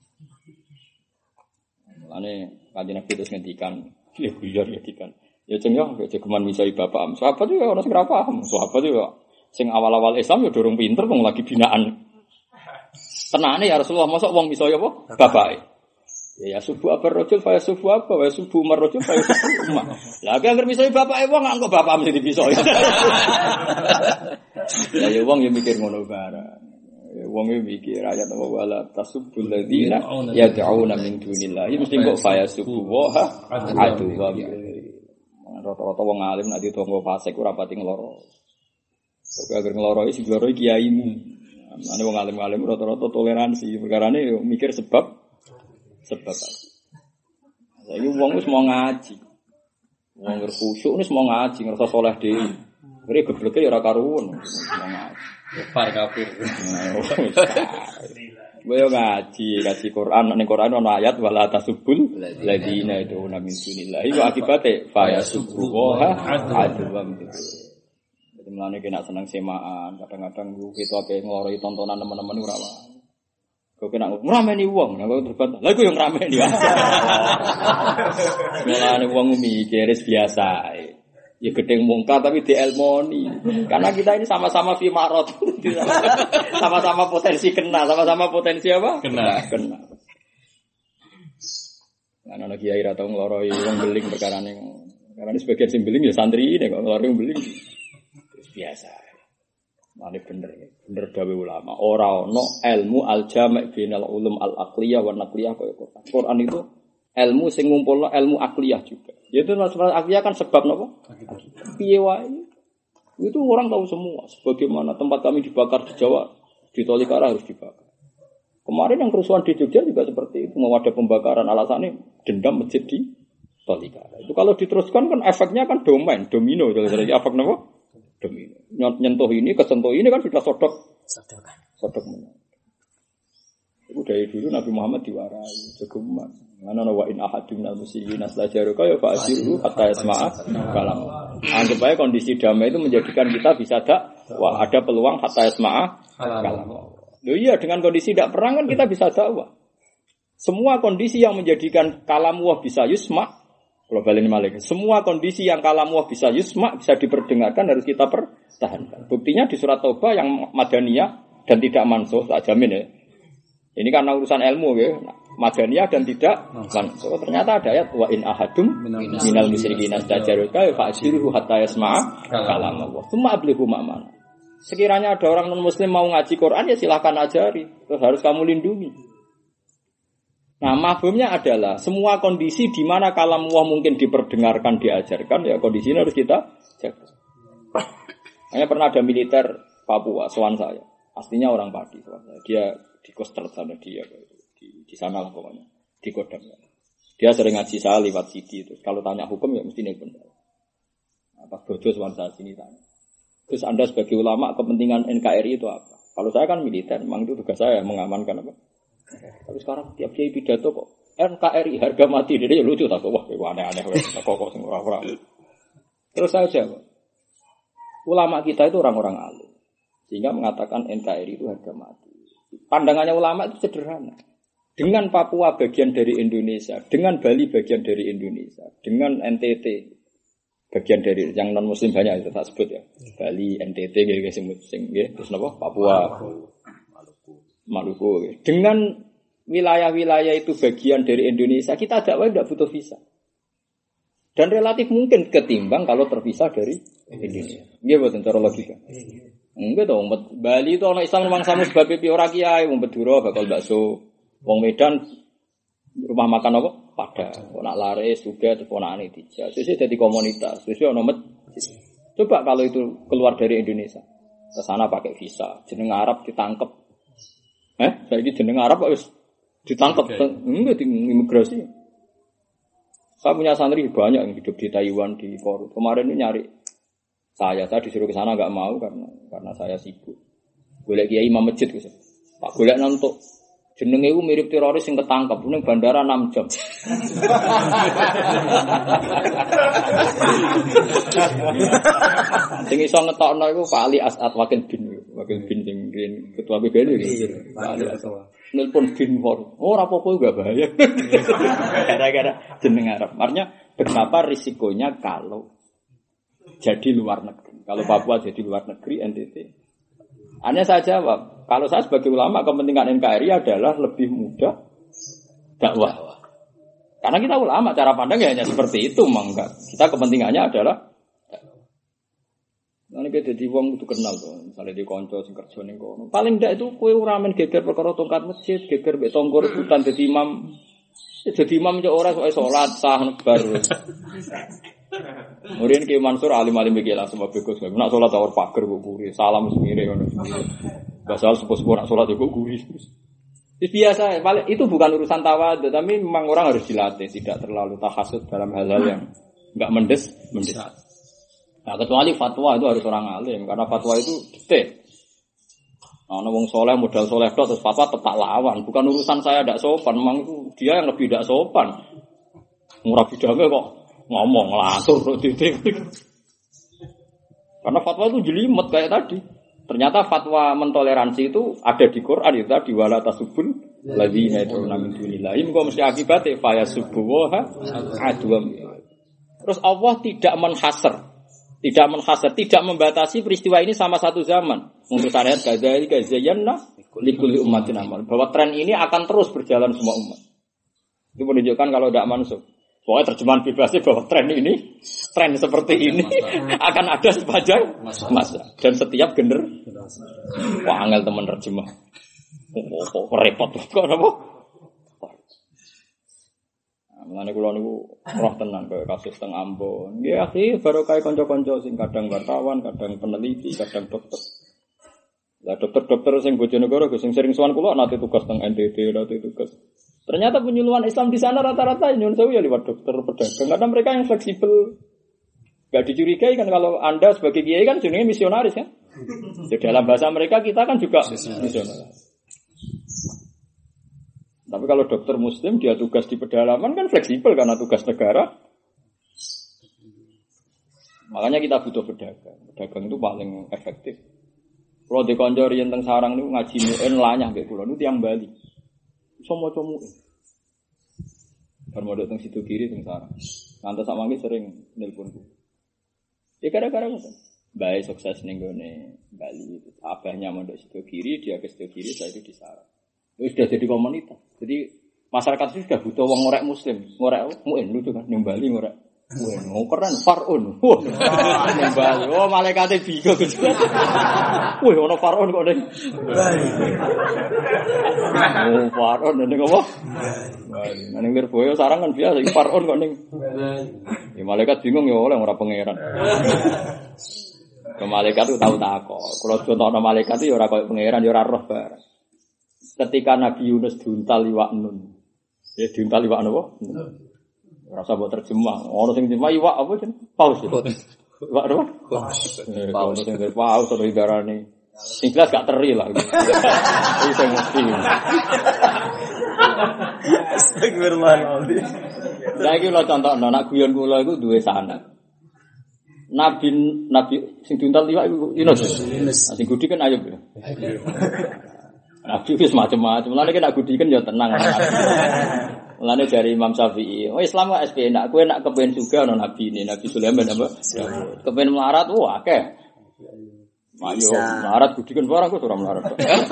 Mane kanjeng Nabi terus ngendikan, ya biar ngendikan. Ya jeng yo jegeman misai bapak am. Sahabat yo ora sing ora paham, sahabat yo sing awal-awal Islam yo durung pinter wong lagi binaan. Tenane ya Rasulullah, mosok wong misai apa? Bapake. Ya subuh apa rojul, faya subuh apa, faya subuh marojul, faya subuh umah. Lah agar misai bapak wong anggo bapak mesti dipisoi. Ya ya wong yo mikir ngono barang. Wong yo mikir ayat apa wala tasubbul ladina yad'una min dunillahi mesti kok faya subuh wa adu wa. Rata-rata wong alim nek ditonggo fasik ora pati ngloro. Kok agar ngloro iki ngloro kiaimu. Ane wong alim-alim rata-rata toleransi, perkarane yo mikir sebab sebab. Saiki wong wis mau ngaji. Wong khusyuk wis mau ngaji, ngerasa saleh dhewe. Ngene gebleke ya ora karuwen. Mau ngaji. Kafir kafir. Boyo ngaji, ngaji Quran, ning Quran ana ayat wala tasubbul ladina itu min dunillah. Iku akibate fa yasubbuha adwam gitu. Jadi mlane kena seneng semaan, kadang-kadang kita ape ngloroi tontonan teman-teman ora wae. Kok kena ngrameni wong, nek terbat. Lah iku yo ngrameni. Mulane wong mikir biasa. Ya gedeng mungkar tapi dielmoni. Karena kita ini sama-sama fi marot. Sama-sama potensi kena, sama-sama potensi apa? Kena. Kena. Ana ana kiai ra tau ngloroi wong beling perkarane. Karena sebagian sing beling ya santri nek ngloroi wong beling. Biasa. Mane bener, bener dawe ulama. Ora ono ilmu al-jami' bainal ulum al-aqliyah wa naqliyah kaya Quran. Quran itu ilmu sing ngumpulno ilmu akliyah juga. Yaitu masalah akliyah kan sebab napa? Piye wae. Itu orang tahu semua. Sebagaimana tempat kami dibakar di Jawa, di Tolikara harus dibakar. Kemarin yang kerusuhan di Jogja juga seperti itu. Mau ada pembakaran alasannya dendam masjid di Tolikara. Itu kalau diteruskan kan efeknya kan domain, domino. Jadi efek napa? Domino. Nyentuh ini, kesentuh ini kan sudah sodok Sodok menang. Itu dari dulu Nabi Muhammad diwarai, jogeman. Mana wa in ahadun minal musyrikin aslajaruka ya fa'asiru hatta yasma'a kalam. Anggap aja kondisi damai itu menjadikan kita bisa dakwah, ada peluang hatta yasma'a kalam. Loh iya, dengan kondisi tidak perang kan kita bisa dakwah. Semua kondisi yang menjadikan kalam wah bisa yusma, kalau balik malik. Semua kondisi yang kalam wah bisa yusma, bisa diperdengarkan harus kita pertahankan. Buktinya di surat Taubah yang madaniyah dan tidak mansuh, tak jamin ya. Ini karena urusan ilmu ya, madaniyah dan tidak mansuh. Ternyata ada ayat wa in ahadum minal musyrikin astajaruka fa'ashiruhu hatta yasma'a kalam Allah. Tsumma ablighu ma'amana. Sekiranya ada orang non muslim mau ngaji Quran ya silakan ajari, terus harus kamu lindungi. Nah, mafhumnya adalah semua kondisi di mana kalam Allah mungkin diperdengarkan, diajarkan, ya kondisi ini harus kita jaga. Hanya pernah ada militer Papua, sowan saya. Aslinya orang Padi, sowan saya. Dia di Koster sana dia di di sana lah pokoknya, di Kodam. Dia sering ngaji saya lewat C D terus kalau tanya hukum ya mesti nelpon. Apa bodoh sowan saya sini tanya. Terus Anda sebagai ulama kepentingan N K R I itu apa? Kalau saya kan militer, memang itu tugas saya mengamankan apa? Tapi sekarang tiap kiai pidato kok N K R I harga mati, dia lucu tak kok wah aneh-aneh kok kok sing ora-ora. Terus saya jawab, ulama kita itu orang-orang alim sehingga mengatakan N K R I itu harga mati. Pandangannya ulama itu sederhana. Dengan Papua bagian dari Indonesia, dengan Bali bagian dari Indonesia, dengan N T T bagian dari yang non muslim banyak itu tak sebut ya. Bali, N T T gitu sing sing nggih, terus napa? Papua, Maluku. Dengan wilayah-wilayah itu bagian dari Indonesia, kita dakwah tidak butuh visa. Dan relatif mungkin ketimbang kalau terpisah dari Indonesia. Nggih boten cara logika. Enggak dong, Bali itu orang Islam memang sama sebab pipi ora kiai, wong Beduro bakal bakso. Wong Medan rumah makan apa? Padang. Kok nak laris juga ponakane dijak. Sesuk dadi komunitas, sesuk ono masjid. Coba kalau itu keluar dari Indonesia. Ke sana pakai visa, jeneng Arab ditangkep. Eh, saiki jeneng Arab kok wis ditangkep enggak di imigrasi. Saya punya santri banyak yang hidup di Taiwan, di Korea. Kemarin ini nyari saya, saya disuruh ke sana enggak mau karena karena saya sibuk. Golek kiai imam masjid gitu. Pak golek nonton jenenge iku mirip teroris sing ketangkep ning bandara enam jam. Sing iso ngetokno iku Pak Ali As'ad Wakil bin, Wakil bin sing ketua P B N iki. Pak Ali As'ad. Nelpon bin for. Oh, ora apa-apa enggak bahaya. Gara-gara jeneng Arab. Artinya betapa risikonya kalau jadi luar negeri. Kalau Papua jadi luar negeri, N T T. Hanya saya jawab, kalau saya sebagai ulama kepentingan N K R I adalah lebih mudah dakwah. Karena kita ulama, cara pandang ya hanya seperti itu, enggak. Kita kepentingannya adalah nanti kita jadi wong itu kenal tuh, misalnya di konco sing kerja ning kono. Paling ndak itu kowe ora men geger perkara tongkat masjid, geger mbek tangga rebutan dadi imam. Jadi imam yo ora sok salat sah bar. Murid Ki Mansur alim-alim iki langsung bagus. Nek salat awur pager kok guri, salam semire ngono. Basal sepuh-sepuh nak salat kok guri. Itu biasa, itu bukan urusan tawadhu, tapi memang orang harus dilatih tidak terlalu tahasud dalam hal-hal yang enggak mendes, mendes. Nah, kecuali fatwa itu harus orang alim karena fatwa itu detail. Nah, wong soleh modal soleh terus fatwa tetap lawan, bukan urusan saya tidak sopan, memang itu dia yang lebih tidak sopan. Murah bidangnya kok ngomong langsung titik. Karena fatwa itu jelimet kayak tadi. Ternyata fatwa mentoleransi itu ada di Quran itu tadi wala tasubul ladzina yad'una min dunillahi mengko mesti akibatnya fa yasubbuha adwam. Terus Allah tidak menhasar, tidak menhasar, tidak membatasi peristiwa ini sama satu zaman. Untuk syariat kadzalika zayyana likulli ummatin amal. Bahwa tren ini akan terus berjalan semua umat. Itu menunjukkan kalau tidak mansuk. Pokoknya terjemahan bebasnya bahwa tren ini, tren seperti ini akan ada sepanjang masa. Dan setiap gener, wah angel teman terjemah. Oh, oh, oh repot kok apa? Mengenai kulo niku roh tenan kaya kasus teng Ambon. Nggih akhi baru kaya kanca-kanca sing kadang wartawan, kadang peneliti, kadang dokter. Lah dokter-dokter sing Bojonegoro sing sering sowan kula nate tugas teng N T T, nate tugas. Ternyata penyuluhan Islam di sana rata-rata nyuwun sewu ya lewat dokter pedagang. Karena mereka yang fleksibel. Enggak dicurigai kan kalau Anda sebagai kiai kan jenenge misionaris kan. Di dalam bahasa mereka kita kan juga misionaris. Tapi kalau dokter muslim dia tugas di pedalaman kan fleksibel karena tugas negara. Makanya kita butuh pedagang. Pedagang itu paling efektif. Kalau di konco riyen teng sarang niku ngaji muin lanyah nggih kula niku tiyang Bali. Iso maca muin. Bar modok teng situ kiri teng sarang. Ngantos sak mangke sering nelponku. Ya gara-gara ngoten. Bae sukses ning gone Bali. Abahnya mondok situ kiri, dia ke situ kiri, saya itu di sarang. Itu sudah jadi komunitas. Jadi masyarakat itu sudah butuh wong ngorek muslim. Ngorek muin lucu kan ning Bali ngorek. Wah, oh, keren Farun. Wah, nembal. Oh, malaikate bingung gitu. Wah, ono Farun kok ning. Oh, Farun ning apa? Wah, ning Lirboyo sarang kan biasa iki Farun kok ning. Ya malaikat bingung ya oleh ora pangeran. Ke malaikat itu tahu takok. Kalau contohno malaikat itu ya ora koyo pangeran ya ora roh bareng. Ketika Nabi Yunus diuntal iwak nun. Ya diuntal iwak apa? Rasa buat terjemah. Orang sing terjemah iwak apa jen? Paus. Iwak apa? Paus. Paus sing paus atau idarane. Sing jelas gak teri lah. Iki sing mesti. Astagfirullahaladzim. Lah iki lho contohno nek guyon kula iku duwe sanad. Nabi Nabi sing diuntal iwak iku Yunus. Yunus. Sing gudi kan Ayub. Nabi wis macam-macam. Mulane nek gudi kan ya tenang. Mulane dari Imam Syafi'i, oh Islam kok S P nak kowe nak kepen juga ono nabi ini, Nabi Sulaiman apa? Kepen melarat, wah akeh. Ayo, melarat kudikan barang kok ora melarat.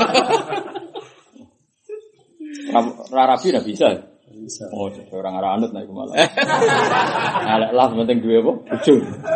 Ora rabi ora bisa. Bisa. Oh, orang arah anut naik malah. Alek lah penting duwe apa? Bojo.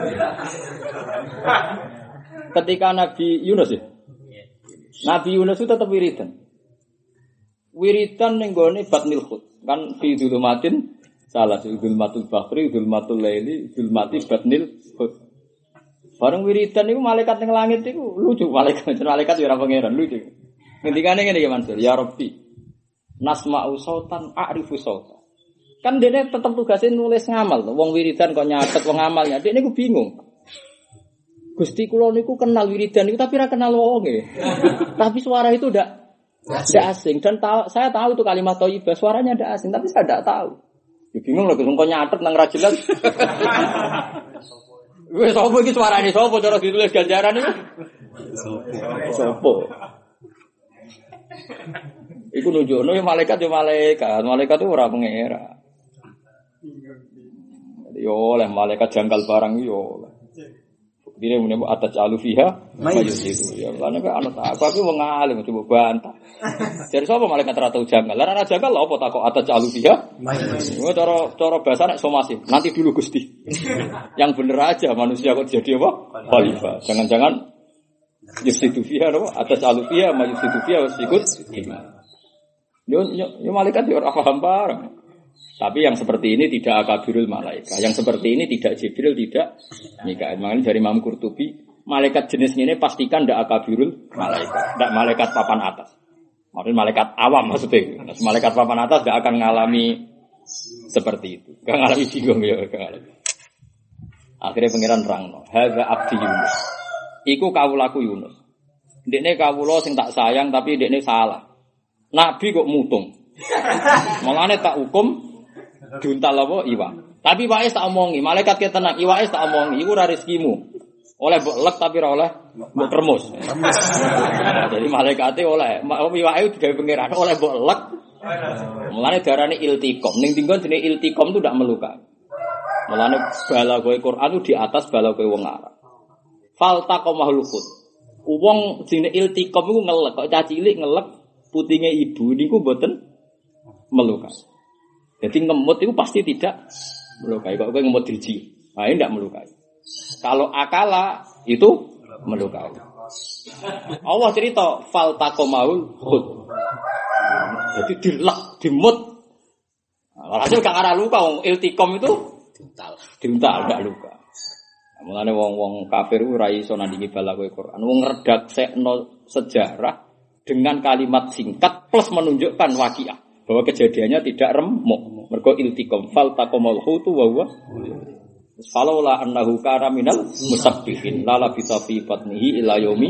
Ketika Nabi Yunus ya. Nabi Yunus itu tetap wiridan. Wiridan ning gone Batnil Khut. Kan fi dzulumatin salah dzulmatul bahri dzulmatul laili dzulmati batnil khut. Bareng wiridan niku malaikat ning langit niku lucu malaikat malaikat ya ora pangeran lucu. Ngendikane ngene iki Mansur, ya Rabbi. Nasma'u sautan a'rifu sautan. Kan dene tetep tugase nulis ngamal to. Wong wiridan kok nyatet wong amalnya. Dek niku bingung. Gusti kula niku kenal wiridan niku tapi ora kenal wonge. Tapi suara itu ndak tidak asing dan tahu, saya tahu itu kalimat thayyibah suaranya tidak asing tapi saya tidak tahu. Ya bingung lho kok nyatet nang ra jelas. Wis sapa iki suarane sapa cara ditulis ganjaran iki? Sapa? Iku nunjukno ya malaikat ya malaikat, malaikat itu ora pangeran. Yo oleh malaikat jangkal barang yo oleh. Dene mune atas alufiha mayus itu ya lan nek ana tak aku wong alim coba bantah. Jadi sapa malaikat ra tau janggal. Lah ora janggal lho apa tak kok atas alufiha mayus. Ngono cara cara bahasa nek somasi. Nanti dulu Gusti. Yang bener aja manusia kok jadi apa? Khalifah. Jangan-jangan yusidu fiha apa atas alufiha mayus itu fiha wasikut. Yo yo malaikat yo ora paham bareng. Tapi yang seperti ini tidak akabirul malaikat. Yang seperti ini tidak Jibril, tidak Mikail. Makanya dari Imam Qurtubi, malaikat jenis ini pastikan tidak akabirul malaikat. Tidak malaikat papan atas. Maksudnya malaikat awam maksudnya. Malaikat papan atas tidak akan mengalami seperti itu. Tidak mengalami bingung ya. Akhirnya pengiran rangno. Hadza abdi Yunus. Iku kawulaku Yunus. Dekne kawula sing tak sayang tapi dekne salah. Nabi kok mutung. Mulane tak hukum diuntal apa iwak. Tapi wae tak omongi, malaikat ke tenang, iwake tak omongi, iku ora rezekimu. Oleh mbok lek tapi ora oleh mbok remus. Jadi malaikate oleh, iwake digawe pangeran oleh mbok lek. Mulane darane iltiqom. Ning tinggon jenenge iltiqom itu ndak melukai. Mulane balagoe Quran itu di atas balagoe wong Arab. Faltaqamahul khut. Wong jenenge iltiqom iku ngelek, kok cah cilik ngelek putinge ibu niku mboten melukai. Jadi ngemut itu pasti tidak melukai. Kalau gue ngemut driji, nah ini tidak melukai. Kalau akala itu melukai. Allah cerita fal taqamaul khut. Jadi dilak, dimut. Walhasil gak arah luka. Iltikom itu diuntal, diuntal gak luka. Nah, mulane wong-wong kafir ora iso nandingi balagoe Quran. Wong ngredaksekno sejarah dengan kalimat singkat plus menunjukkan waqiah. Bahwa kejadiannya tidak remuk. Mergo iltiqam fal taqamal khutu wa huwa. Falaula annahu kana minal musabbihin la labisa fi batnihi ila yaumi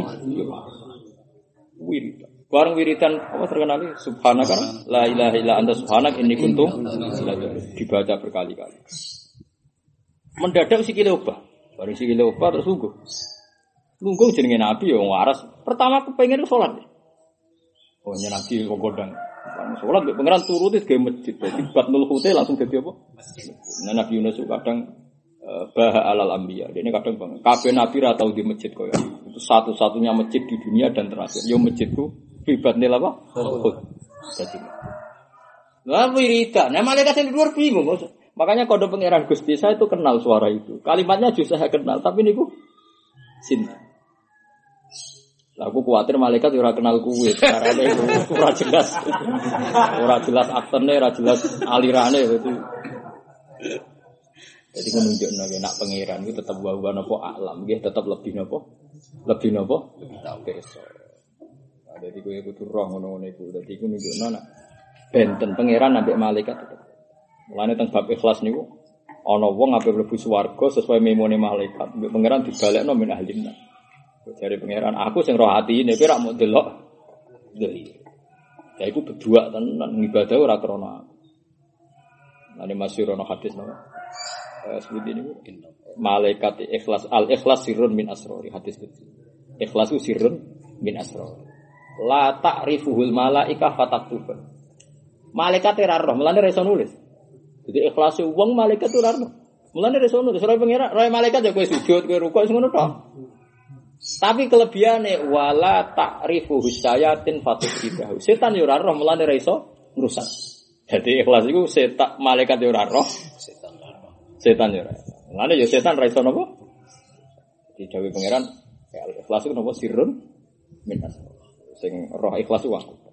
wirid. Bareng wiridan apa terkenal subhanaka la ilaha illa anta subhanak inni kuntu dibaca berkali-kali. Mendadak sikile obah. Bareng sikile obah terus lungguh. Lungguh jenenge Nabi ya waras. Pertama kepengin salat. Oh nyenaki kok godang. Salat mek pangeran turuti ge masjid. Dadi batnul khute langsung dadi apa? Nah, Nabi Yunus kadang bah alal anbiya. Dene kadang banget. Kabeh nabi ra tau di masjid koyo. Itu satu-satunya masjid di dunia dan terakhir. Yo masjidku fi batnil apa? Khut. Dadi. Lah wiridan. Nah malaikat sing di luar bingung. Makanya kode pangeran Gusti saya itu kenal suara itu. Kalimatnya juga saya kenal, tapi niku sinten. Lah aku kuwatir malaikat ora kenal kuwe, carane ora jelas. Ora jelas aktene, ora jelas alirane gitu. Jadi menunjukno nek pangeran itu tetap wa napa alam, nggih tetap lebih napa? Lebih napa? Pirsa. Nah, dadi kowe kudu roh ngono-ngono iku. Dadi iku nunjukno nek benten pangeran ambek malaikat tetep. Mulane teng bab ikhlas niku ana wong ape mlebu swarga sesuai memone malaikat. Mbek pangeran dibalekno min ahlinna. Jare pangeran, aku sing roh atine kowe ra mau delok. Lha ya iku berdua tenan ibadah ora krana. Ane masyhur ana hadis napa? Eh seperti ini malaikat ikhlas al ikhlas sirrun min asrori hadis itu. Ikhlas itu sirrun min asrori. La ta'rifuhul malaika fataktuba. Malaikat ora roh, mulane ra iso nulis. Jadi ikhlas wong malaikat ora roh. Mulane ra iso nulis, roh pangeran, roh malaikat ya kowe sujud, kowe rukuk sing ngono tok. Tapi kelebihane wala ta'rifu husyayatin fatusibahu. Setan yo ora roh mulane ra iso ngrusak. Dadi ikhlas iku setan malaikat yo ora roh, setan ora roh. Setan yo ora. Mulane yo setan ra iso napa? Di dawuh pangeran ya ikhlas iku napa sirrun minas. Sing roh ikhlas iku aku.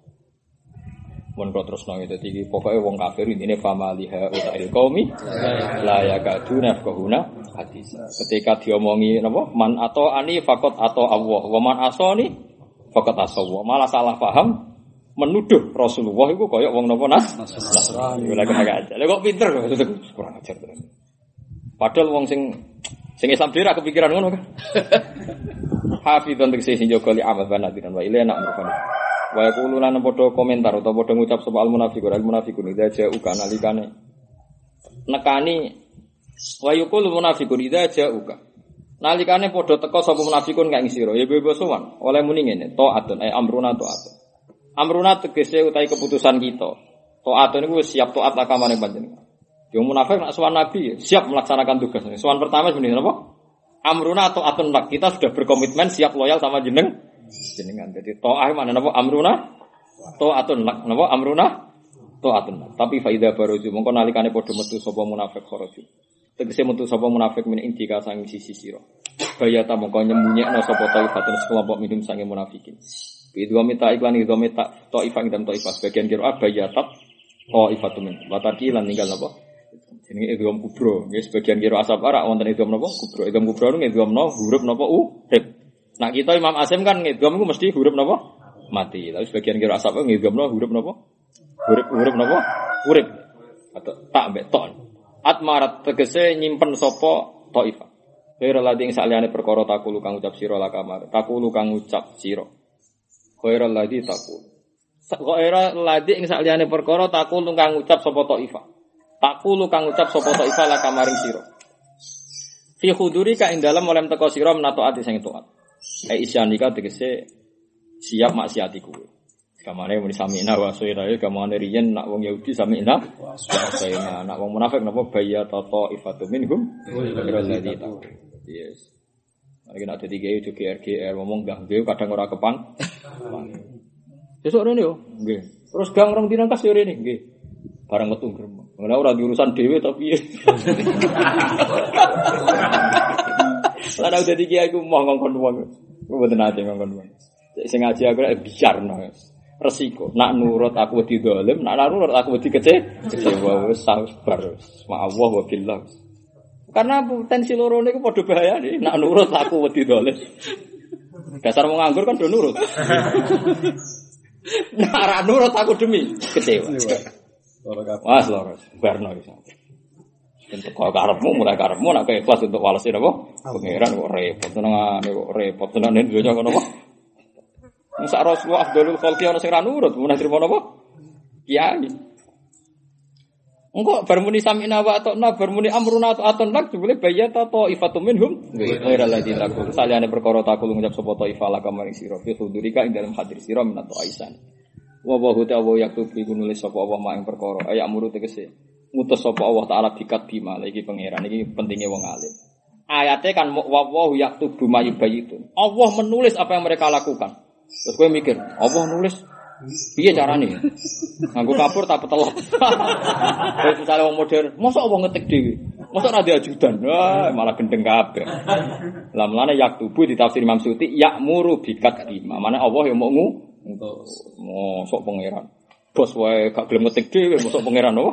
Mun kok terus nang dadi pokoke wong kafir intine famaliha utail qaumi la yakaduna faqahuna hadis. Ketika diomongi napa man atau ani faqat atau Allah wa man asani faqat asawa. Malah salah paham menuduh Rasulullah iku kaya wong napa nas Nasrani. Ora kaya aja. Lha kok pinter kok kurang ajar terus. Padahal wong sing sing Islam dhewe kepikiran ngono kan. Hafizun tegese sing jaga li amal banadiran wa ilana amrufan. Wa yaqulu lan padha komentar utawa padha ngucap sapa al munafiqun al munafiqun idza ja'uka nalikane nekani wa yaqulu munafiqun idza ja'uka nalikane padha teka sapa munafiqun kang sira ya bebo sowan oleh muni ngene taatun ay amruna taatun amruna tegese utahe keputusan kita taatun niku siap taat akamane panjenengan yo munafik nek sowan nabi siap melaksanakan tugas sowan pertama sebenarnya apa amruna taatun lak kita sudah berkomitmen siap loyal sama jeneng jenengan. Jadi ta'ah mana napa amruna ta'atun lak napa amruna ta'atun lak. Tapi faida baruju mongko nalikane padha metu sapa munafik kharaju. Tegese metu sapa munafik min indika sang sisi sira. Bayata mongko nyembunyiekno sapa taifatun sekelompok minum sange munafikin. Bidwa mita iklan idwa mita taifah dan taifah sebagian kira bayata taifatun min. Wataki lan ninggal napa? Jenenge idgham kubro. Nggih sebagian kira asap arak wonten idgham napa? Kubro. Idgham kubro niku idghamno huruf napa u rib. Nah kita Imam Asim kan ngidgham itu mesti huruf napa? Mati. Tapi sebagian kira asap ngidghamno huruf napa? Huruf huruf napa? Huruf. Atau tak mbek ton. Atmarat tegese nyimpen sapa taifah. Khairul ladzi ing saliyane perkara takulu kang ucap sira la kamar. Takulu kang ucap sira. Khairul ladzi takul. Khairul ladzi ing saliyane perkara takulu kang ucap sapa taifah. Takulu kang ucap sapa taifah la kamaring sira. Fi khuduri ka ing dalem oleh teka sira menato ati sing taat. Eh isyanika tegese siap maksiati kuwe. Kamane muni samina wa sayra ya kamane riyen nak wong Yahudi samina wa sayna nak wong munafik napa bayya tata ifatu minhum berladzi ta. Yes. Lagi nak dadi gawe G R G R ngomong gah gawe kadang ora kepan. Sesuk rene yo nggih. Terus gang rong dina kas yo rene nggih. Barang metu gremeng. Ora ora diurusan dhewe to piye. Lah udah dadi kiai ku mau ngongkon wong. Ku mboten ate ngongkon wong. Sing ngaji aku rek biarno. Resiko. Nak nurut aku wedi dolim, nak nurut aku wedi kece. Kecewa wis sabar. Ma'allah wa billah. Karena potensi loro niku padha bahayane. Nak nurut aku wedi dolim. Dasar wong nganggur kan do nurut. Nak ora nurut aku demi kecewa. Wah, loro. Barno iki. Untuk kau karepmu mulai karepmu nak ikhlas untuk walesin apa? Pangeran kok repot tenangane kok repot tenane dunya ngono apa? Musa Rasulullah Abdul Khalqi ana sing ra nurut, mun trimo napa? Kiai. Engko bar muni samina wa atona bar muni amruna atun lak jebule bayata ta'ifatum minhum ghairal ladzi takul. Saliyane perkara takul ngucap sapa ta'ifah laka maring sira fi hudurika ing dalem hadir sira minat aisan. Wa wa huta wa yaktubi nulis sapa Allah mak ing perkara ayak muru tegese. Ngutus sapa Allah taala dikat bima iki pangeran iki pentinge wong alim. Ayate kan wa wa yaktubu mayubayitun. Allah menulis apa yang mereka lakukan. Terus kowe mikir, Allah nulis piye carane? Nganggo kapur tak petelot. Terus misale wong modern, mosok Allah ngetik dhewe. Mosok ra diajudan. Wah, malah gendeng kabeh. Lah mulane yaktubu di tafsir Imam Suyuti ya'muru bikat bima. Mane Allah yang mau mosok pangeran. Bos wae gak gelem ngetik dhewe mosok pangeran apa?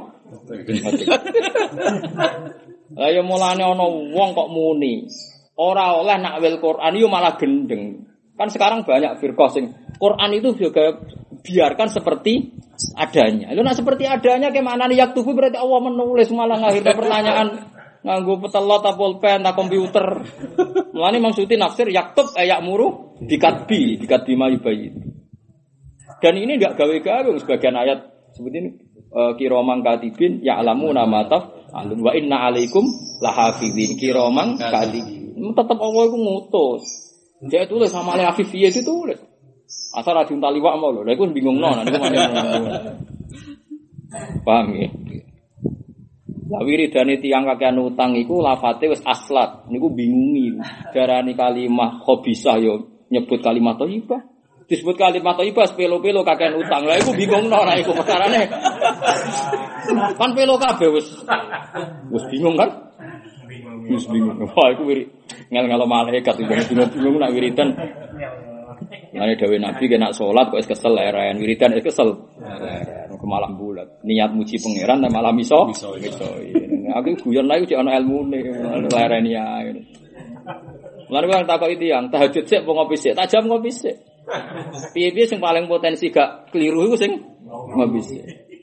Lah ya mulane ana wong kok muni ora oleh nak wil Quran yo malah gendeng. Kan sekarang banyak firqah sing Quran itu juga biarkan seperti adanya. Lu nak seperti adanya ke mana nih yaktubu berarti Allah menulis malah ngakhirnya pertanyaan nganggo petelot ta pulpen ta komputer. Mulane maksudnya nafsir yaktub ayak muru dikatbi dikatbi mayubayi. Dan ini enggak gawe-gawe sebagian ayat seperti ini uh, kiromang katibin ya'lamu nama taf alun wa inna alaikum lahafizin kiromang katibin. Tetap Allah itu ngutus. Dia tulis sama Ali Afifiyah itu tulis. Asal rajin taliwak mau lho. Lah iku bingung non, niku mana. Paham ya? Lah wiridane tiyang kakean utang iku lafate wis aslat. Niku bingungi. Darani kalimat khabisah yo nyebut kalimat thayyibah. Disebut kalimat thayyibah pelo-pelo kakean utang. Lah iku bingung non, iku perkarane. Kan pelo kabeh wis. Wis bingung kan? Wis bingung. Wah iku wirid ngel-ngelo malaikat bingung-bingung nak wiridan. Mane dawuh Nabi kena salat kok wis kesel leren, wiridan wis kesel. Ke malam bulat. Niat muji pangeran ta malam iso. Iso. Aku guyon lha iki ana ilmune, lereni ae. Lan kok takoki tiyang, tahajud sik apa ngopi sik? Tak jam ngopi sik. Piye-piye sing paling potensi gak keliru iku sing ngopi sik.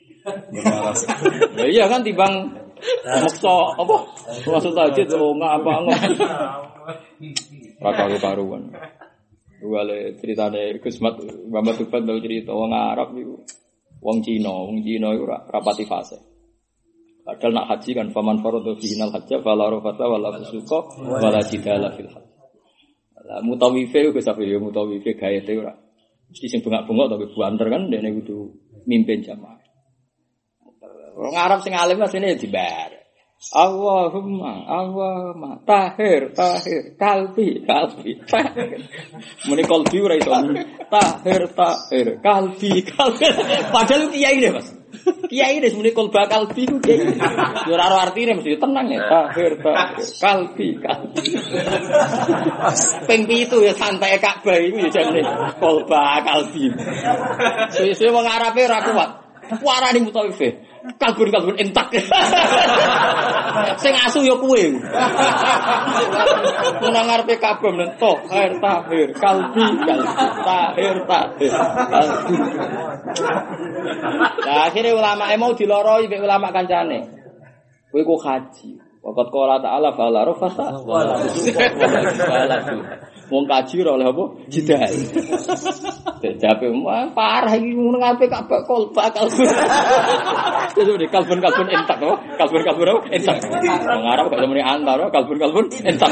Ya iya kan timbang maksa apa? Maksud tahajud lo enggak apa enggak. Rakaru karuan. Wale ceritane Gus Mat Muhammad Tufan tau cerita wong Arab iku. Wong Cina, wong Cina iku rapati fase. Padahal nak haji kan faman faradu fihinal hajja fala rafata wala fusuqa wala jidala fil hajj. Lah mutawife iku sampe yo mutawife gaete ora. Mesti sing bengak-bengok tapi banter kan dene kudu mimpin jamaah. Wong Arab sing alim asline dibar. Allahumma Allahumma tahir tahir kalbi kalbi muni kalbi ora iso tahir tahir kalbi kalbi padahal kiai deh Mas kiai deh muni kalba kalbi ku kiai ora ora artine mesti tenang ya tahir tahir kalbi kalbi ping pitu ya santai Ka'bah iku ya jane kalba kalbi suwe-suwe wong Arabe ora kuat warani mutawife kalbun-kalbun entak. Sing asu ya kowe. Menang ngarepe kabeh menento, air tahir, kalbi, kalbi, tahir, tahir. Lah akhire ulama e mau diloroi mek ulama kancane. Kowe kok haji. Waqat qala ta'ala fala rafasa wala wala wong kaji ora oleh apa? Jidal. Jape mah parah iki ngono ngape kak bakal bakal. Itu di kalbun-kalbun entak to, kalbun-kalbun entak. Wong Arab gak muni antar, kalbun-kalbun entak.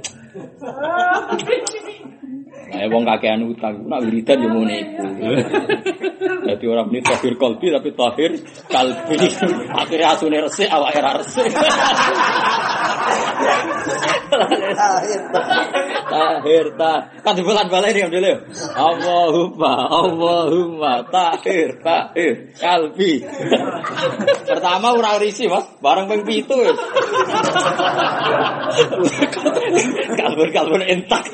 Nah, wong kakean utang, nak wiridan yo ngene iku. Dadi ora muni tahir kalbi tapi tahir kalbi. Akhire asune resik awake ra resik. Tahir ta. Kan dibulan baleni ndele. Allahumma Allahumma tahir tahir kalbi. Pertama ora risi, Mas. Bareng ping pitu wis. Kalbun-kalbun entak.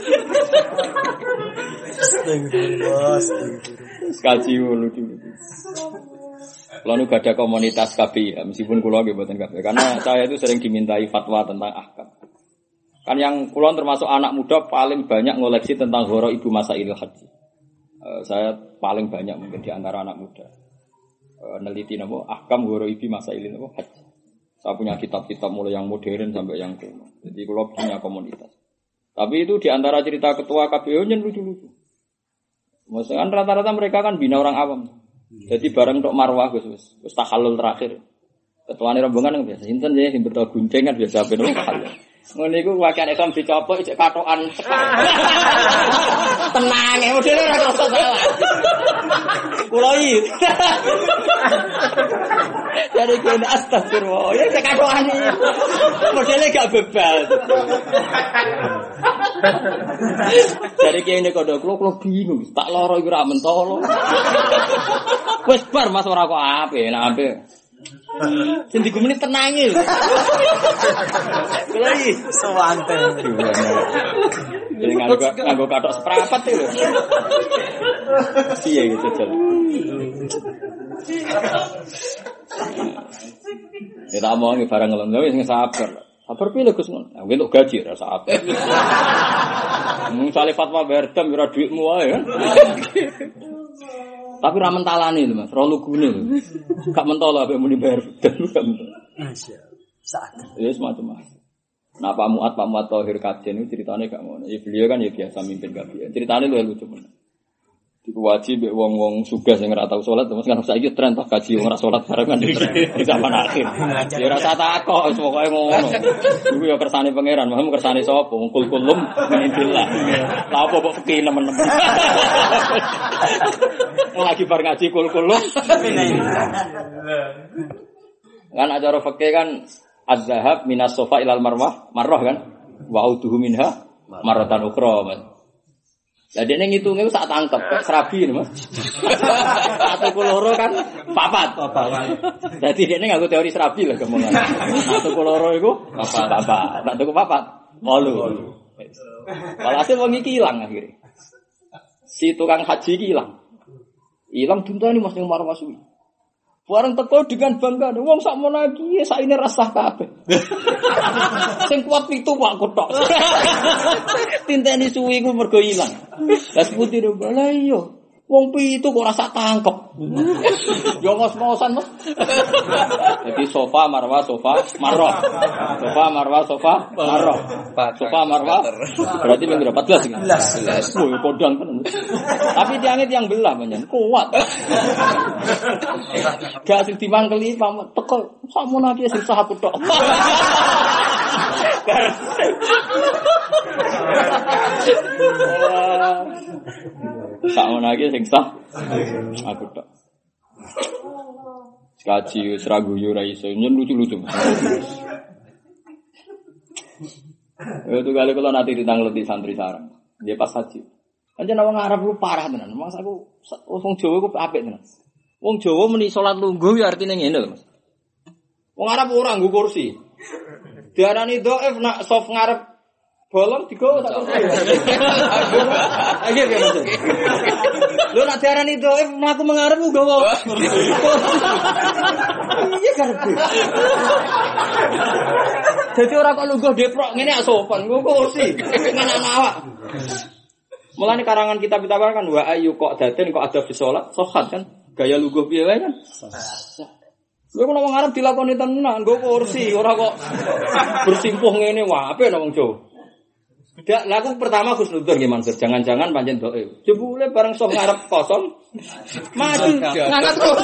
Astagfirullah. Kaji lucu. Lalu gak ada komunitas K B I, meskipun kulo nggih mboten K B I, karena saya itu sering dimintai fatwa tentang ahkam. Kan yang kulo termasuk anak muda paling banyak ngoleksi tentang ghoro ibu masailul haji. Uh, saya paling banyak mungkin di antara anak muda. Uh, neliti napa ahkam ghoro ibu masailul haji. Saya punya kitab-kitab mulai yang modern sampai yang kuno. Jadi kalau punya komunitas. Tapi itu di antara cerita ketua K B O nya lucu-lucu. Maksudnya kan rata-rata mereka kan bina orang awam. Jadi bareng tok marwah Gus wis wis tahallul terakhir. Ketuane rombongan kan biasa sinten ya sing beto gunceng kan biasa ben tahallul. Ngono iku wakiane Islam dicopot cek katokan. Tenang ya modele ora krasa salah. Kulo iki. Jadi kene astagfirullah. Ya cek katokan iki. Modele gak bebal. Jadi kene kodo kulo kulo bingung. Tak loro iku ra mentolo. Wes bar Mas ora kok ape, nek ape. Sing digumeni tenange lho. Kulo iki Sewante. Jadi nganggo nganggo kathok seprapat lho. Piye gitu jel. Ya tak mau barang ngelem wis sabar. Sabar piye Gus ngono. Nah, entuk gaji ra sabar. Mung sale fatwa berdam ora dhuwitmu wae kan. Tapi ra mentalane lho Mas, ora lugune lho. Gak mentolo ape muni bayar dan gak mentolo. Masyaallah. Saat. Ya semacam macam. Nah Pak Muat Pak Muat Thohir Kajen itu ceritanya gak ngono. Ya beliau kan ya biasa mimpin kabeh. Ceritanya luwih lucu men. Iku wajib mbek wong-wong sugih sing ora tau salat terus kan saiki tren toh gaji wong ora salat bareng kan di zaman akhir. Ya ora usah takok wis pokoke ngono. Iku ya kersane pangeran, maksudmu kersane sapa? Wong kul-kulum minillah. Lah apa kok fikih nemen-nemen. Lagi bar ngaji kul-kulum. Kan acara fikih kan az-zahab minas sofa ilal marwah, marwah kan? Wa auduhu minha maratan ukhra. Lah dene ngitunge sak tangkep kok serabi Mas. Satu kuloro kan papat. Dadi dene nganggo teori serabi lah gamongan. Satu kuloro iku papat. Papat. Tak tuku papat. wolu. Walhasil wong iki ilang akhire. Si tukang haji iki ilang. Ilang duntani Mas ning marwah suwi. Bareng teko dengan bangga, wong sak mono iki saine rasah kabeh. Sing kuat pitu Pak kotok. Tinteni suwi ku mergo ilang. Lah putih lho, lha iya. Wong pitu kok rasa tangkep. Yo ngos-ngosan, Mas. Jadi sofa marwah sofa marwah. Sofa marwah sofa marwah. Sofa marwah. Berarti ming empat belas iki. empat belas. Oh, kodang tenan. Tapi tiange tiang belah menyen kuat. Gak sing dimangkeli pamit teko sakmono iki sing sah aku tok. Sakmono iki sing sah aku tok. Kaji wis ra guyu ra iso nyen lucu-lucu. Itu kali kalau nanti ditangleti santri sarang. Dia pas haji. Anjen wong Arab lu parah tenan. Mas aku wong Jawa ku apik tenan. Wong Jawa meni salat lungguh ya artine ngene lho, Mas. Wong Arab ora nggo kursi. Diarani dhaif nak sof ngarep bolong digowo tak kursi. Ayo ya Mas. Lho nak diarani dhaif mlaku mengarep nggowo. Iya karepe. Dadi ora kok lungguh deprok ngene ak sopan, nggo kursi. Nang awak. Mulane karangan kitab-kitab kan wa ayu kok daden kok ada fi salat sohat kan. Gaya luguh piye wae kan? Lha kok wong Arab dilakoni tenan, nggo kursi, ora kok bersimpuh ngene wae apik wong Jawa. Dak laku pertama Husnudzon nggih Mansur, jangan-jangan pancen doe. Jebule bareng sok ngarep kosong, maju ngangkat terus.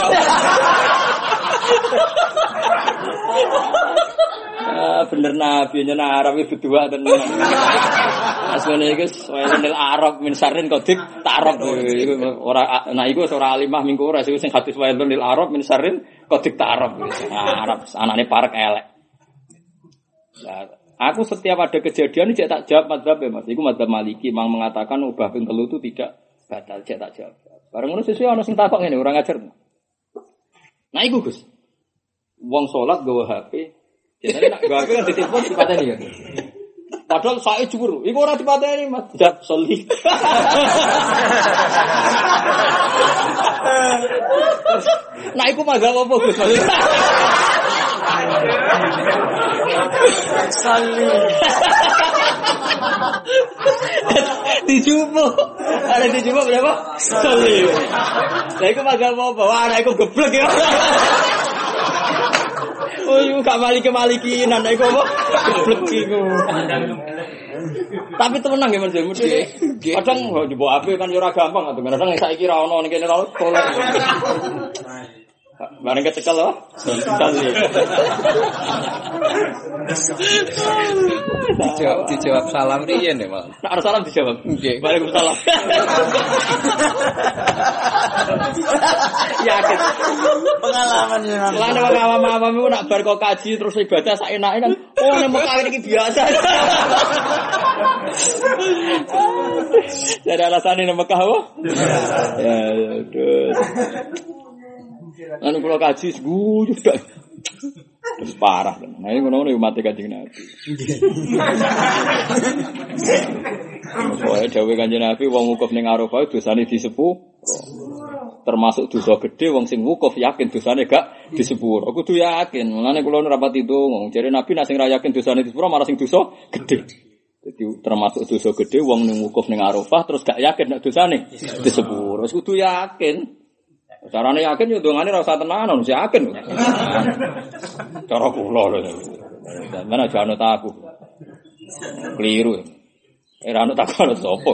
Ah bener nabi nyen Arab iki berdua tenan. Asmane iku wayanil Arab min sarin kodik tarab iku ora nah iku ora alimah minggu ora sing hadis wayanil Arab min sarin kodik tarab. Arab anane parek elek. Nah, aku setiap ada kejadian cek tak jawab mazhab ya Mas. Iku mazhab Maliki mang mengatakan ubah ping telu itu tidak batal, cek tak jawab. Bareng ngono sesuai ana sing takok ngene ora ngajar. Nah iku Gus. Wong salat gawe H P. Jadi nak gawe kan ditelepon dipateni ya. Padahal sae jujur, iku ora dipateni Mas. Jawab soli. Nah iku mazhab apa Gus? Soli. Dijupo. Ada dijupo berapa? Soli. Lah iku mazhab apa? Wah, ana iku geblek ya. Iku gak maliki-malikinan iku apa? Bleki iku. Tapi tenang ya Mas. Kadang njebok ape kan yo ora gampang to. Kadang saiki ra ono ning kene ra tolong. Bareng kecekel loh. Sekali. Dijawab, dijawab salam riyen ya, Mas. Nah, salam dijawab. Nggih. Waalaikumsalam. Yakin. Pengalaman ya. Lah nek wong awam-awam iku nak bar kok kaji terus ibadah sak enake kan. Oh nek Mekah iki biasa. Jadi alasan nek Mekah apa? Ya, aduh. Anu kula kaji guyu dak. Terus parah kan. Nah, ini ngono-ngono mati Kanjeng Nabi. Soale dawuh Kanjeng Nabi wong wukuf ning Arafah dosane disepuro. Termasuk dosa gede wong sing wukuf yakin dosane gak disepuro. Kudu yakin. Mulane kula ora pati ndonga. Jare Nabi nek sing ra yakin dosane disepuro malah sing dosa gede. Jadi termasuk dosa gede wong ning wukuf ning Arafah terus gak yakin nek dosane disepuro. Kudu yakin. Carane yakin yo dongane ora usah tenanan, wis yakin. Cara kula lho. Mana jane ta aku. Kliru. Era ana tak ana sapa.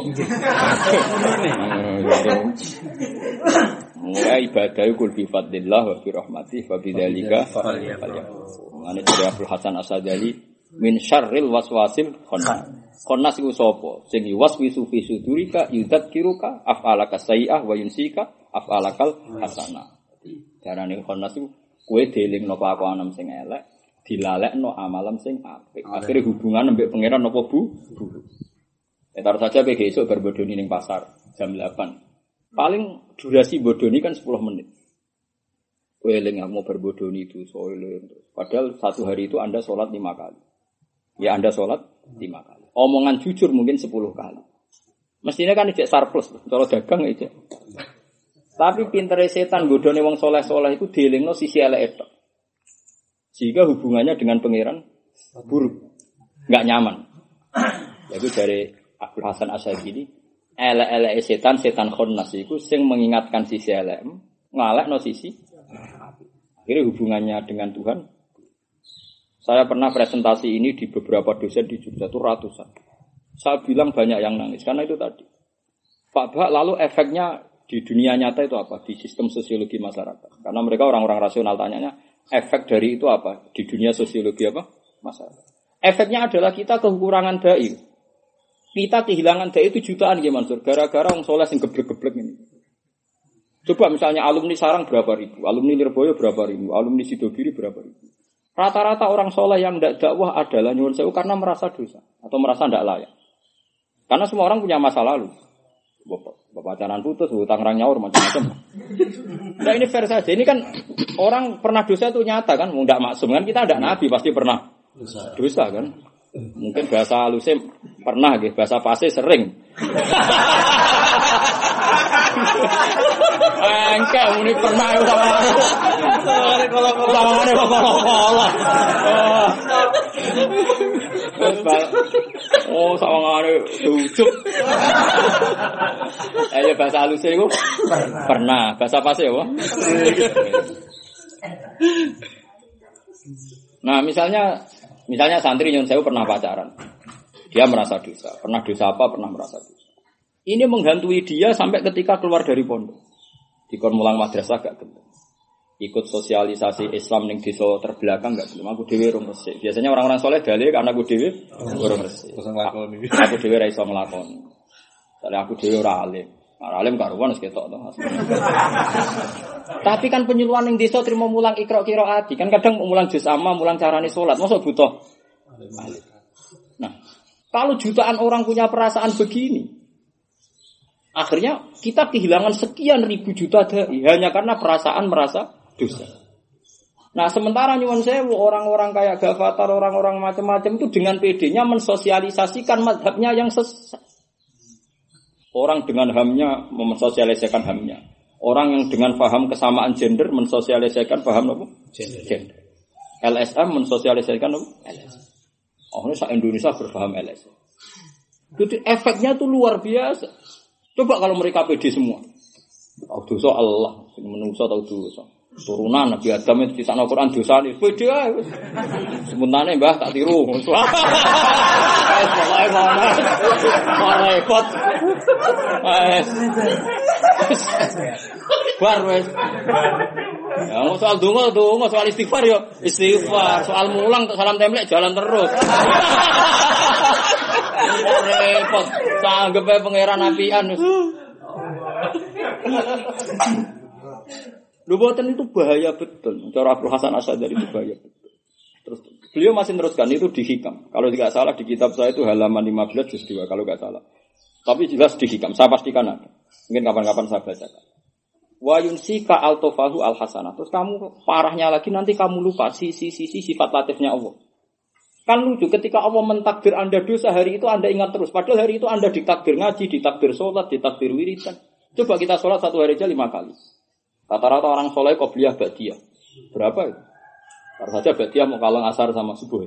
Mulai ibadah kul bi fadlillah wa bi rahmatih wa bi dzalika falyakun. Ane dari Abdul Hasan As-Sadali min syarril waswasil khannas. Khannas iku sapa? Sing yuwaswisu fi sudurika yudzakiruka af'alaka sayyi'ah wa yunsika af'alakal hasanah. Darane khannas iku kowe dielingno kelakuan sing elek, dilalekno amalan sing apik. Akhire hubungan mbek pangeran apa bu? Buruk. Ya taruh saja kowe esuk bar bodoni ning pasar jam delapan. Paling durasi bodoni kan sepuluh menit. Kowe eling mau berbodoni itu soile. Padahal satu hari itu Anda sholat lima kali. Ya Anda sholat lima kali. Omongan jujur mungkin sepuluh kali. Mestinya kan ijek surplus, cara dagang ijek. Tapi pintere setan bodone wong soleh-soleh itu dielingno sisi elek tok. Sehingga hubungannya dengan pangeran buruk, enggak nyaman. Yaitu dari Abdul Hasan As-Sadili, elek-elek setan, setan khannas iku sing mengingatkan sisi elek, ngalekno sisi. Akhirnya hubungannya dengan Tuhan. Saya pernah presentasi ini di beberapa dosen di Jogja itu ratusan. Saya bilang banyak yang nangis karena itu tadi. Pak Bah, lalu efeknya di dunia nyata itu apa? Di sistem sosiologi masyarakat. Karena mereka orang-orang rasional tanyanya, efek dari itu apa? Di dunia sosiologi apa? Masyarakat. Efeknya adalah kita kekurangan dai. Kita kehilangan dai itu jutaan ya Mansur. Gara-gara orang soleh yang geblek-geblek ini. Coba misalnya alumni Sarang berapa ribu, alumni Lirboyo berapa ribu, alumni Sidogiri berapa ribu. Rata-rata orang soleh yang tidak dakwah adalah nyuwun sewu karena merasa dosa atau merasa tidak layak. Karena semua orang punya masa lalu. Pacaran putus, hutang rang nyaur macam-macam. Nah ini fair saja. Ini kan orang pernah dosa itu nyata kan, tidak maksum kan kita tidak nabi pasti pernah dosa, dosa kan. Mungkin bahasa halusnya pernah, gitu. Bahasa pasti sering. Engke muni pernah sama kalau kalau sama kalau kalau. Oh, sama ngene dujuk. Eh bahasa halusnya itu pernah. Bahasa pasti ya, Pak. Nah, misalnya Misalnya santri nyun sewu pernah pacaran. Dia merasa dosa. Pernah dosa apa? Pernah merasa dosa. Ini menghantui dia sampai ketika keluar dari pondok. Dikon mulang madrasah gak gelem. Ikut sosialisasi Islam ning desa terbelakang gak gelem. Aku dhewe urung resik. Biasanya orang-orang soleh dalih karena aku dhewe urung resik. Aku dhewe ra iso nglakoni. Soale aku dhewe ora alim. Ora alim karuan wis ketok to. Tapi kan penyuluhan yang desa terima mulang ikra qiraati kan kadang mulang juz amma, mulang carane salat, masa butuh. Nah, kalau jutaan orang punya perasaan begini, akhirnya kita kehilangan sekian ribu juta dai hanya karena perasaan merasa dosa. Nah, sementara nyuwun sewu orang-orang kayak Ghafatar, orang-orang macam-macam itu dengan P D-nya mensosialisasikan mazhabnya yang sesat. Orang dengan hamnya mensosialisasikan hamnya. Orang yang dengan paham kesamaan gender mensosialisasikan paham apa? Gender. gender. L S M mensosialisasikan apa? L S M. Oh, ini se-Indonesia berpaham L S M. Jadi efeknya tuh luar biasa. Coba kalau mereka pede semua. Tahu dosa Allah, menungso tahu dosa. Turunan Nabi Adam itu kisah Al-Quran dosa nih. Pede aja. Sementara Mbah tak tiru. Pokoknya mana? Mana repot? Bar wes. Ya mau soal donga donga, soal istighfar yo istighfar, soal mulang salam templek jalan terus. Repot. Sanggep ae pangeran apian wis. Luboten itu bahaya betul. Cara Abdul Hasan Asy'ari itu bahaya betul. Terus beliau masih teruskan itu di Hikam. Kalau tidak salah di kitab saya itu halaman lima belas juz dua kalau enggak salah. Tapi jelas di Hikam. Saya pastikan ada. Mungkin kapan-kapan saya bacakan. Wa yunsika al-tofahu al-hasanah. Terus kamu parahnya lagi nanti kamu lupa sisi-sisi sifat latifnya Allah. Kan lucu ketika Allah mentakdir Anda dosa hari itu Anda ingat terus. Padahal hari itu Anda ditakdir ngaji, ditakdir sholat, ditakdir wiridan. Coba kita sholat satu hari aja lima kali. Rata-rata orang soleh qobliyah ba'diyah. Berapa itu? Baru saja ba'diyah mau kalang asar sama subuh.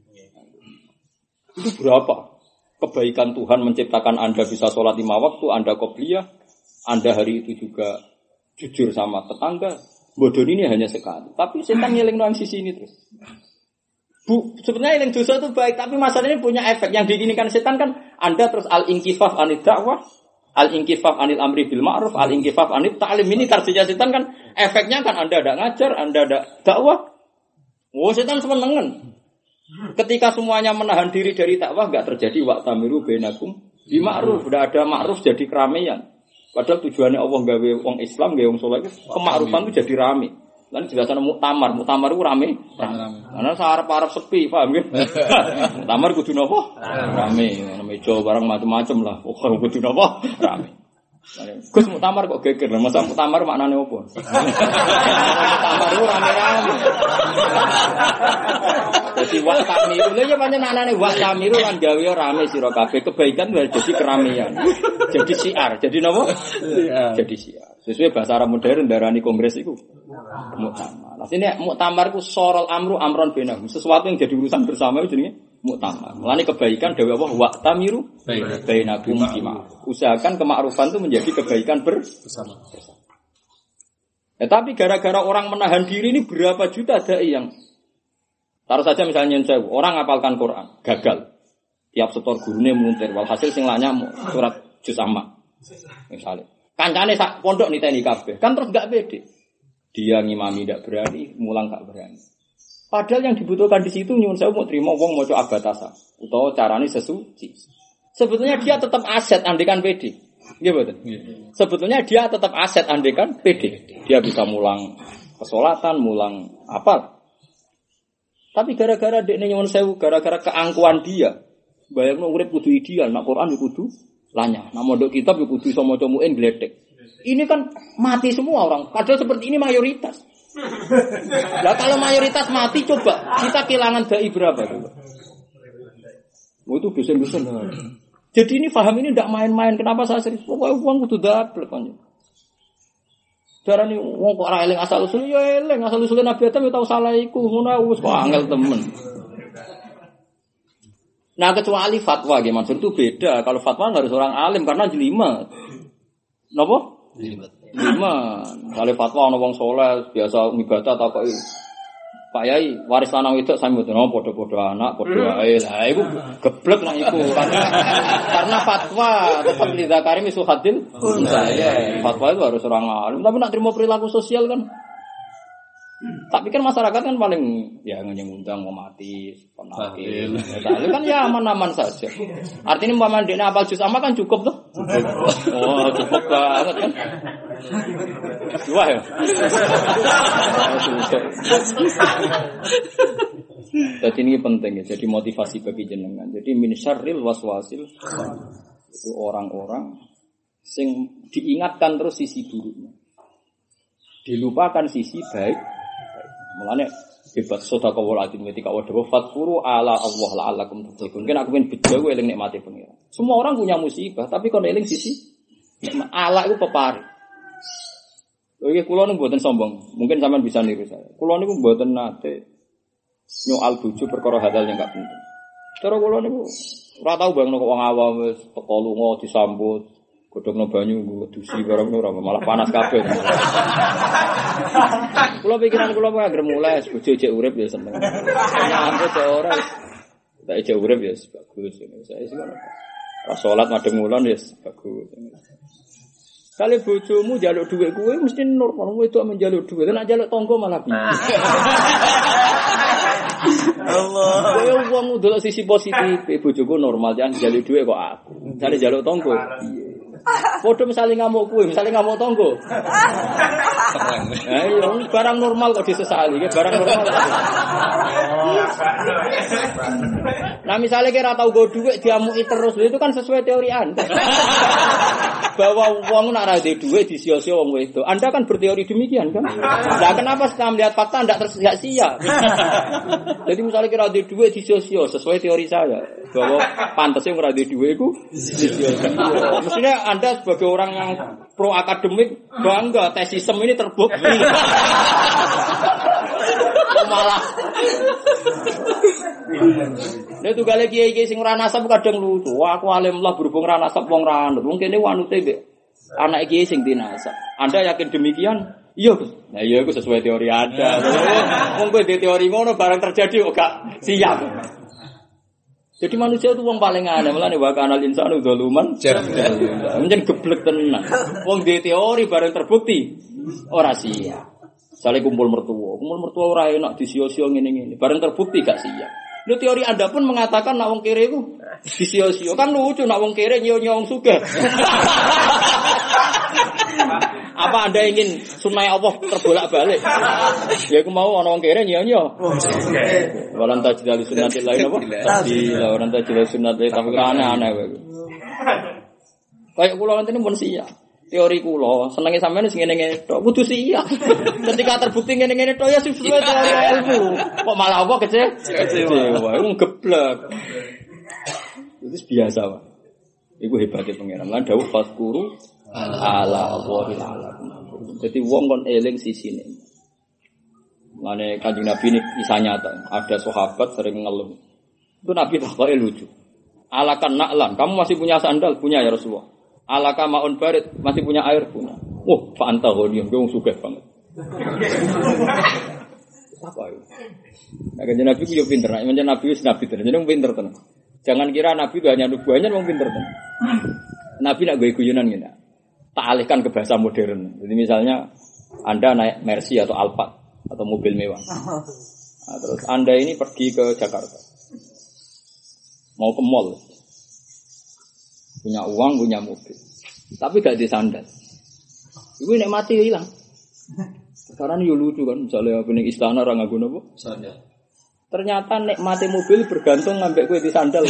Itu berapa? Kebaikan Tuhan menciptakan Anda bisa sholat lima waktu, Anda qobliyah, Anda hari itu juga jujur sama tetangga. Bodoh ini hanya sekali. Tapi setan ngiling doang sisi ini terus. Bu, sebenarnya yang dosa itu baik, tapi masalahnya punya efek. Yang diinginkan setan kan Anda terus al-inkifaf anid dakwah, al-inkifaf anil amri bil ma'ruf, al-inkifaf anil ta'lim. Ini tarsinya setan kan efeknya kan Anda ada ngajar, Anda ada dakwah. Oh, setan senengan. Ketika semuanya menahan diri dari dakwah enggak terjadi wa'tamiru bainakum bil ma'ruf, udah ada ma'ruf jadi keramaian. Padahal tujuannya Allah gawe wong Islam, gawe wong saleh kemakrufan itu jadi rame. Lan jelasan muktamar, muktamar itu rame. Karena sarep-arep sepi, paham nggih? Muktamar kudu napa? Rame, meja barang macam-macam lah. Pokoke kudu napa? Rame. Gus muktamar kok geger, masa muktamar maknane opo? Muktamar itu rame-rame. Jadi wa tamiru, lha ya pancen maknane wa tamiru kan gawe rame sira kabeh, kebaikan jadi keramaian. Jadi siar, jadi napa? Jadi siar. Sesuai bahasa Arab modern darani kongres itu muktamar. Nah, sini muktamar itu sorol amru amron bainahum. Sesuatu yang jadi urusan bersama itu jenenge muktamar. Mulane kebaikan dewe Allah wa tamiru bainakum bima. Usahakan kemakrufan itu menjadi kebaikan bersama. Ya, tapi gara-gara orang menahan diri ini berapa juta dai yang taruh saja misalnya saya orang ngapalkan Quran, gagal. Tiap setor gurune muntir, walhasil sing lanya surat juz amma. Misalnya kancane sak pondok niteni kabeh. Kan terus gak pede. Dia ngimami ndak berani, mulang gak berani. Padahal yang dibutuhkan di situ nyuwun sewu mau trimo wong maca abatasa utawa carane sesuci. Sebetulnya dia tetap aset andekan pede. Nggih mboten? Sebetulnya dia tetap aset andekan pede. Dia bisa mulang kesolatan, mulang apa. Tapi gara-gara dekne nyuwun sewu, gara-gara keangkuhan dia, bayangno urip kudu ideal, nak Quran yo kudu lanya. Nah, mondok kitab yo kudu iso maca muin gledek. Ini kan mati semua orang. Padahal seperti ini mayoritas. Lah kalau mayoritas mati coba kita kehilangan dai berapa coba? Oh, itu dosen-dosen. Jadi ini paham ini ndak main-main. Kenapa saya serius? Pokoke wong kudu dablek kan. Darani wong kok ora eling asal usul yo eling asal usul Nabi Adam yo tau salah iku. Ngono wis kok angel temen. Nah kecuali fatwa nggih maksud itu beda. Kalau fatwa harus orang alim karena jelimet. Napa? Jelimet. Jelimet. Kalau fatwa ana wong saleh biasa ngibadah ta kok Pak Yai waris lanang wedok sami mboten ono padha-padha anak, padha wae. Lah iku geblek lah iku. Karena karena fatwa tetap li zakari misu hadil saya. Fatwa itu harus orang alim. Tapi nak terima perilaku sosial kan. Tapi kan masyarakat kan paling ya ngundang mau mati, penakil. Itu kan ya aman-aman saja. Artinya umpama ndekne apal juz amma kan cukup tuh. Oh, cukup banget kan. Wah ya. Jadi ini penting ya. Jadi motivasi bagi jenengan. Jadi min syarril waswasil itu orang-orang sing diingatkan terus sisi buruknya. Dilupakan sisi baik. Mulane hebat sedekah walatin ketika wadah fatfuru ala Allah la'allakum tuflihun. Kan aku men bejo eling nikmate pengira. Semua orang punya musibah, tapi kon eling sisi ala itu pepari. Lha iki kula niku mboten sombong. Mungkin sampean bisa niru saya. Kula niku mboten nate nyoal bojo perkara hal yang enggak penting. Cara kula niku ora tau bangno kok wong awam wis teko lunga disambut godhogno banyu nggo dusi bareng ora malah panas kabeh. Kula pikiran kula kok anggere mulai bojo jek urip ya seneng. Aku jek ora tak jek urip ya bagus ngene. Saya sih ngono. Pas salat madheng ngulon ya bagus. Kali bojomu njaluk dhuwit kuwi mesti normal wedok menjaluk dhuwit. Nek njaluk tangga malah piye. Allah. Kowe wong ndelok sisi positif, bojoku normal jan njaluk dhuwit kok aku. Jare njaluk tangga piye. Padha misale ngamuk kuwi, misale ngamuk tangga. Ha iya, barang normal kok disesali, barang normal. Nah misalnya kira tahu go duit diamuki terus itu kan sesuai teori Anda. Bahwa uang nak ra duit disia-sia wong wedok. Anda kan berteori demikian kan? Nah kenapa setelah melihat fakta Anda tersia-sia? Jadi misalnya kira ada duit disia-sia sesuai teori saya bahwa pantasnya ora ada duit iku disia-sia. Maksudnya Anda sebagai orang yang pro akademik bangga tesisem ini terbukti. Malah nek tugale kiai-kiai sing ora nasab kadang lucu. Wah, aku alim lah berhubung ora nasab wong ra anut. Wong kene wanute mbek anak kiai sing dinasab. Anda yakin demikian? Iya, Gus. Nah, iya iku sesuai teori Anda. Wong kowe di teori ngono barang terjadi kok gak siap. Jadi manusia itu wong paling aneh, mulane wa kanal insanu zaluman jahula. Menjen geblek tenan. Wong di teori barang terbukti ora siap. Sale kumpul mertua, kumpul mertua ora enak disio-sio ngene-ngene. Bareng terbukti gak siap. Lho teori Anda pun mengatakan nak wong kere iku disio-sio. Kan lucu nak wong kere nyo-nyo wong sugih. Apa Anda ingin sunai Allah terbolak-balik? Ya aku mau ana wong kere nyo-nyo. Walan tajdal sunnatil lain apa? Tadi walan tajdal sunnatil tapi aneh-aneh kowe. Kayak kula ngene pun siap. Teori kula senenge sampeyan sing ngene-ngene tok kudu siap. Ketika terbukti ngene-ngene tok ya sesuai teori ilmu. Kok malah apa kece? Kecewa, iku geblek. Itu biasa, Pak. Iku hebate pangeran. Lan dawuh faskuru ala wahil alam. Jadi wong kon eling sisine. Mane Kanjeng Nabi ini kisah nyata. Ada sahabat sering ngeluh. Itu Nabi takoke lucu. Alakan naklan, kamu masih punya sandal? Punya ya Rasulullah. Alaka ma'un barid, masih punya air punya. Wah, Pak Antahonium, gue sugih banget. Apa itu? Nah, kan Nabi itu pinter, nah, Nabi itu Nabi itu, jadi pinter tenang. Jangan kira Nabi itu hanya nubuahnya, orang pinter tenang. Nabi nak gue guyonan gini, tak alihkan ke bahasa modern. Jadi misalnya Anda naik Mercy atau Alphard atau mobil mewah. Nah, terus Anda ini pergi ke Jakarta, mau ke mall. Punya uang, punya mobil. Tapi gak di sandal. Iku nek mati hilang. Sekarang yo lucu kan, misalnya pening istana ora nganggo napa? Sandal. Ternyata nek mati mobil bergantung ngambek kowe di sandal.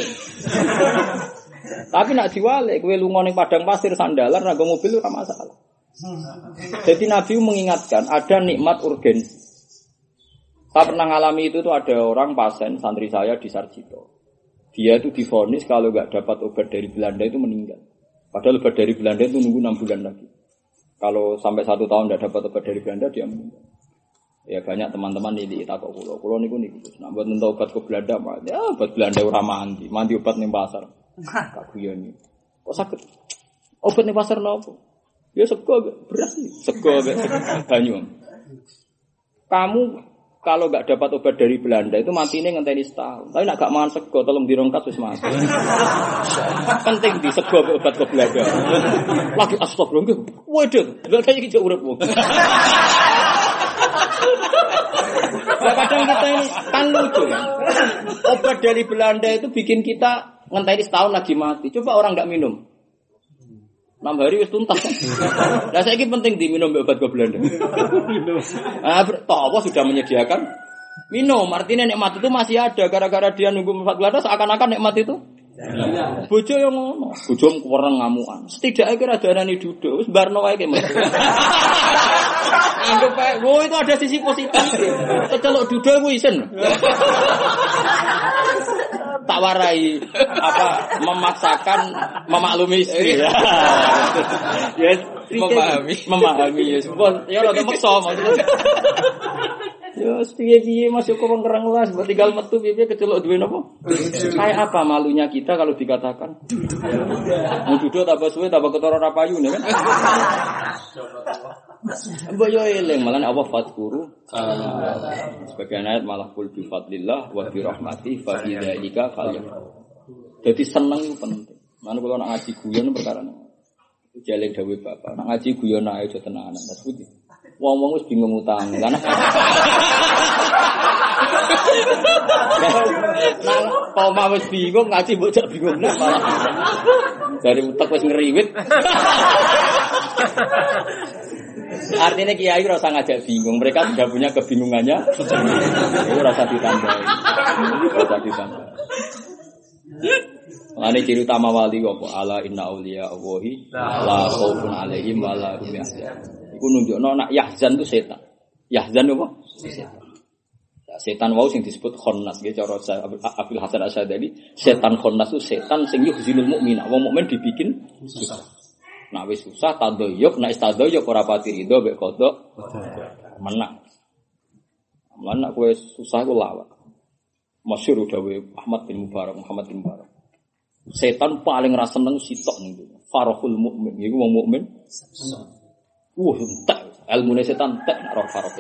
Tapi nak diwale kowe lunga ning padang pasir sandalan nganggo mobil ora masalah. Jadi Nabi mengingatkan ada nikmat urgensi. Saya pernah ngalami itu tuh ada orang pasien santri saya di Sarjito. Dia itu divonis kalau nggak dapat obat dari Belanda itu meninggal. Padahal obat dari Belanda itu nunggu enam bulan lagi. Kalau sampai satu tahun nggak dapat obat dari Belanda dia meninggal. Ya banyak teman-teman ini takut kulo. Kulo niku niku. Nah buat nentau obat ke Belanda, ya obat Belanda ora mandi, mandi obat ning pasar. Tak guyon. Kok sakit? Obat ning pasar nopo? Ya sego beras nih, sego banyu. Kamu kalau nggak dapat obat dari Belanda itu matinya ngenteni setahun. Tapi nak gak mangan sego, tolong dirongkat wis mati. Penting di sego obat ke Belanda. Lagi astagfirullah. Waduh, lha kaya iki urip wong. Nah, kadang kita ini kan lucu ya. Obat dari Belanda itu bikin kita ngenteni setahun lagi mati. Coba orang nggak minum. enam hari wis tuntas. Lah saiki penting diminum obat ke Belanda. Ah, toh sudah menyediakan minum. Artinya nikmat itu masih ada gara-gara dia nunggu empat bulan seakan-akan nikmat itu. Ya. Bojo yang ngono, bojo kurang ngamukan. Setidaknya kira darani duduk, wis barno wae ki. Anggap ae, wo itu ada sisi positif. Kecelok duduk ku isen. Tak warai apa memaksakan memaklumi istri ya. Ya, memahami, memahami ya. Ya ora maksa maksudnya. Ya piye-piye Mas Joko wong kereng las, buat tinggal metu piye-piye kecelok duwe napa? Kayak apa malunya kita kalau dikatakan? Mau duduk tambah suwe tambah ketara ra payu kan? Mbok yo eling malah Allah fadkuru. Sebagian ayat malah kul bi fadlillah wa bi rahmati fa bidzalika falyafrahu. Dadi seneng itu penting. Mana kalau nak ngaji guyon perkara ini. Jaling dawuh bapak. Nak ngaji guyon ae aja tenanan. Mas Budi. Wong-wong wis bingung utang. Lah nah poma wis bingung ngaji mbok jak bingung nah malah. Dari utek wis ngeriwit. Artinya kiai rasa ngajak bingung. Mereka sudah punya kebingungannya. Itu rasa ditambahi. Rasa ditambahi. Lani ciri utama wali apa? Ala inna auliya Allahi la khaufun alaihim wa la hum yahzanun. Iku nunjukno nak yahzan itu setan. Yahzan apa? Setan. Ya, setan wau sing disebut khannas nggih cara Abdul Hasan Asy'adili, setan khannas itu setan sing yuhzinul mukmin. Wong mukmin dibikin susah. Nak wis susah tadoyuk, nak istadoyuk ora pati rido mek kodok menang. Lan nak kowe susah ku lawak. Masyhur dawuh Ahmad bin Mubarak, Muhammad bin Mubarak. Setan paling ra seneng sitok niku. Farahul mukmin, iku wong mukmin. Wah, entek. Ilmune setan entek nek ora farahul.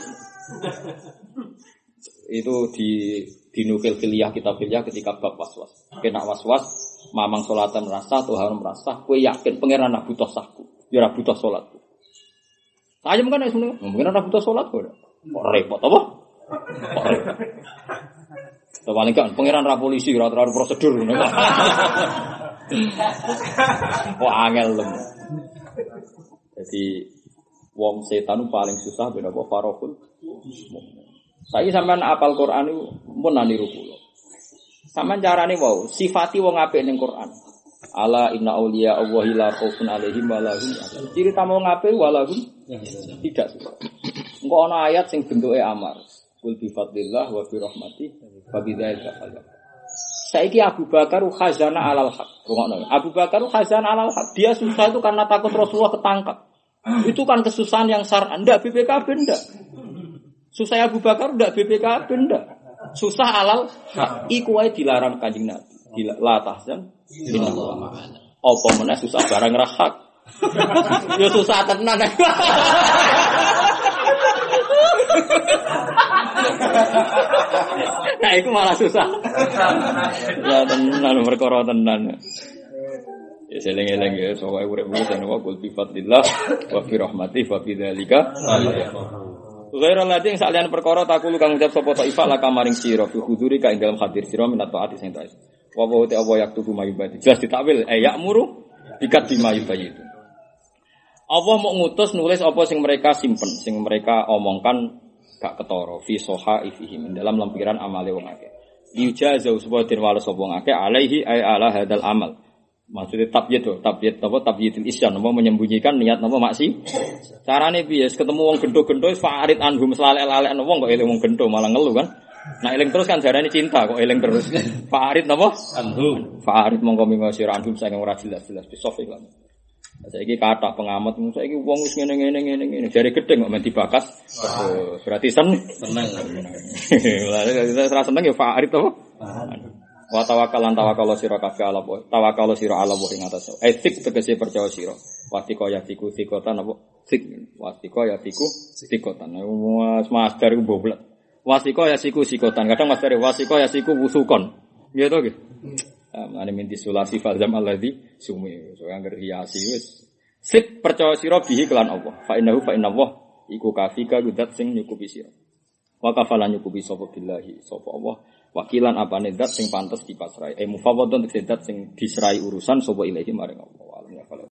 Itu di dinukil filiyah kitab filiyah ketika bab waswas. Kena waswas, mamang salatan merasa Tuhan merasa, kowe yakin pangeran nak butuh sahku, ya ora butuh salatku. Saya kan nek ngono, mungkin ora butuh salat kok. Kok repot apa? Kok repot. Paling kan pangeran ra polisi ora terlalu prosedur ngono. Wah angel lem. Jadi wong setan paling susah ben apa farahul. Saiki sampean apal Quran iku mun niru kula. Sampeyan carane wau sifati wong apik ning Quran. Ala inna auliya Allahi la khaufun alaihim wa la hum yahzanun. Ciri tamu wong apik wa la hum tidak suka. Engko ana ayat sing bentuke amar. Kul bi fadlillah wa bi rahmati fa bidzalika falyafrahu. Saiki Abu Bakar khazana alal haq. Rungokno. Abu Bakar khazana alal haq. Dia susah itu karena takut Rasulullah ketangkap. Itu kan kesusahan yang syar'an. Ndak B P K B ndak. Susah Abu Bakar ndak B P K B ndak. Susah alal haq. Iku wae dilarang Kanjeng Nabi. La tahzan innallaha ma'ana. Apa meneh susah barang ra hak. Ya susah tenan. Nah, itu malah susah. Ya tenan perkara tenan. Ya seling-eling ya, soalnya urip-urip dan wa qul bi fadlillah wa bi rahmati fa bidzalika. Ghairal ladzi yang sakliyan perkara takulu kang ucap sapa ta'ifa la kamaring sira fi huduri ka ing dalem hadir sira minat taati sing taat. Wa wa ta wa yaktubu mayubati. Jelas ditakwil eh ya'muru bikat bimayubayi itu. Allah mau ngutus nulis apa sing mereka simpen, sing mereka omongkan gak ketara fi sohaifihim dalam lempiran amale wong akeh. Diujazau supaya den wales wong akeh alaihi ay ala hadal amal. Maksudnya tabyid to, tabyid apa tabyidul isyan, apa menyembunyikan niat apa maksi. Carane piye? Ketemu wong gendho-gendho farid anhum slalek-lalek wong kok eling wong gendho malah ngeluh kan. Nah eling terus kan jarane cinta kok eling terus. Farid napa? Anhum. Farid mongko minggo sira anhum saking ora jelas-jelas bisofik lan. Saiki kathah pengamat saiki wong wis ngene-ngene ngene-ngene jare gedeng kok men dibakas. Oh, berarti seneng. Seneng. Lah ora seneng ya farid apa? Wa tawakkalan tawakkal sira kabeh ala Allah. Tawakkal sira ala Allah ing atas. Etik tegese percaya sira. Wastika yatiku sikotan apa? Sik. Wastika yatiku sikotan. Mas master iku boblek. Wastika yasiku sikotan. Kadang master wastika yasiku wusukon. Nggih to nggih. Ane minti sulasi falzam alladzi sumi. So yang hiasi wis. Sik percaya sira bihi kelan Allah. Fa innahu fa inna Allah iku kafika gudat sing nyukupi sira. Wa kafalan nyukupi sapa billahi sapa Allah. Wakilan apane zat sing pantes dipasrai. Eh mufawwadun zat sing disrai urusan sapa ilahi maring Allah.